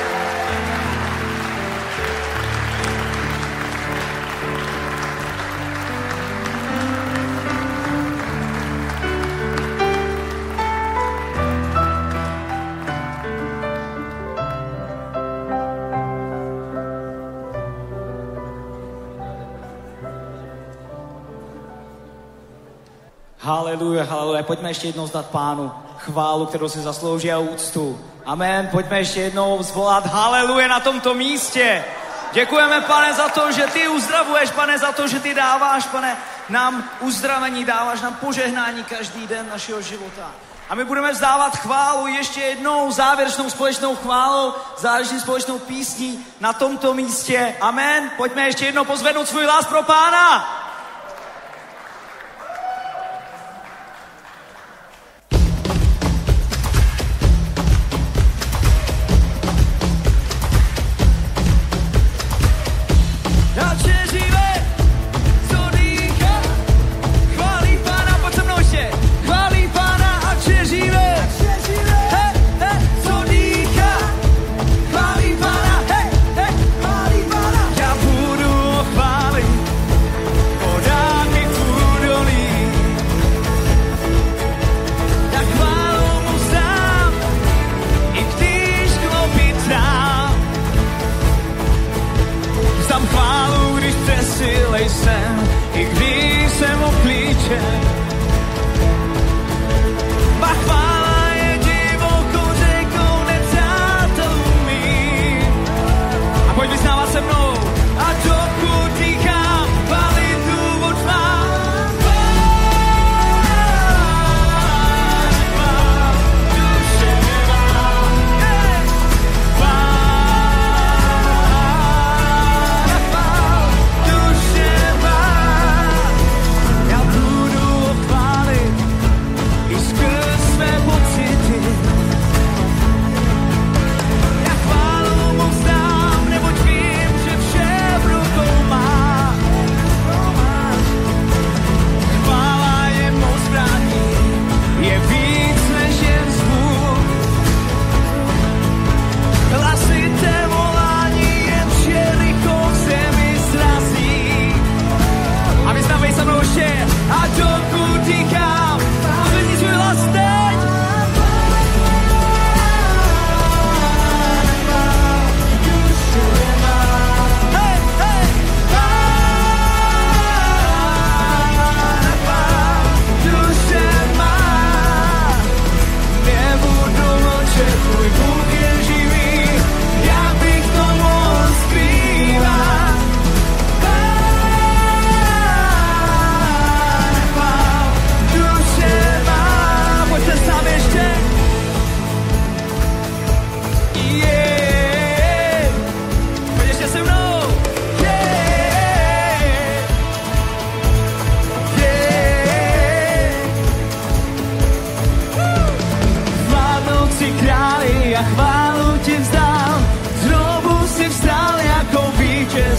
Haleluja, haleluja. Pojďme ještě jednou zdat Pánu chválu, kterou si zaslouží a úctu. Amen. Pojďme ještě jednou zvolat haleluja na tomto místě. Děkujeme, Pane, za to, že ty uzdravuješ, Pane, za to, že ty dáváš, Pane, nám uzdravení, dáváš nám požehnání každý den našeho života. A my budeme vzdávat chválu ještě jednou závěrečnou společnou chválou, závěrečnou společnou písní na tomto místě. Amen. Pojďme ještě jednou pozvednout svůj hlas pro Pána.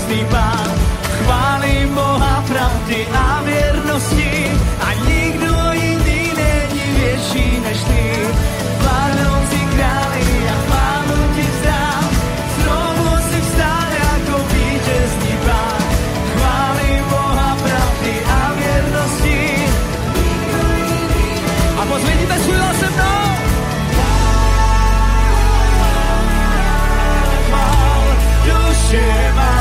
vítězný Pán. Chválím Boha pravdy a věrnosti a nikdo jiný není větší než ty. Vládnoucí králi a chválu ti vzdám, znovu si vstál jako vítězný Pán. Chválím Boha pravdy a věrnosti. A pozvedněte svůj hlas se mnou. Duše má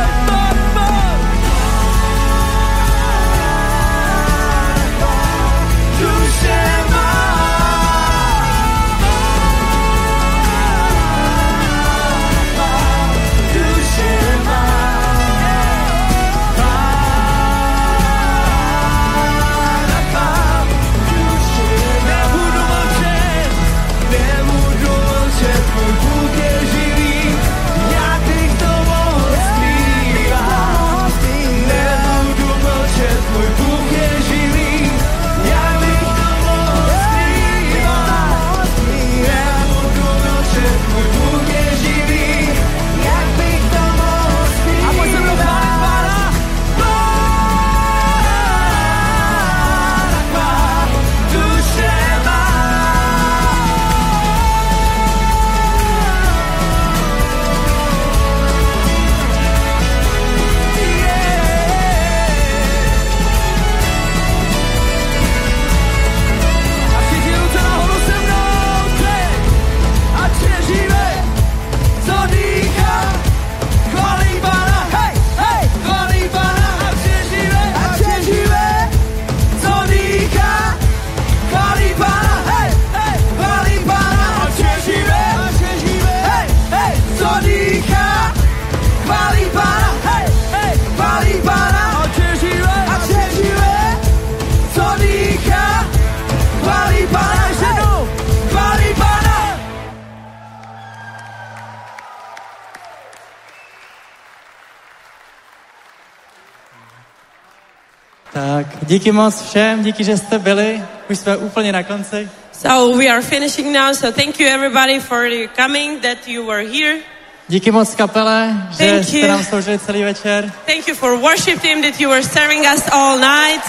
Tak, díky moc všem, díky, že jste byli. Už jsme úplně na konci. So we are finishing now, so thank you everybody for coming, that you were here. Díky moc kapele, že Thank jste you. nám sloužili celý večer. Thank you for worship team, that you were serving us all night.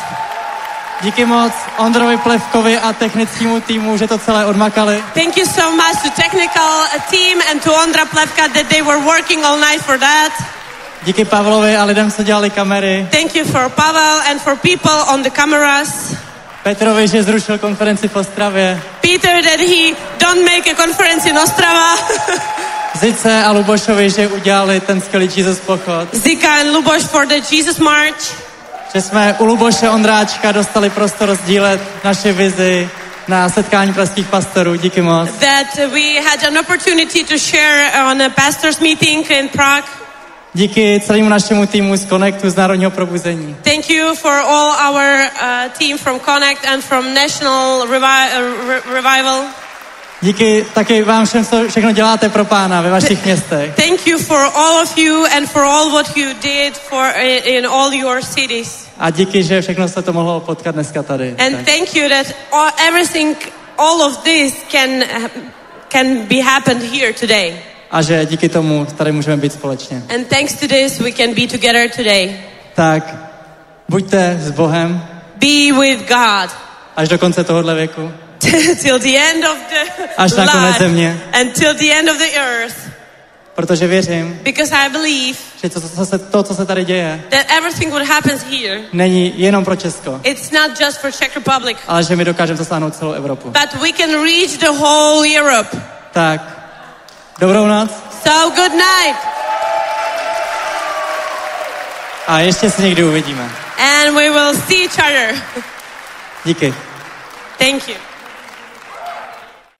Díky moc Ondrovi Plevkovi a technickému týmu, že to celé odmakali. Thank you so much to technical team and to Ondra Plevka that they were working all night for that. Díky Pavlovi a lidem, co dělali kamery. Thank you for Pavel and for people on the cameras. Petrovi, že zrušil konferenci v Ostravě. Peter, that he don't make a conference in Ostrava. Zice a Lubošovi, že udělali ten skvělý Jesus pochod. Zika and Luboš for the Jesus March. Že jsme u Luboše Ondráčka dostali prostor sdílet naše vizi na setkání pražských pastorů. Díky moc. That we had an opportunity to share on a pastor's meeting in Prague. Díky celému našemu týmu z Connectu, z Národního probuzení. Thank you for all our uh, team from Connect and from National Revi- uh, Re- Revival. Díky taky vám všem, co všechno děláte pro Pána ve vašich městech. Thank you for all of you and for all what you did for in all your cities. A díky, že všechno se to mohlo potkat dneska tady. And tak. thank you that all, everything, all of this can can be happened here today. A že díky tomu tady můžeme být společně. And thanks to this we can be together today. Tak buďte s Bohem. Be with God. Až do konce tohohle věku. Till the end of the Až na konec země. Until the end of the earth. Protože věřím, Because I believe že to, co se, to, co se tady děje, that everything what happens here, není jenom pro Česko, it's not just for Czech Republic, ale že my dokážeme zasáhnout celou Evropu. but we can reach the whole Europe. Tak, dobrou noc. So good night. A ještě se někdy uvidíme. And we will see each other. Díky. Thank you.